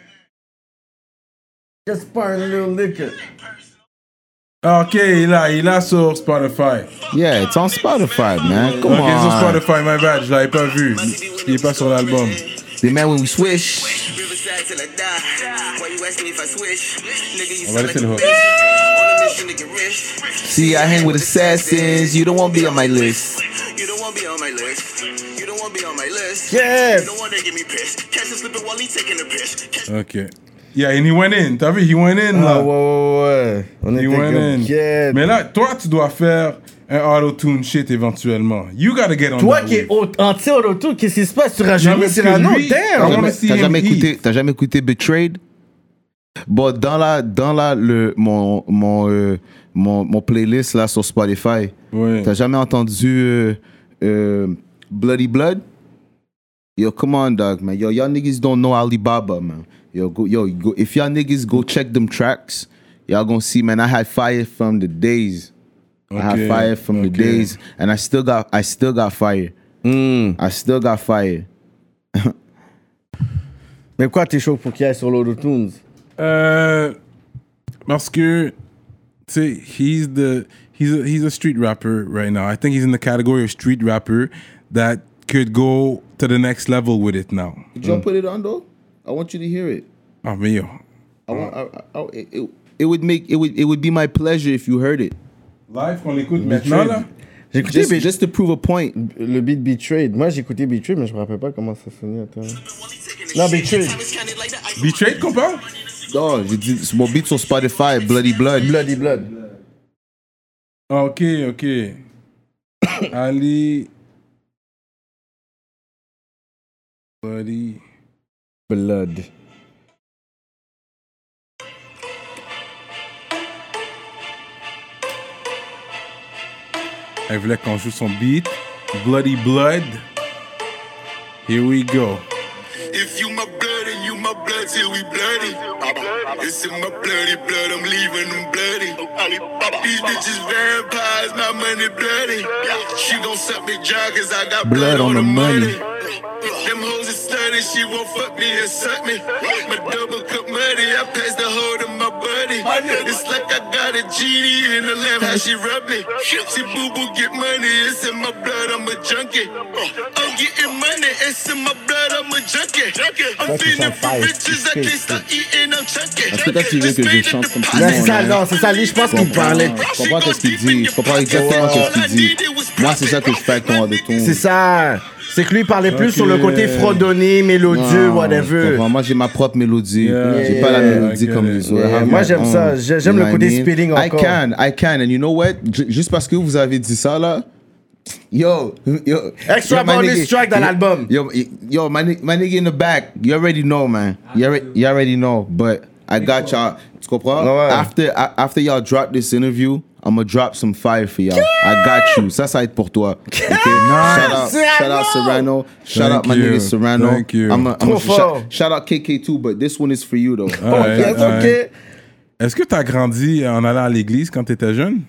D: Just pour a little liquor.
B: Ok, il a, il a sur Spotify.
C: Yeah, it's on Spotify, man. Come
B: ok,
C: on.
B: Ok, sur Spotify, my bad, je l'avais pas vu. Il est pas sur l'album.
C: The man when we swish.
B: On va laisser le hook.
C: See, I hang with assassins. You don't want to be on my list.
E: You don't want to be on my list. You don't want to be on my list.
D: Yeah.
E: You don't want to get me pissed. Catch him slipping while he taking a piss.
B: Ok. Yeah, and he went in. T'as vu, he went in, là.
D: Ah, ouais, ouais, ouais. On
B: he
D: était
B: went
D: comme
B: in.
D: Kid.
B: Mais là, toi, tu dois faire un auto-tune shit éventuellement. You gotta get on
D: Toi
B: that
D: qui es
B: wave.
D: anti-auto-tune, qu'est-ce qui se passe? Tu
B: Non,
D: rajeunis
B: mais parce que
D: Cyrano?
B: lui-
C: T'as
B: I wanna
C: jamais,
B: see
C: t'as
B: him
C: jamais
B: eat.
C: écouté, t'as jamais écouté Betrayed? Bon, dans la, dans la, le, mon, mon, euh, mon, mon playlist là sur Spotify,
B: Ouais.
C: t'as jamais entendu euh, euh, Bloody Blood? Yo, come on, dog, man. Yo, y'all niggas don't know Alibaba, man. Yo, go, yo, go, if y'all niggas go check them tracks, y'all gonna see, man, I had fire from the days. I
B: Okay,
C: had fire from the
B: okay.
C: days, and I still got, I still got fire.
D: Mm.
C: I still got fire.
D: Mais pourquoi t'es chaud pour qu'il aille sur l'Auto-Tunes?
B: Euh, parce que, tu sais, he's the he's a, he's a street rapper right now. I think he's in the category of street rapper that could go to the next level with it now.
C: Did y'all put it on though? I want you to hear it.
B: Ah mais yo,
C: I want, I, I, I, it, it, it would make it would it would be my pleasure if you heard it.
B: live qu'on l'écoute maintenant là.
D: J'ai écouté
C: Just,
D: Be-
C: just to prove a point.
D: le beat Betrayed. Moi, j'ai écouté Betrayed, mais je me rappelle pas comment ça sonnait. Attends. Non, Betrayed.
B: Betrayed qu'on parle?
C: Non, j'ai dit c'est mon beat sur Spotify, Bloody Blood.
D: Bloody Blood.
B: Ah, ok, ok. Ali. Buddy.
D: Blood.
B: Elle voulait qu'on joue son beat. Bloody Blood. Here we go.
E: If you my blood and you my blood till we bloody. It's in my bloody blood, I'm leaving them bloody. These bitches vampires, not money bloody. She gon' suck me dry cause I got blood, on the money. Them hoes is slutty, she won't fuck me and suck me. My double cup money, I pass the hoe to my buddy. It's like I got a genie in the lamp, how she rub me. See boo boo get money, it's in my blood, I'm a junkie. I'm getting money, it's in my blood, I'm a junkie. I'm feeling for riches, I can't stop eating, I'm chunky.
C: Est-ce que toi tu veux que je chante comme tout le
D: Là, c'est
C: monde?
D: ça,
C: hein?
D: non, c'est ça. Lui, je pense qu'il me parlait.
C: Je comprends ce qu'il dit. Je comprends exactement ce qu'il dit. Moi, c'est ça que je fais avec ton de ton.
D: C'est ça. C'est que lui, il parlait plus
B: Ok.
D: sur le côté fredonné, mélodieux,
C: Non, je
D: whatever.
C: comprends. Moi, j'ai ma propre mélodie.
B: Yeah,
C: j'ai
D: yeah,
C: pas la
D: yeah,
C: mélodie
B: I get
C: comme
B: it.
C: les autres.
D: Yeah,
C: I have
D: moi,
C: my
D: j'aime
C: own.
D: ça. J'ai- j'aime
C: You
D: le
C: know
D: côté
C: what I mean?
D: spelling
C: I
D: encore.
C: can, I can. And you know what? J- Juste parce que vous avez dit ça, là. Yo, yo.
D: Extra
C: yo, my
D: bonus
C: nigga-
D: track dans
C: yo-
D: l'album.
C: Yo, yo, my, ni- my nigga in the back. You already know, man. You already, you already know. But I got y'all. Tu comprends?
D: Ouais.
C: After, a- after y'all drop this interview, I'm gonna drop some fire for y'all. I got you. Ça, ça va être pour toi. Okay? Shout out, shout out Serrano. Shout
B: Thank
C: out my
B: you.
C: nigga Serrano.
B: Thank you.
C: I'm a, I'm
D: Trop
C: a,
D: fort.
C: shout, shout out K K too, but this one is for you though.
B: Alright,
D: Yes,
B: alright.
D: ok.
B: Est-ce que tu as grandi en allant à l'église quand tu étais jeune?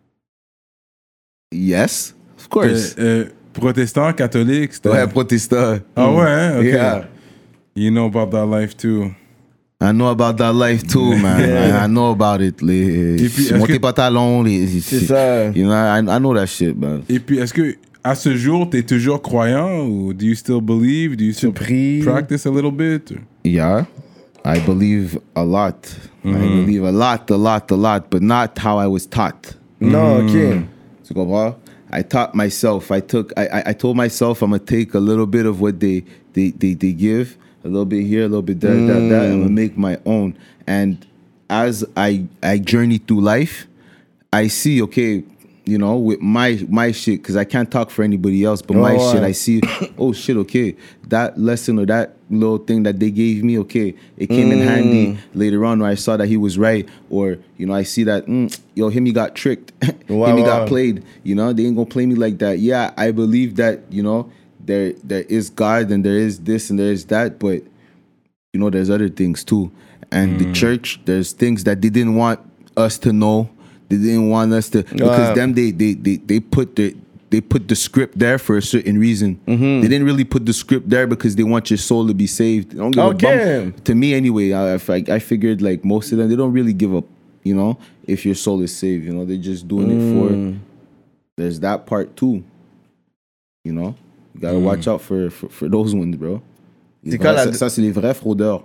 C: Yes, of
B: Euh,
C: course.
B: euh, protestant, catholique? c'était-
C: Ouais, protestant.
B: Ah ouais, hein? Ok.
C: Yeah.
B: You know about that life too.
C: I know about that life too, man. I, I know about it. Les,
B: Et puis, est-ce
C: monter
B: que-
C: pantalon, les,
D: C'est ça.
C: You know, I, I know that shit, man.
B: Et puis, est-ce que à ce jour, tu es toujours croyant ou do you still believe? Do you still
D: pries?
B: practice a little bit? or-
C: Yeah, I believe a lot. I
B: Mm-hmm.
C: believe a lot, a lot, a lot, but not how I was taught.
D: Non, ok.
C: Tu comprends? I taught myself. I took. I, I, I told myself I'm gonna take a little bit of what they they, they, they give, a little bit here, a little bit there, that, that, and I'm gonna make my own. And as I I journey through life, I see, okay, you know, with my my shit, because I can't talk for anybody else, but my
D: Oh,
C: shit,
D: ouais.
C: I see, oh shit, okay, that lesson or that little thing that they gave me, okay, it came in handy later on where I saw that he was right, or you know, I see that, mm, yo, him he got tricked,
D: Wow,
C: him he
D: wow.
C: got played, you know, they ain't gonna play me like that. Yeah, I believe that, you know, there there is God and there is this and there is that, but you know, there's other things too. And the church, there's things that they didn't want us to know. They didn't want us to because
D: Wow.
C: them they they they they put the they put the script there for a certain reason.
D: Mm-hmm.
C: They didn't really put the script there because they want your soul to be saved. They don't give
D: Okay.
C: a bum. To me anyway, I, I I figured like most of them they don't really give up. You know, if your soul is saved, you know, they're just doing it
D: Mm.
C: for. There's that part too. You know, you gotta watch out for, for for those ones, bro. Les
D: C'est
C: vrais-
D: quoi la-
C: ça, ça, c'est les vrais fraudeurs.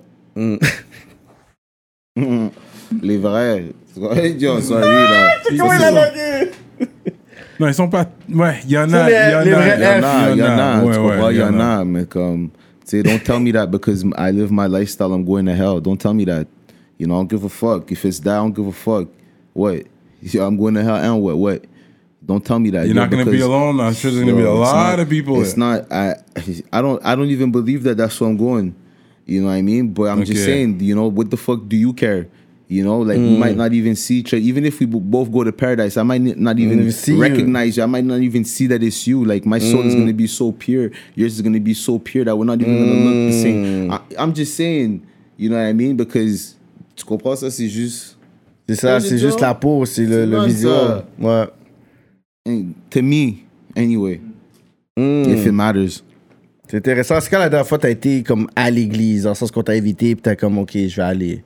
C: Mm. Les vrais. Yo, sorry, là.
D: Comment il a lagué?
B: Non, ils sont pas. Ouais, il y en a.
D: C'est les-
B: Il y en
D: les
B: a.
D: vrais
C: Il y en a, il y en a.
B: Ouais,
C: Tu
B: ouais,
C: comprends? Il y en
B: a.
C: a, mais comme. Tu sais, don't tell me that because I live my lifestyle, I'm going to hell. Don't tell me that. You know, I don't give a fuck. If it's that, I don't give a fuck. What? Yeah, I'm going to hell and what? What? Don't tell me that.
B: You're
C: yo,
B: not gonna be
C: because-
B: alone. I'm sure there's gonna be a
C: Yo, it's
B: lot
C: not-
B: of people.
C: It's not. I. I don't. I don't even believe that. That's where I'm going. You know what I mean? But I'm
B: Okay.
C: just saying, you know, what the fuck do you care? You know, like we might not even see each other. Even if we b- both go to paradise, I might not even
D: even see you.
C: recognize you. I might not even see that it's you. Like my soul is gonna be so pure. Yours is gonna be so pure that we're not even gonna look the same. I, I'm just saying, you know what I mean? Because tu comprends ça, c'est juste.
D: C'est ça, c'est juste la peau, c'est le,
C: C'est
D: le
C: pas
D: visuel.
C: ça.
D: Ouais.
C: And to me, anyway, if it matters.
D: C'est intéressant. C'est quand la dernière fois t'as été comme à l'église, dans le sens qu'on t'a invité, puis t'as comme, ok, je vais aller.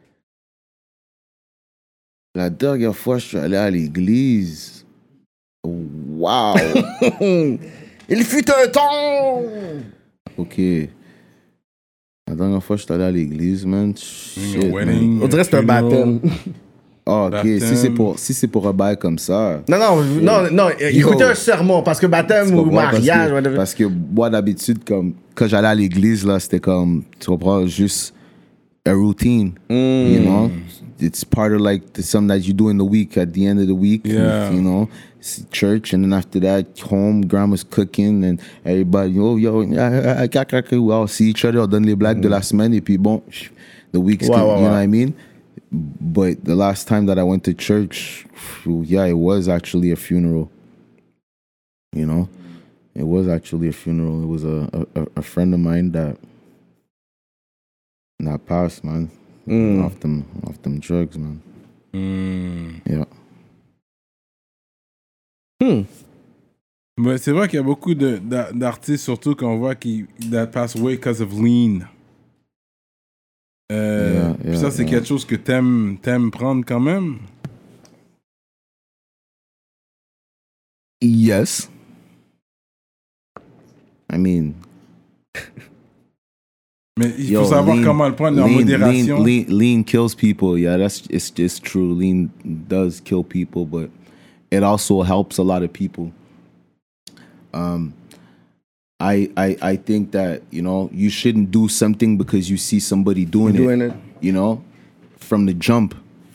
C: La dernière fois, je suis allé à l'église. Wow.
D: Il fut un temps!
C: Ok. La dernière fois, je suis allé à l'église, man. Shit, man.
B: Wedding,
D: On dirait que c'est un
B: funeral.
D: baptême.
C: Oh, ok.
B: Baptême.
C: Si c'est pour, si c'est pour un bail comme ça.
D: Non, non, non, non, écoutez un sermon, parce que baptême
C: Tu
D: ou
C: comprends? Parce
D: mariage,
C: que,
D: whatever.
C: parce que moi, d'habitude, comme, quand j'allais à l'église, là, c'était comme, tu comprends, juste a routine. You know? It's part of like the, something that you do in the week, at the end of the week.
B: Yeah.
C: You know? It's church, and then after that, home, grandma's cooking, and everybody, oh, yo, I, I, I, I, I, I'll see each other, on donne les blagues de la semaine, et puis bon, the week's,
D: Ouais,
C: good,
D: ouais,
C: you know
D: ouais.
C: what I mean? But the last time that I went to church, yeah, it was actually a funeral. You know, it was actually a funeral. It was a a, a friend of mine that that passed, man,
D: Mm.
C: off them off them drugs, man.
B: Hmm.
C: Yeah.
D: Hmm.
B: Mais c'est vrai qu'il y a beaucoup de, d'a- d'artistes, surtout qu'on voit qui that pass away because of lean. Euh,
C: Yeah,
B: puis
C: yeah,
B: ça, c'est
C: yeah.
B: quelque chose que t'aimes, t'aimes prendre quand même.
C: Yes. I mean,
B: Mais il
C: yo,
B: faut savoir
C: lean-
B: comment le prendre en
C: lean,
B: modération.
C: Lean, lean, lean kills people. Yeah, that's it's it's true. Lean does kill people, but it also helps a lot of people. Um, I I I think that, you know, you shouldn't do something because you see somebody doing,
D: Doing
C: it,
D: it.
C: You know, from the jump.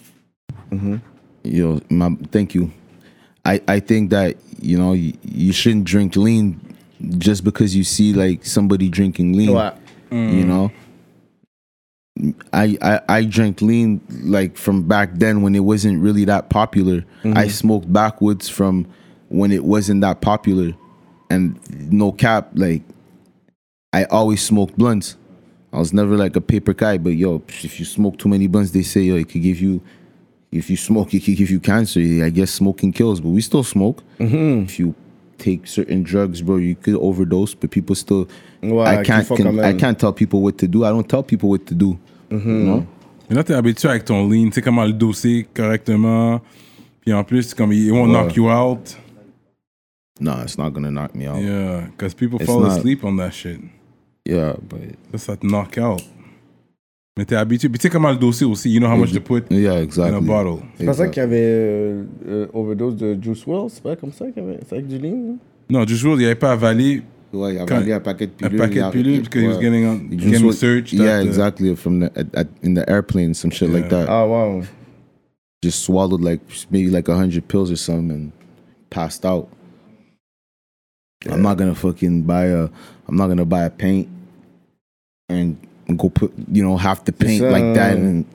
C: Yo, my, thank you. I I think that, you know, you, you shouldn't drink lean just because you see like somebody drinking lean.
D: Ouais.
C: You know, I, I I drank lean like from back then when it wasn't really that popular. I smoked backwoods from when it wasn't that popular, and no cap, like I always smoked blunts. I was never like a paper guy, but yo, if you smoke too many blunts, they say yo, it could give you. If you smoke, it could give you cancer. I guess smoking kills, but we still smoke. If you take certain drugs, bro, you could overdose, but people still.
D: Ouais,
C: I
D: qu'il
C: can't.
D: faut
C: Can,
D: quand même.
C: I can't tell people what to do. I don't tell people what to do. You know?
B: Mais là, t'es habitué avec ton lean, tu sais comment le doser correctement. Puis en plus, comme il won't
C: Ouais.
B: knock you out.
C: No, it's not gonna knock me out. Yeah,
B: Yeah, because people
C: It's
B: fall
C: not.
B: asleep on that shit.
C: but
B: Ça, ça te knock out. Mais t'es habitué. Puis tu sais comment le doser aussi. You know how much to put
C: yeah,
B: in a
C: exactly.
B: bottle.
D: C'est pas ça qu'il y avait euh, euh, overdose de Juice world, c'est pas comme ça qu'il y avait. C'est avec du lean?
B: Non, du jour, il avait pas avalé
C: Ouais, il a
B: Quand-
C: vendu un paquet de
B: un
C: pilules.
B: paquet
C: il a
B: de pilules
C: arrêté.
B: because he was
C: Ouais.
B: getting, on,
C: He just
B: getting
C: was-
B: searched.
C: Yeah,
B: at the-
C: exactly. From the at, at, in the airplane, some shit like
B: Yeah.
C: that.
D: Ah, wow.
C: Just swallowed like maybe like a hundred pills or something and passed out. I'm not gonna fucking buy a. I'm not gonna buy a paint and go put you know half the paint
D: ça.
C: like that and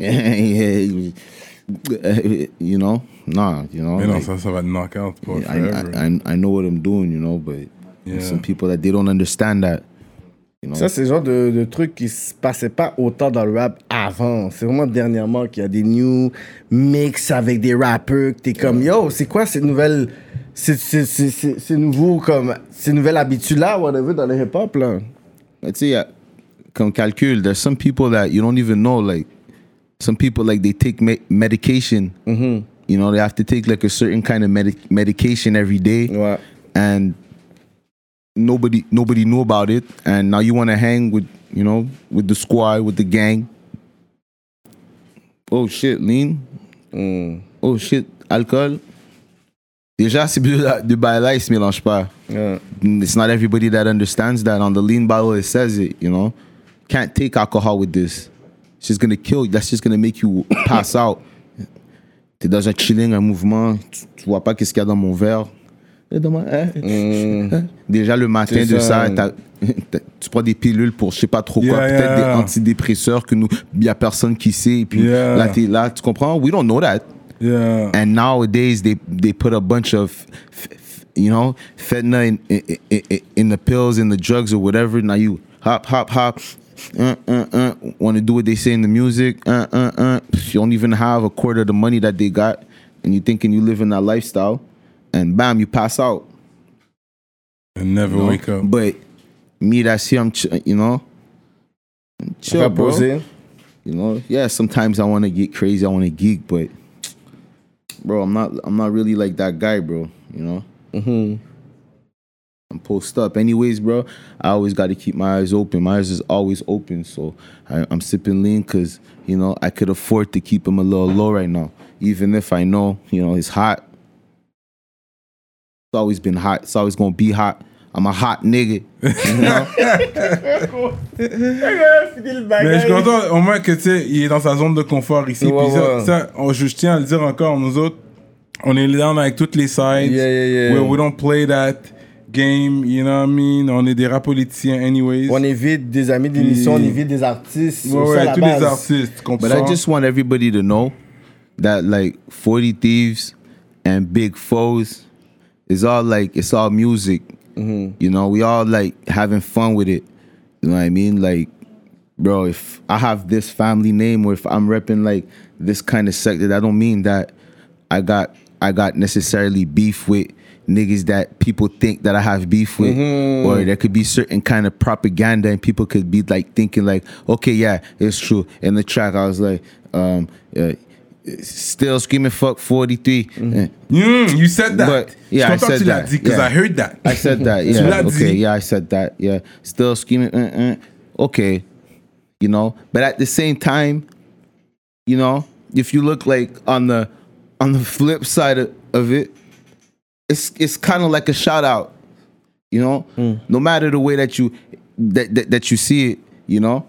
C: you know nah you know.
B: Mais non,
C: like,
B: ça, ça va te knock out pour
C: I,
B: forever.
C: I, I I know what I'm doing, you know, but
B: Yeah.
C: some people that they don't understand that. You know.
D: Ça, c'est le genre de, de truc qui se passait pas autant dans le rap avant. C'est vraiment dernièrement qu'il y a des new mix avec des rappeurs que t'es comme, yo, c'est quoi ces nouvelles. C'est, c'est, c'est, c'est, c'est nouveau comme. Ces nouvelles habitudes-là, whatever, dans le hip-hop, là.
C: Let's say, uh, comme calcul, there's some people that you don't even know, like, some people, like, they take me- medication.
D: Mm-hmm.
C: You know, they have to take, like, a certain kind of medic- medication every day.
D: Ouais.
C: And nobody nobody knew about it. And now you want to hang with, you know, with the squad, with the gang. Oh, shit, lean.
D: Mm.
C: Oh, shit, alcool. Déjà, ces deux de bails-là, ils se mélangent pas.
D: Yeah.
C: It's not everybody that understands that. On the lean bottle, it says it, you know. Can't take alcohol with this. It's just gonna kill you. That's just gonna make you pass out. T'es dans un chilling, un mouvement, tu, tu vois pas qu'est-ce qu'il y a dans mon verre. Et dans ma- hein?
D: Mm.
C: Déjà, le matin
D: C'est
C: de
D: ça.
C: ça, t'as, tu prends des pilules pour je sais pas trop quoi,
B: Yeah,
C: peut-être
B: yeah.
C: des antidépresseurs que nous, il y a personne qui sait. Et puis
B: Yeah.
C: là, t'es là, tu comprends? We don't know that.
B: Yeah.
C: And nowadays, they they put a bunch of, f- f- you know, fentanyl in, in, in, in the pills, in the drugs, or whatever. Now you hop, hop, hop, uh, uh, uh, want to do what they say in the music. Uh, uh, uh. You don't even have a quarter of the money that they got, and you thinking you live in that lifestyle, and bam, you pass out.
B: And never
C: You know?
B: wake up.
C: But me, that's here, I'm, ch- you know, chill,
D: Faire
C: bro.
D: poser.
C: You know, yeah. Sometimes I want to get crazy, I want to geek, but bro, I'm not. I'm not really like that guy, bro. You know.
D: Mm-hmm.
C: I'm post up, anyways, bro. I always got to keep my eyes open. My eyes is always open, so I, I'm sipping lean because you know I could afford to keep him a little low right now, even if I know you know it's hot. It's always been hot. It's always gonna be hot. I'm a hot nigga. You know?
B: Mais je suis content au moins que tu sais, il est dans sa zone de confort ici.
D: Ouais,
B: Puis ça,
D: ouais.
B: ça, on- je tiens à le dire encore, nous autres, on est down avec toutes les sides.
D: Yeah, yeah, yeah.
B: We, we don't play that game, you know what I mean? On est des rap politiciens anyways.
D: On évite des amis d'émission, on évite des artistes.
B: Ouais,
D: c'est ça,
B: ouais,
D: la
B: tous
D: base.
B: les artistes, tu comprends?
C: But I just want everybody to know that like forty Thieves and Big Foes is all like it's all music. You know, we all like having fun with it. You know what I mean? Like, bro, if I have this family name or if I'm repping like this kind of sector, that don't mean that I got I got necessarily beef with niggas that people think that I have beef with. Or there could be certain kind of propaganda and people could be like thinking like, okay, yeah, it's true. In the track, I was like, um, uh, still screaming fuck forty-three. Eh.
B: Mm, you said that.
C: But, yeah,
B: je
C: I
B: suis content que
C: said
B: tu l'as
C: that.
B: dit, because
C: Yeah.
B: I heard that.
C: I said that.
B: Tu
C: Yeah.
B: l'as
C: Okay.
B: dit.
C: Yeah, I said that. Yeah. Still screaming. Uh, uh. Okay. You know, but at the same time, you know, if you look like on the on the flip side of, of it, it's it's kind of like a shout out. You know, no matter the way that you that, that that you see it, you know.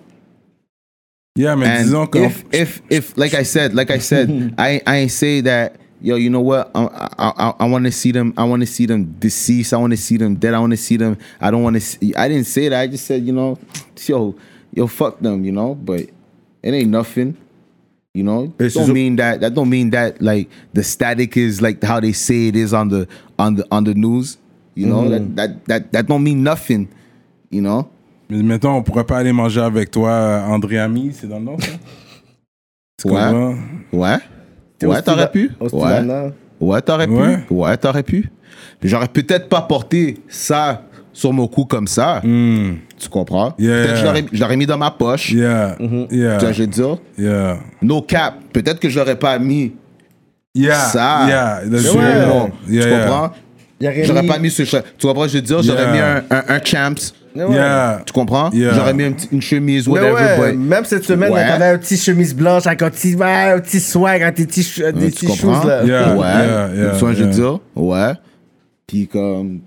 B: Yeah, mais
C: And
B: disons qu'on...
C: if if if like I said, like I said, I I ain't say that. Yo, you know what? I I I, I want to see them. I want to see them deceased. I want to see them dead. I want to see them. I don't want to. See, I didn't say that. I just said, you know, yo, yo, fuck them. You know, but it ain't nothing. You know,
B: It's
C: don't
B: just-
C: mean that. That don't mean that like the static is like how they say it is on the on the on the news. You know, that that that that don't mean nothing. You know.
B: Mais mettons, on pourrait pas aller manger avec toi, André Ami, c'est dans le nom, ça? Tu
C: Ouais.
B: comprends?
C: Ouais.
D: T'es
C: Ouais,
D: au
C: t'aurais
D: Stila-
C: pu.
D: au
C: Ouais.
D: Stilana.
C: Ouais, t'aurais
B: Ouais.
C: pu. Ouais, t'aurais pu. J'aurais peut-être pas porté ça sur mon cou comme ça.
B: Mm.
C: Tu comprends?
B: Yeah.
C: Peut-être que je l'aurais- je l'aurais mis dans ma poche.
B: Yeah,
C: Tu vois,
B: yeah,
C: je veux dire.
B: yeah,
C: No cap. Peut-être que je l'aurais pas mis
B: yeah,
C: ça
B: yeah, that's
C: sur
B: true.
C: mon-
B: Yeah,
C: Tu
B: yeah.
C: comprends?
D: Il y aurait
C: J'aurais
D: mis-
C: pas mis ce... cha- Tu comprends? Je veux dire, j'aurais
B: Yeah.
C: mis un, un, un champs.
D: Mais ouais.
B: Yeah.
C: Tu comprends?
B: Yeah.
C: J'aurais mis un petit- une chemise,
D: Mais
C: whatever.
D: ouais,
C: but-
D: même cette semaine,
C: Ouais.
D: t'avais un petit chemise blanche avec un petit, ouais, un petit swag, avec des petits, ch- des
C: Hein, tu
D: petits
C: comprends?
D: shoes, là.
B: Yeah.
C: Ouais.
B: yeah, yeah,
C: Tu vois, je veux
B: yeah.
C: dire? Ouais. Puis comme...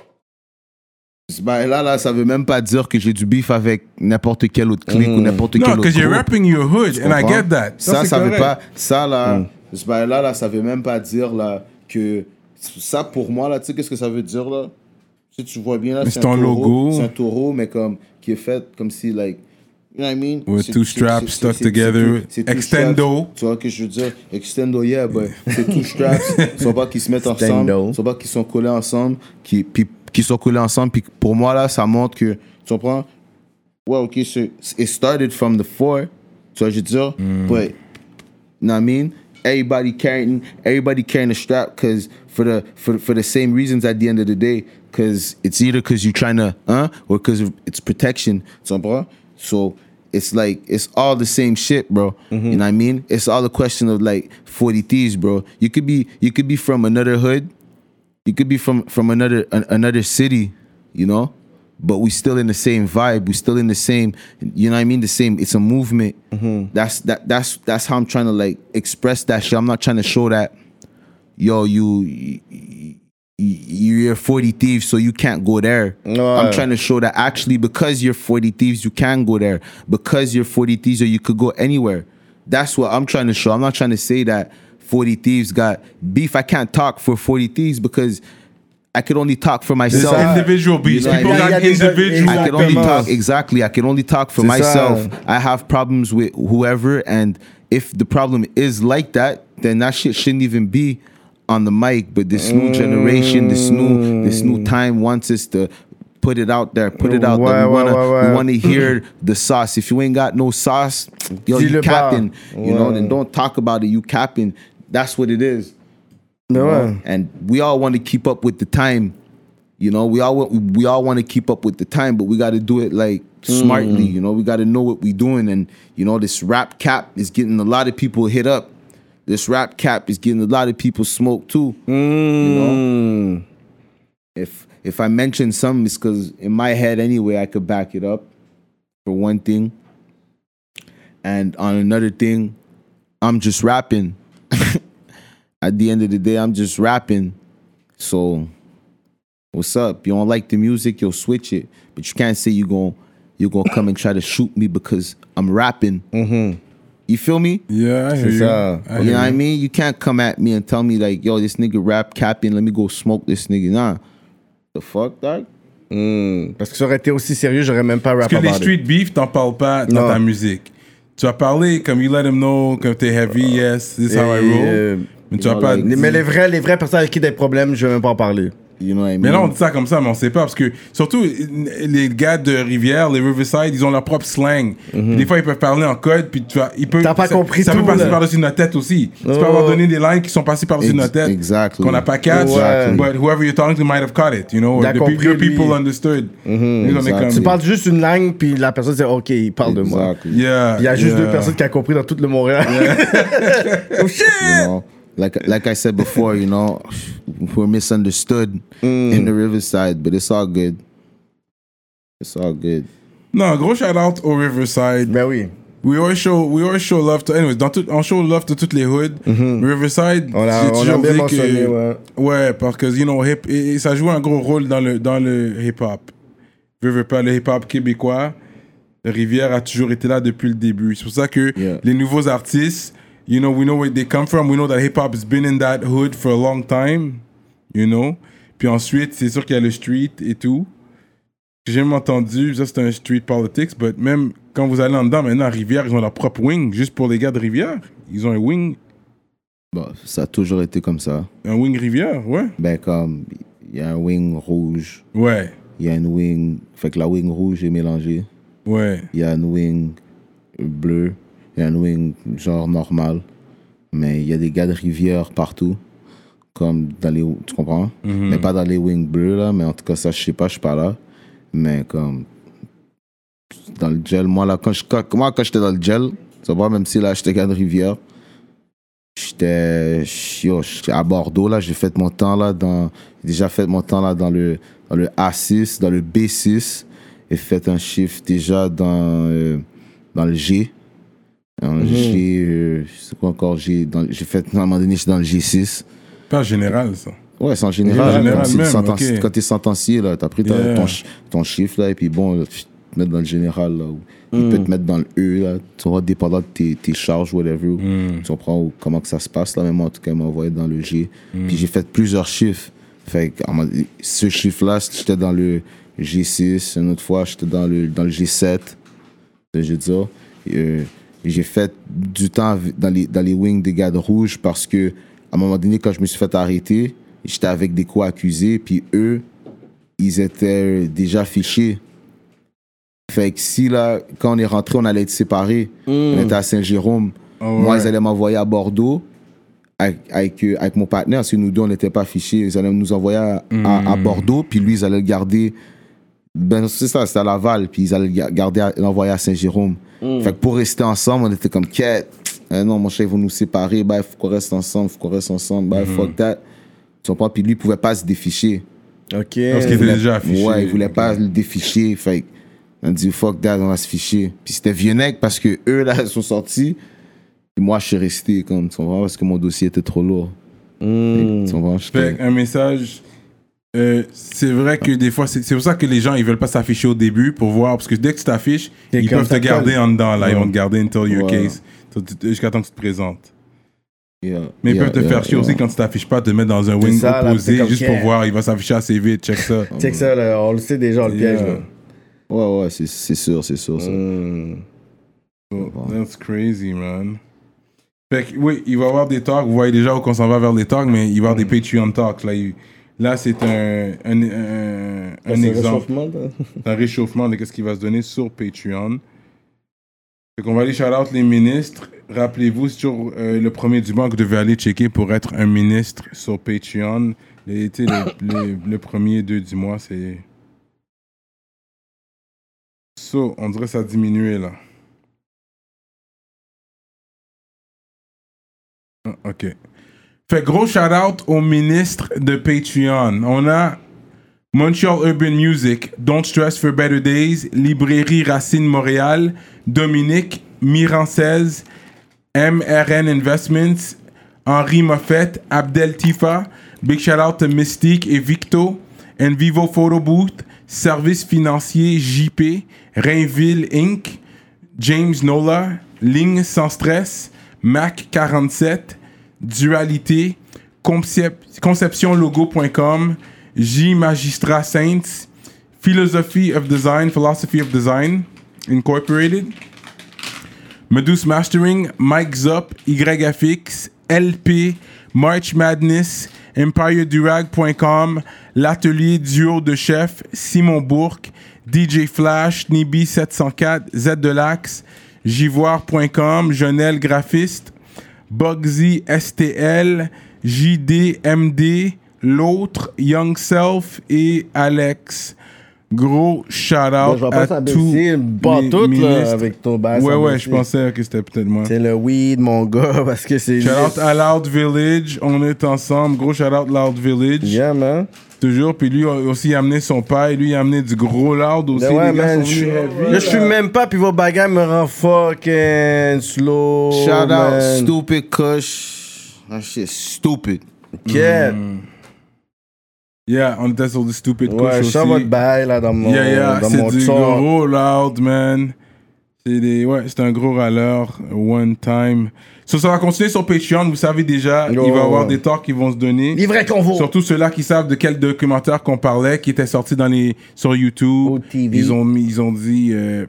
C: Ben là, là, ça veut même pas dire que j'ai du beef avec n'importe quel autre clique ou n'importe quel
B: No,
C: autre
B: because you're
C: groupe.
B: rapping your hood, and I
C: comprends?
B: get that.
C: Ça,
B: c'est
C: ça veut
B: correct.
C: pas... Ça, là, ben là, là, ça veut même pas dire, là, que... Ça, pour moi, là, tu sais, qu'est-ce que ça veut dire, là? Tu sais, tu vois bien, là,
B: Mais
C: c'est
B: c'est
C: un
B: ton
C: taureau.
B: logo.
C: C'est un taureau, mais comme... Qui est fait comme si, like... You know what I mean?
B: With
C: C'est-
B: two
C: c'est-
B: straps
C: c'est-
B: stuck
C: c'est-
B: together.
C: c'est tout- c'est two
B: Extendo.
C: straps. Tu vois que je veux dire? Extendo, yeah, but c'est two straps. Ils sont pas qu'ils se mettent
D: Extendo.
C: ensemble. Ils sont pas qu'ils sont collés ensemble. Qui, puis, qui sont collés ensemble. Puis pour moi, là, ça montre que... Tu comprends? Ouais, OK, c'est- it started from the four. Tu vois, je veux dire? But, you know what I mean? Everybody carrying, everybody carrying a strap because for the for for the same reasons at the end of the day, because it's either because you're trying to, huh, or because it's protection. So, bro, so it's like it's all the same shit, bro. You know what I mean? It's all a question of like forty thieves, bro. You could be you could be from another hood, you could be from from another an, another city, you know. But we still in the same vibe. We still in the same, you know what I mean? The same. It's a movement. That's that. That's that's how I'm trying to like express that shit. I'm not trying to show that, yo, you, you you're forty thieves, so you can't go there.
D: No.
C: I'm trying to show that actually because you're forty thieves, you can go there. Because you're forty thieves, or you could go anywhere. That's what I'm trying to show. I'm not trying to say that forty thieves got beef. I can't talk for forty thieves because I could only talk for
B: It's
C: myself.
B: individual beats.
C: You know
B: People
C: what I
B: got
D: mean?
B: individual
C: I can only
B: beats.
C: talk exactly. I can only talk for
D: C'est
C: myself.
D: ça.
C: I have problems with whoever, and if the problem is like that, then that shit shouldn't even be on the mic. But this new generation, this new this new time wants us to put it out there, put it out
D: Ouais,
C: there. We
D: ouais,
C: wanna
D: ouais, ouais.
C: we wanna hear the sauce. If you ain't got no sauce, yo,
D: Dis-le
C: you
D: pas.
C: capping. You know,
D: Ouais.
C: then don't talk about it. You capping. That's what it is.
D: Mais
C: you
D: ouais.
C: know? And we all want to keep up with the time. You know, we all we all want to keep up with the time, but we got to do it like smartly. You know, we got to know what we're doing, and you know, this rap cap is getting a lot of people hit up. This rap cap is getting a lot of people smoked too. You know, if if I mention something, it's because in my head anyway, I could back it up. For one thing, and on another thing, I'm just rapping. At the end of the day, I'm just rapping. So. What's up? You don't like the music, you'll switch it. But you can't say you're going you're gonna come and try to shoot me because I'm rapping. Mm-hmm. You feel me?
B: Yeah, I hear
D: C'est
B: you.
D: ça.
B: I
C: You
B: hear
C: know what I mean? You can't come at me and tell me like, yo, this nigga rap capping, let me go smoke this nigga. Nah. The fuck, dog?
D: Hmm. Parce que ça aurait été aussi sérieux, j'aurais même pas rap
B: Parce que les
D: about it.
B: street beef, t'en parles pas dans
D: Non.
B: ta musique. Tu vas parler comme you let them know, comme t'es heavy, yes, this is how I
D: Et,
B: roll.
D: euh,
B: Mais tu vas
C: know,
B: pas.
C: like,
D: les- mais les vrais, les vraies personnes avec qui des problèmes, je vais même pas en parler.
C: You know what I mean?
B: Mais là, on dit ça comme ça, mais on sait pas. Parce que, surtout, les gars de Rivière, les Riverside, ils ont leur propre slang. Puis des fois, ils peuvent parler en code, puis tu vas, ils peuvent,
D: T'as pas
B: ça,
D: compris
B: ça
D: tout,
B: peut passer
D: là.
B: par-dessus notre tête aussi. Tu peux
D: Oh.
B: avoir donné des lines qui sont passées par-dessus
C: Ex-
B: notre tête.
C: exactly.
B: Qu'on n'a pas catch.
D: Exactly.
B: But whoever you're talking to might have caught it, you know? Or
D: Il a
B: the, pe-
D: compris,
B: your people
D: lui.
B: understood. Ils ont
C: Exactly.
B: comme-
D: Tu parles juste une langue, puis la personne dit OK, il parle de moi.
C: Exactly.
B: Yeah,
D: Il y a juste
B: yeah.
D: deux personnes qui ont compris dans tout le Montréal. Oh shit!
C: You know, like like I said before, you know, we're misunderstood in the Riverside, but it's all good. It's all good.
B: Non, gros shout out au Riverside.
D: Ben oui.
B: We always show, we always show love to, anyways, dans tout, on show love to toutes les hoods. Riverside,
D: On a-
B: j'ai
D: on a
B: toujours
D: bien
B: dit
D: mentionné,
B: que,
D: ouais.
B: ouais, parce que, you know, hip, et, et ça joue un gros rôle dans le, dans le hip-hop. Riverside, le hip-hop québécois, Rivière a toujours été là depuis le début. C'est pour ça que
C: Yeah.
B: les nouveaux artistes, you know, we know where they come from, we know that hip-hop has been in that hood for a long time, you know. Puis ensuite, c'est sûr qu'il y a le street et tout. J'ai même entendu, ça c'est un street politics, mais même quand vous allez en dedans, maintenant à Rivière, ils ont leur propre wing, juste pour les gars de Rivière. Ils ont un wing,
C: Bon, ça a toujours été comme ça.
B: un wing Rivière, ouais.
C: Ben comme, il y a un wing rouge,
B: Ouais,
C: il y a une wing, fait que la wing rouge est mélangée.
B: ouais.
C: Il y a une wing bleue, il y a une wing genre normal, mais il y a des gars de Rivière partout, comme dans les, tu comprends? Mais pas dans les wings bleues là, mais en tout cas ça je sais pas, je suis pas là, mais comme dans le gel, moi là quand je, quand, moi quand j'étais dans le gel, tu vois, même si là j'étais gars de Rivière, j'étais yo, j'étais à Bordeaux là, j'ai fait mon temps là dans, j'ai déjà fait mon temps là dans le dans le A six, dans le B six. J'ai fait un shift déjà dans, euh, dans le G. Dans le G, euh, c'est quoi encore G dans- J'ai fait, à un moment donné, j'étais dans le G six.
B: Pas général, ça.
C: Ouais, c'est en général.
B: Général
C: Quand c'est
B: même,
C: senten-
B: ok.
C: Quand t'es sentencier, là, t'as pris ta-
B: Yeah.
C: ton, ch- ton chiffre, là, et puis bon, là, tu te mets dans le général, là. Ou il peut te mettre dans le E, là. Tu vois, dépendant de tes, tes charges, whatever. Tu comprends ou comment que ça se passe, là. Mais moi, en tout cas, il m'a envoyé dans le G. Puis j'ai fait plusieurs chiffres. Fait que, à un moment donné, ce chiffre-là, j'étais dans le G six. Une autre fois, j'étais dans le, dans le G sept. Je veux dire. Euh, j'ai fait du temps dans les, dans les wings des gars de rouge parce que, à un moment donné, quand je me suis fait arrêter, j'étais avec des co-accusés, puis eux, ils étaient déjà fichés. Fait que si, là, quand on est rentré, on allait être séparés. On était à Saint-Jérôme. Moi,
B: ouais.
C: ils allaient m'envoyer à Bordeaux avec, avec, euh, avec mon partenaire, parce que nous deux, on n'était pas fichés. Ils allaient nous envoyer à, à- à Bordeaux, puis lui, ils allaient le garder. Ben, c'est ça, c'était à Laval, puis ils allaient le ga- garder, à- l'envoyer à Saint-Jérôme. Fait que pour rester ensemble, on était comme, quête. Eh non, mon cher, ils vont nous séparer. Bah, il faut qu'on reste ensemble, il faut qu'on reste ensemble. Bah, fuck that. Tu comprends? Puis lui, il pouvait pas se déficher.
D: OK.
B: Parce qu'il était déjà affiché.
C: Ouais, il voulait pas le déficher. Fait on a dit, fuck that, on va se ficher. Puis c'était Vieux-Nec parce que eux, là, ils sont sortis. Puis moi, je suis resté, comme, tu comprends? Parce que mon dossier était trop lourd.
D: Mm.
C: Tu comprends?
B: Fait
C: J'étais-
B: un message. euh, c'est vrai que des fois, c'est c'est pour ça que les gens ils veulent pas s'afficher au début pour voir. Parce que dès que tu t'affiches,
D: T'es
B: ils
D: comme
B: peuvent te
D: ça
B: garder
D: colle.
B: en dedans. Là, ils vont te garder until your
C: Ouais.
B: case. Jusqu'à temps que tu te présentes.
C: Yeah,
B: Mais ils
C: yeah,
B: peuvent te
C: yeah,
B: faire chier
C: yeah.
B: aussi quand tu t'affiches pas, te mettre dans un wing
D: ça, là,
B: opposé
D: c'est comme
B: juste
D: yeah.
B: pour voir. Il va s'afficher assez vite, check ça.
D: Check ça, là, on le sait déjà, on le piège.
B: Yeah.
D: Là.
C: Ouais, ouais, c'est, c'est sûr, c'est sûr. Ça.
D: Mm.
B: Oh, that's crazy, man. Fait que, oui, il va y avoir des talks. Vous voyez déjà où on s'en va vers les talks, mais il va y avoir des Patreon talks. Là, il- là c'est un, un, un, un
D: C'est
B: exemple,
D: réchauffement, là.
B: un réchauffement de ce qui va se donner sur Patreon. Fait qu'on va aller shout-out les ministres. Rappelez-vous, c'est toujours euh, le premier du mois que vous devez aller checker pour être un ministre sur Patreon. Les, tu sais, le, les- le premier deux du mois, c'est... So, on dirait que ça a diminué, là. Ah, OK. Fait gros shout-out au ministre de Patreon. On a Montreal Urban Music, Don't Stress for Better Days, Librairie Racine Montréal, Dominique, Mirancez, M R N Investments, Henri Moffett, Abdel Tifa, big shout-out to Mystique et Victo, Envivo Photo Booth, Service Financier J P, Rainville Incorporated, James Nola, Ligne Sans Stress, Mac quarante-sept, Dualité, Concep- conception logo point com, J Magistrat Saints, Philosophy of Design, Philosophy of Design Incorporated, Medus Mastering, Mike Zop, Y F X, L P, March Madness, Empire Durag point com, L'Atelier Duo de Chef, Simon Bourque, D J Flash, Nibi sept cent quatre, Z de l'Axe, Jivoire point com, Jonel Graphiste, Bugsy S T L, J D M D, L'Autre, Young Self et Alex. Gros shout-out
D: Je vais
B: à
D: pas
B: tous
D: s'abaisser, pas
B: les
D: tout, là,
B: ministres.
D: avec ton bass.
B: Ouais, ouais,
D: abaissé.
B: je pensais que c'était peut-être moi.
D: C'est le weed, mon gars, parce que c'est...
B: Shout-out à Loud Village, on est ensemble. Gros shout-out Loud Village.
D: Yeah, man.
B: Toujours. Puis lui aussi, il a amené son père. Lui, il a amené du gros Loud aussi.
D: Ben ouais,
B: les gars
D: man,
B: sont
D: je
B: venus heavy,
D: là, je suis
B: là.
D: même pas, puis vos bagages me rendent fucking slow.
C: Shout out,
D: man.
C: stupid Kush. That shit stupid.
D: Quête.
B: Yeah, on était sur du stupid
D: Ouais,
B: couche
D: je sens
B: aussi.
D: votre bail, là, dans mon,
B: Yeah, yeah,
D: dans
B: c'est
D: mon
B: du
D: son.
B: gros Loud, man. C'est des, ouais, c'est un gros râleur, one time. So, ça va continuer sur Patreon, vous savez déjà,
D: Yo.
B: il va y avoir des talks qui vont se donner.
D: Livret convo.
B: Surtout ceux-là qui savent de quel documentaire qu'on parlait, qui était sorti dans les, sur YouTube.
D: O T V.
B: Ils ont, mis- ils ont dit... euh,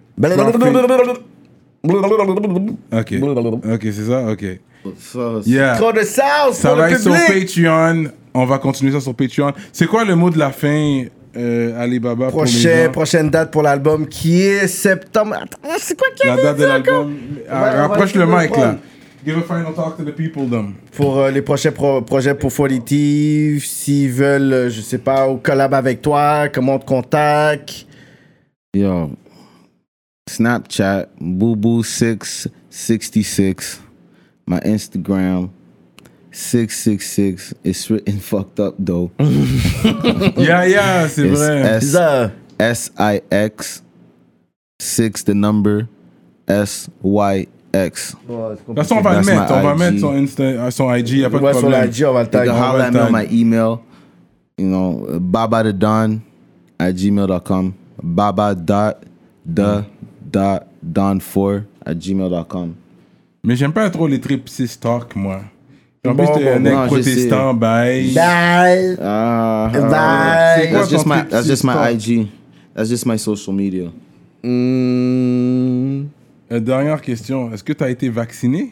B: ok, ok, c'est ça, ok.
C: Ça,
B: Yeah.
D: Trop de sauce
B: Ça
D: pour
B: va
D: le
B: être sur
D: public.
B: Patreon. On va continuer ça sur Patreon. C'est quoi le mot de la fin, euh, Alibaba, pour les
D: Prochain,
B: gens?
D: prochaine date pour l'album qui est septembre. Attends, c'est quoi qui
B: La date de l'album. Ah,
D: va- on va
B: rapproche
D: essayer
B: le
D: de
B: mic,
D: prendre.
B: là. Give a final talk to the people, them.
D: Pour euh, les prochains pro- projets pour Folitive, s'ils veulent, euh, je sais pas, ou collab avec toi, comment on te contacte.
C: Yo, Snapchat, boo boo six sixty-six. My Instagram, six six six. It's written fucked up though.
B: Yeah, yeah, c'est
C: It's
B: vrai.
C: S
D: Bizarre.
C: S I X six the number S Y X.
D: Ouais, c'est
B: De toute
D: compliqué.
B: façon, on va le
C: That's
B: mettre.
C: my
B: On va
C: I G.
B: mettre son, Insta, euh, son I G, y a pas de
D: Ouais, sur
B: problème.
D: la I G, on va le
C: You
D: tag.
C: can
B: on
C: holler
B: va
C: at me on
B: tag.
C: my email. You know, uh, baba the don at gmail dot com. Baba dot the dot don four at gmail dot com.
B: Mais j'aime pas trop les trip six talk, moi. En
D: Bon,
B: plus, t'es
D: bon,
B: un mec
C: non, je
B: protestant, bye.
D: Bye.
C: Uh,
D: Bye.
C: That's just
B: ton
C: my
B: trip
C: that's just my
B: six
C: I G. That's just my social media.
D: Hmm.
B: Euh, dernière question. Est-ce que tu as été vacciné?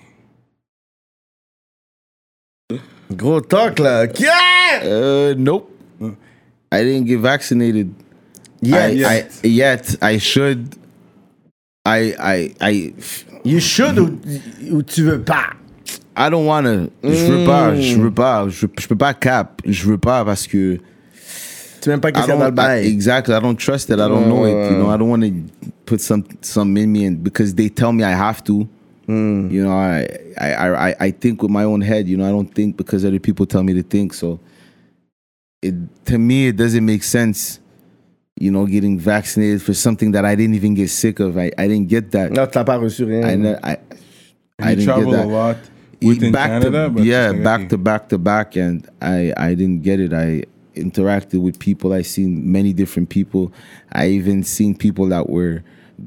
D: Gros talk, là. Yeah!
C: Uh, nope. I didn't get vaccinated.
D: Yeah,
C: I,
B: yes.
C: I yet I should. I I I
D: You should ou, ou tu veux pas?
C: I don't wanna. Je veux pas. Je veux pas. Je, je peux pas cap. Je veux pas parce que.
D: Tu sais même pas
C: I
D: qu'est-ce qu'il y a dans le
C: don't, I,
D: bail.
C: exactly. I don't trust it. I don't know it. You know, I don't want to put some some in me, and because they tell me I have to. You know, I, I I I think with my own head. You know, I don't think because other people tell me to think. So, it to me it doesn't make sense. You know, getting vaccinated for something that I didn't even get sick of. I, I didn't get that.
D: Non, tu n'as pas reçu rien.
C: I ne- I I
B: You
C: didn't
B: travel
C: get
B: a
C: that.
B: lot within
C: back
B: Canada,
C: to,
B: but
C: yeah,
B: it's
C: back
B: like-
C: to back to back, and I I didn't get it. I interacted with people. I seen many different people. I even seen people that were that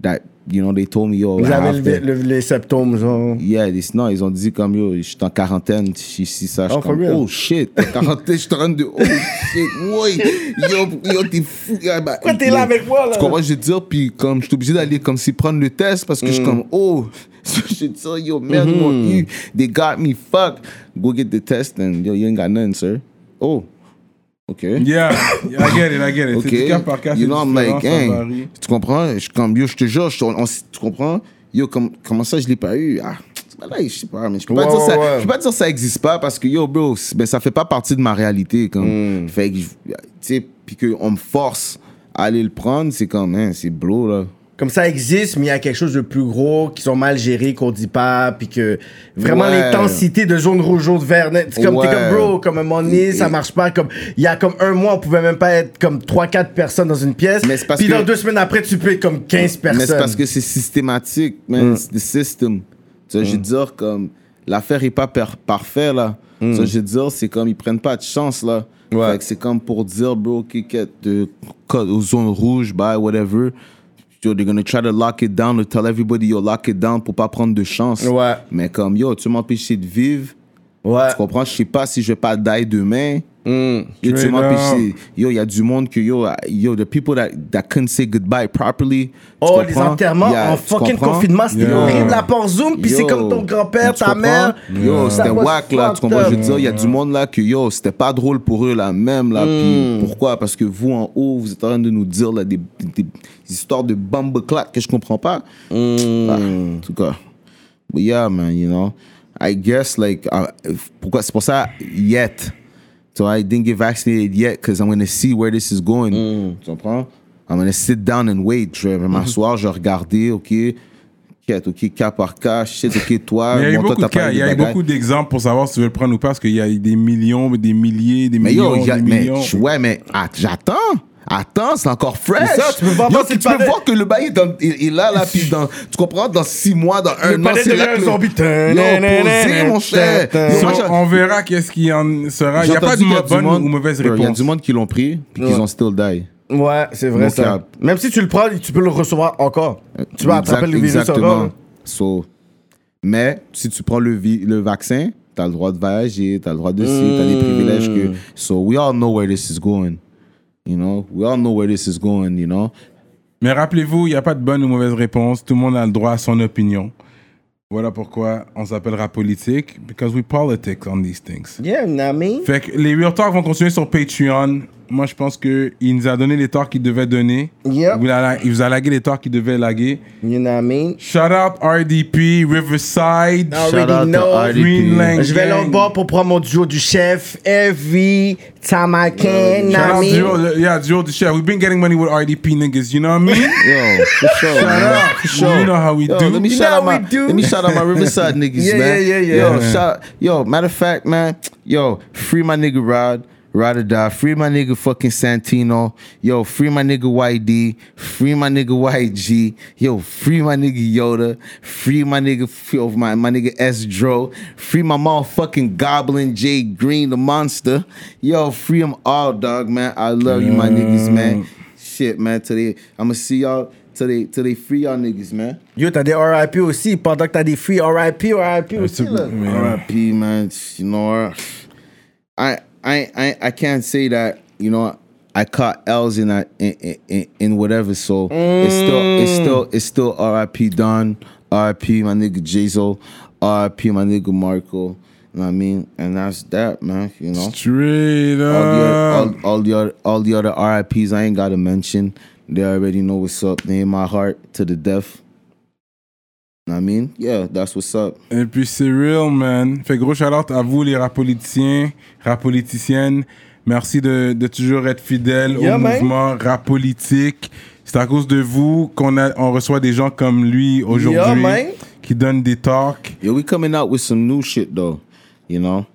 C: you know, they told me, yo,
D: Vous
C: I
D: avez
C: have
D: le-
C: to-
D: le- les symptômes, genre.
C: Yeah, they, non, ils ont dit comme yo, je suis en quarantaine, si, si ça, je suis
D: Oh, for
C: comme,
D: real?
C: oh shit, t'es quarantaine, je suis en train de, oh shit, ouais, yo, yo, t'es fou. Yeah, bah,
D: Pourquoi t'es là avec moi, là?
C: Tu comprends, je veux dire, puis comme, je suis obligé d'aller comme si prendre le test parce que je suis comme, oh, je te dis, yo, merde, ils m'ont eu, they got me fucked. Go get the test and yo, you ain't got nothing, sir. Oh, okay.
B: Yeah, I get it, I get it. C'est du
C: Okay,
B: cas par cas,
C: you
B: c'est
C: know, I'm
B: différent,
C: like,
B: ça
C: hey,
B: varie.
C: tu comprends? Je suis comme, yo, je te jure, je- on- on- tu comprends? Yo, comme, comment ça, je l'ai pas eu? Ah, c'est pas là, je sais pas, mais je peux pas
D: Ouais,
C: dire ça,
D: ouais.
C: je peux pas dire ça existe pas parce que, yo, bro, c'est- ben, ça fait pas partie de ma réalité, comme, fait que, je- tu sais, puis qu'on me force à aller le prendre, c'est comme, hein, c'est blow, là.
D: Comme ça existe, mais il y a quelque chose de plus gros qui sont mal gérés, qu'on dit pas, puis que vraiment
C: Ouais.
D: l'intensité de jaune, rouge, jaune, vert, net, c'est comme, t'es
C: Ouais.
D: comme bro, comme un moment donné, ça marche pas. Comme il y a comme un mois, on pouvait même pas être comme trois quatre personnes dans une pièce.
C: Mais c'est parce
D: Puis
C: que-
D: dans deux semaines après, tu peux être comme quinze personnes.
C: Mais c'est parce que c'est systématique, man. C'est the system. Tu vois, je veux dire, comme, l'affaire est pas per- parfaite, là. Tu vois, je veux dire, c'est comme, ils prennent pas de chance, là.
D: Ouais.
C: Fait que c'est comme pour dire, bro, Kiket, de code aux zones rouges, bye, whatever. Yo, they're gonna try to lock it down, to tell everybody, yo, lock it down pour pas prendre de chance.
D: Ouais.
C: Mais comme, yo, tu m'empêches de vivre.
D: Ouais.
C: Tu comprends? Je sais pas si je vais pas die demain.
D: Mm.
C: Yo, tu
B: Straight
C: m'empêches. Yo, il y a du monde que, yo, yo, the people that, that couldn't say goodbye properly. Tu
D: Oh, les
C: comprends?
D: enterrements
C: Yeah,
D: en
C: tu
D: fucking
C: comprends?
D: confinement, c'était
B: Yeah.
D: horrible, la porte Zoom, puis c'est
C: Yo,
D: comme ton grand-père,
C: tu
D: ta
C: comprends?
D: mère.
C: Yo,
D: Ça
C: c'était
D: was
C: whack, là. Tu
D: fucked
C: comprends? Je veux
D: up.
C: dire, il y a du monde là que, yo, c'était pas drôle pour eux, là, même, là.
D: Mm.
C: Puis pourquoi? Parce que vous, en haut, vous êtes en train de nous dire, là, des, des, des histoires de bumbleclats que je comprends pas.
D: Mm.
C: Ah, en tout cas. But yeah, man, you know. I guess, like, uh, if- pourquoi, c'est pour ça, yet. So I didn't get vaccinated yet because I'm going to see where this is going.
D: Mm.
C: Tu comprends? I'm going to sit down and wait. Je vais m'asseoir, je vais regarder, OK, quête, OK, cas par cas, shit, OK, toi,
B: Mais il y a eu
C: bon, toi,
B: beaucoup
C: t'as
B: de cas,
C: parlé
B: il y a eu
C: bagailles.
B: beaucoup d'exemples pour savoir si tu veux le prendre ou pas, parce qu'il y a des millions, des milliers, des
C: Mais
B: millions,
C: yo, y a-
B: des
C: mais,
B: millions.
C: ouais, mais att- j'attends. Attends, c'est encore fresh.
D: C'est ça, tu peux voir
C: Yo,
D: voir si
C: tu
D: le
C: peux
D: palais-
C: voir que le bail est, dans- est- est là, là, puis dans, tu comprends, dans six mois, dans un an,
D: palais
C: c'est là
D: devient
C: que
D: un zombie.
C: Yo, posez, mon cher. Yo,
B: So,
C: moi, j'ai-
B: on verra qu'est-ce qui en sera. Il n'y
C: j'ai
B: a pas
C: entendu
B: de
C: qu'il y a du
B: bonne
C: monde-
B: ou mauvaise
C: Bro, Il y a
B: réponse.
C: du monde qui l'ont pris, puis
D: Ouais.
C: qu'ils ont still die.
D: Ouais, c'est vrai
C: No
D: ça.
C: cap.
D: Même si tu le prends, tu peux le recevoir encore. Tu vas attraper le virus
C: Exactement.
D: encore.
C: So, mais si tu prends le, vi- le vaccin, tu as le droit de voyager, tu as le droit de ci, tu as des privilèges que. So, we all know where this is going. You know, we all know where this is going, you know.
B: Mais rappelez-vous, il n'y a pas de bonne ou mauvaise réponse. Tout le monde a le droit à son opinion. Voilà pourquoi on s'appellera politique. Because we politic on these things.
D: Yeah, you know what I mean?
B: Fait que les Real Talk vont continuer sur Patreon. Moi, je pense qu'il nous a donné les talks qu'il devait donner.
D: Yep.
B: Il, a, il vous a lagué les talks qu'il devait laguer.
D: You know what I mean?
B: Shout out R D P, Riverside,
D: I
C: Shout out
D: already
C: to
D: know.
C: R D P.
B: Greenland.
D: Je vais là au bord pour prendre mon duo du chef. Every time I can, you know
B: Shout
D: what I
B: out
D: mean?
B: Duo, yeah, Duo the Chef. We've been getting money with R D P niggas, you know what I mean?
C: Yo, for sure.
B: Shout
C: man.
B: out.
C: For sure.
B: You know how we
C: Yo,
B: do.
C: Let me
D: You
C: shout
D: know
C: out
D: how
C: my
D: we do.
C: let me shout out my Riverside niggas,
D: Yeah,
C: man.
D: yeah, yeah, yeah.
C: Yo,
B: Yeah.
C: shout yo, matter of fact, man. Yo, free my nigga Rod. Ride or die. Free my nigga fucking Santino. Yo, free my nigga Y D. Free my nigga Y G. Yo, free my nigga Yoda. Free my nigga, yo, my, my nigga S Dro. Free my motherfucking Goblin J Green, the monster. Yo, free them all, dog, man. I love you, my niggas, man. Shit, man. Today, I'ma see y'all. Till they, till they free y'all niggas, man.
D: Yo, t'as des R I P aussi. Pendant que t'as des free R I P, R I P aussi, là.
C: R I P, man. You know, I, I, I, I can't say that. You know, I caught L's in that in, in, in whatever. So it's still, it's still, it's still R I P Don, R I P my nigga Jazo, R I P my nigga Marco. You know what I mean? And that's that, man. You know,
B: Straight
C: all the,
B: up.
C: other, all, all the other, all the other R I Ps I ain't gotta mention. They already know what's up. They in my heart to the death. Know what I mean? Yeah, that's what's up.
B: Et puis c'est real, man. Fait gros shout-out à vous, les rap politiciens, rap politiciennes. Merci de, de toujours être fidèles
D: Yeah,
B: au
D: man.
B: mouvement rap politique. C'est à cause de vous qu'on a, on reçoit des gens comme lui aujourd'hui
D: Yeah, man.
B: qui donnent des talks.
C: Yeah, we coming out with some new shit though, you know.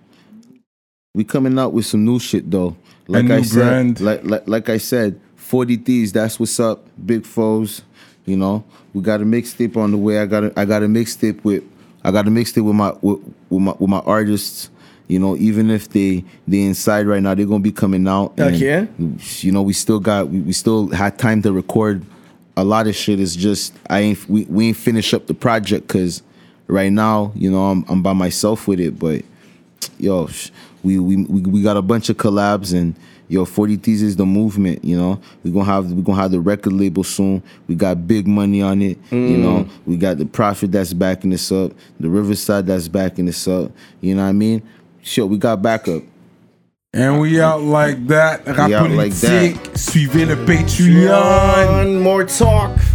C: We coming out with some new shit though. Like
B: new
C: I said,
B: brand.
C: like like like I said, forty Thieves, that's what's up. Big Foes, you know. We got a mixtape on the way. I got a, I got a mixtape with I got a mixtape with my with, with my with my artists. You know, even if they they inside right now, they're gonna be coming out. And,
D: Okay.
C: you know, we still got we, we still had time to record a lot of shit is just I ain't we, we ain't finish up the project because right now, you know, I'm I'm by myself with it. But yo, we we we, we got a bunch of collabs and yo, forty Thieves is the movement. You know, we gonna have we gonna have the record label soon. We got big money on it. Mm. You know, we got the Prophet that's backing this up, the Riverside that's backing this up. You know what I mean? Sure, we got backup.
B: And we out like that. Rap
C: We out like
B: politique.
C: that.
B: Suivez le Patreon.
D: More talk.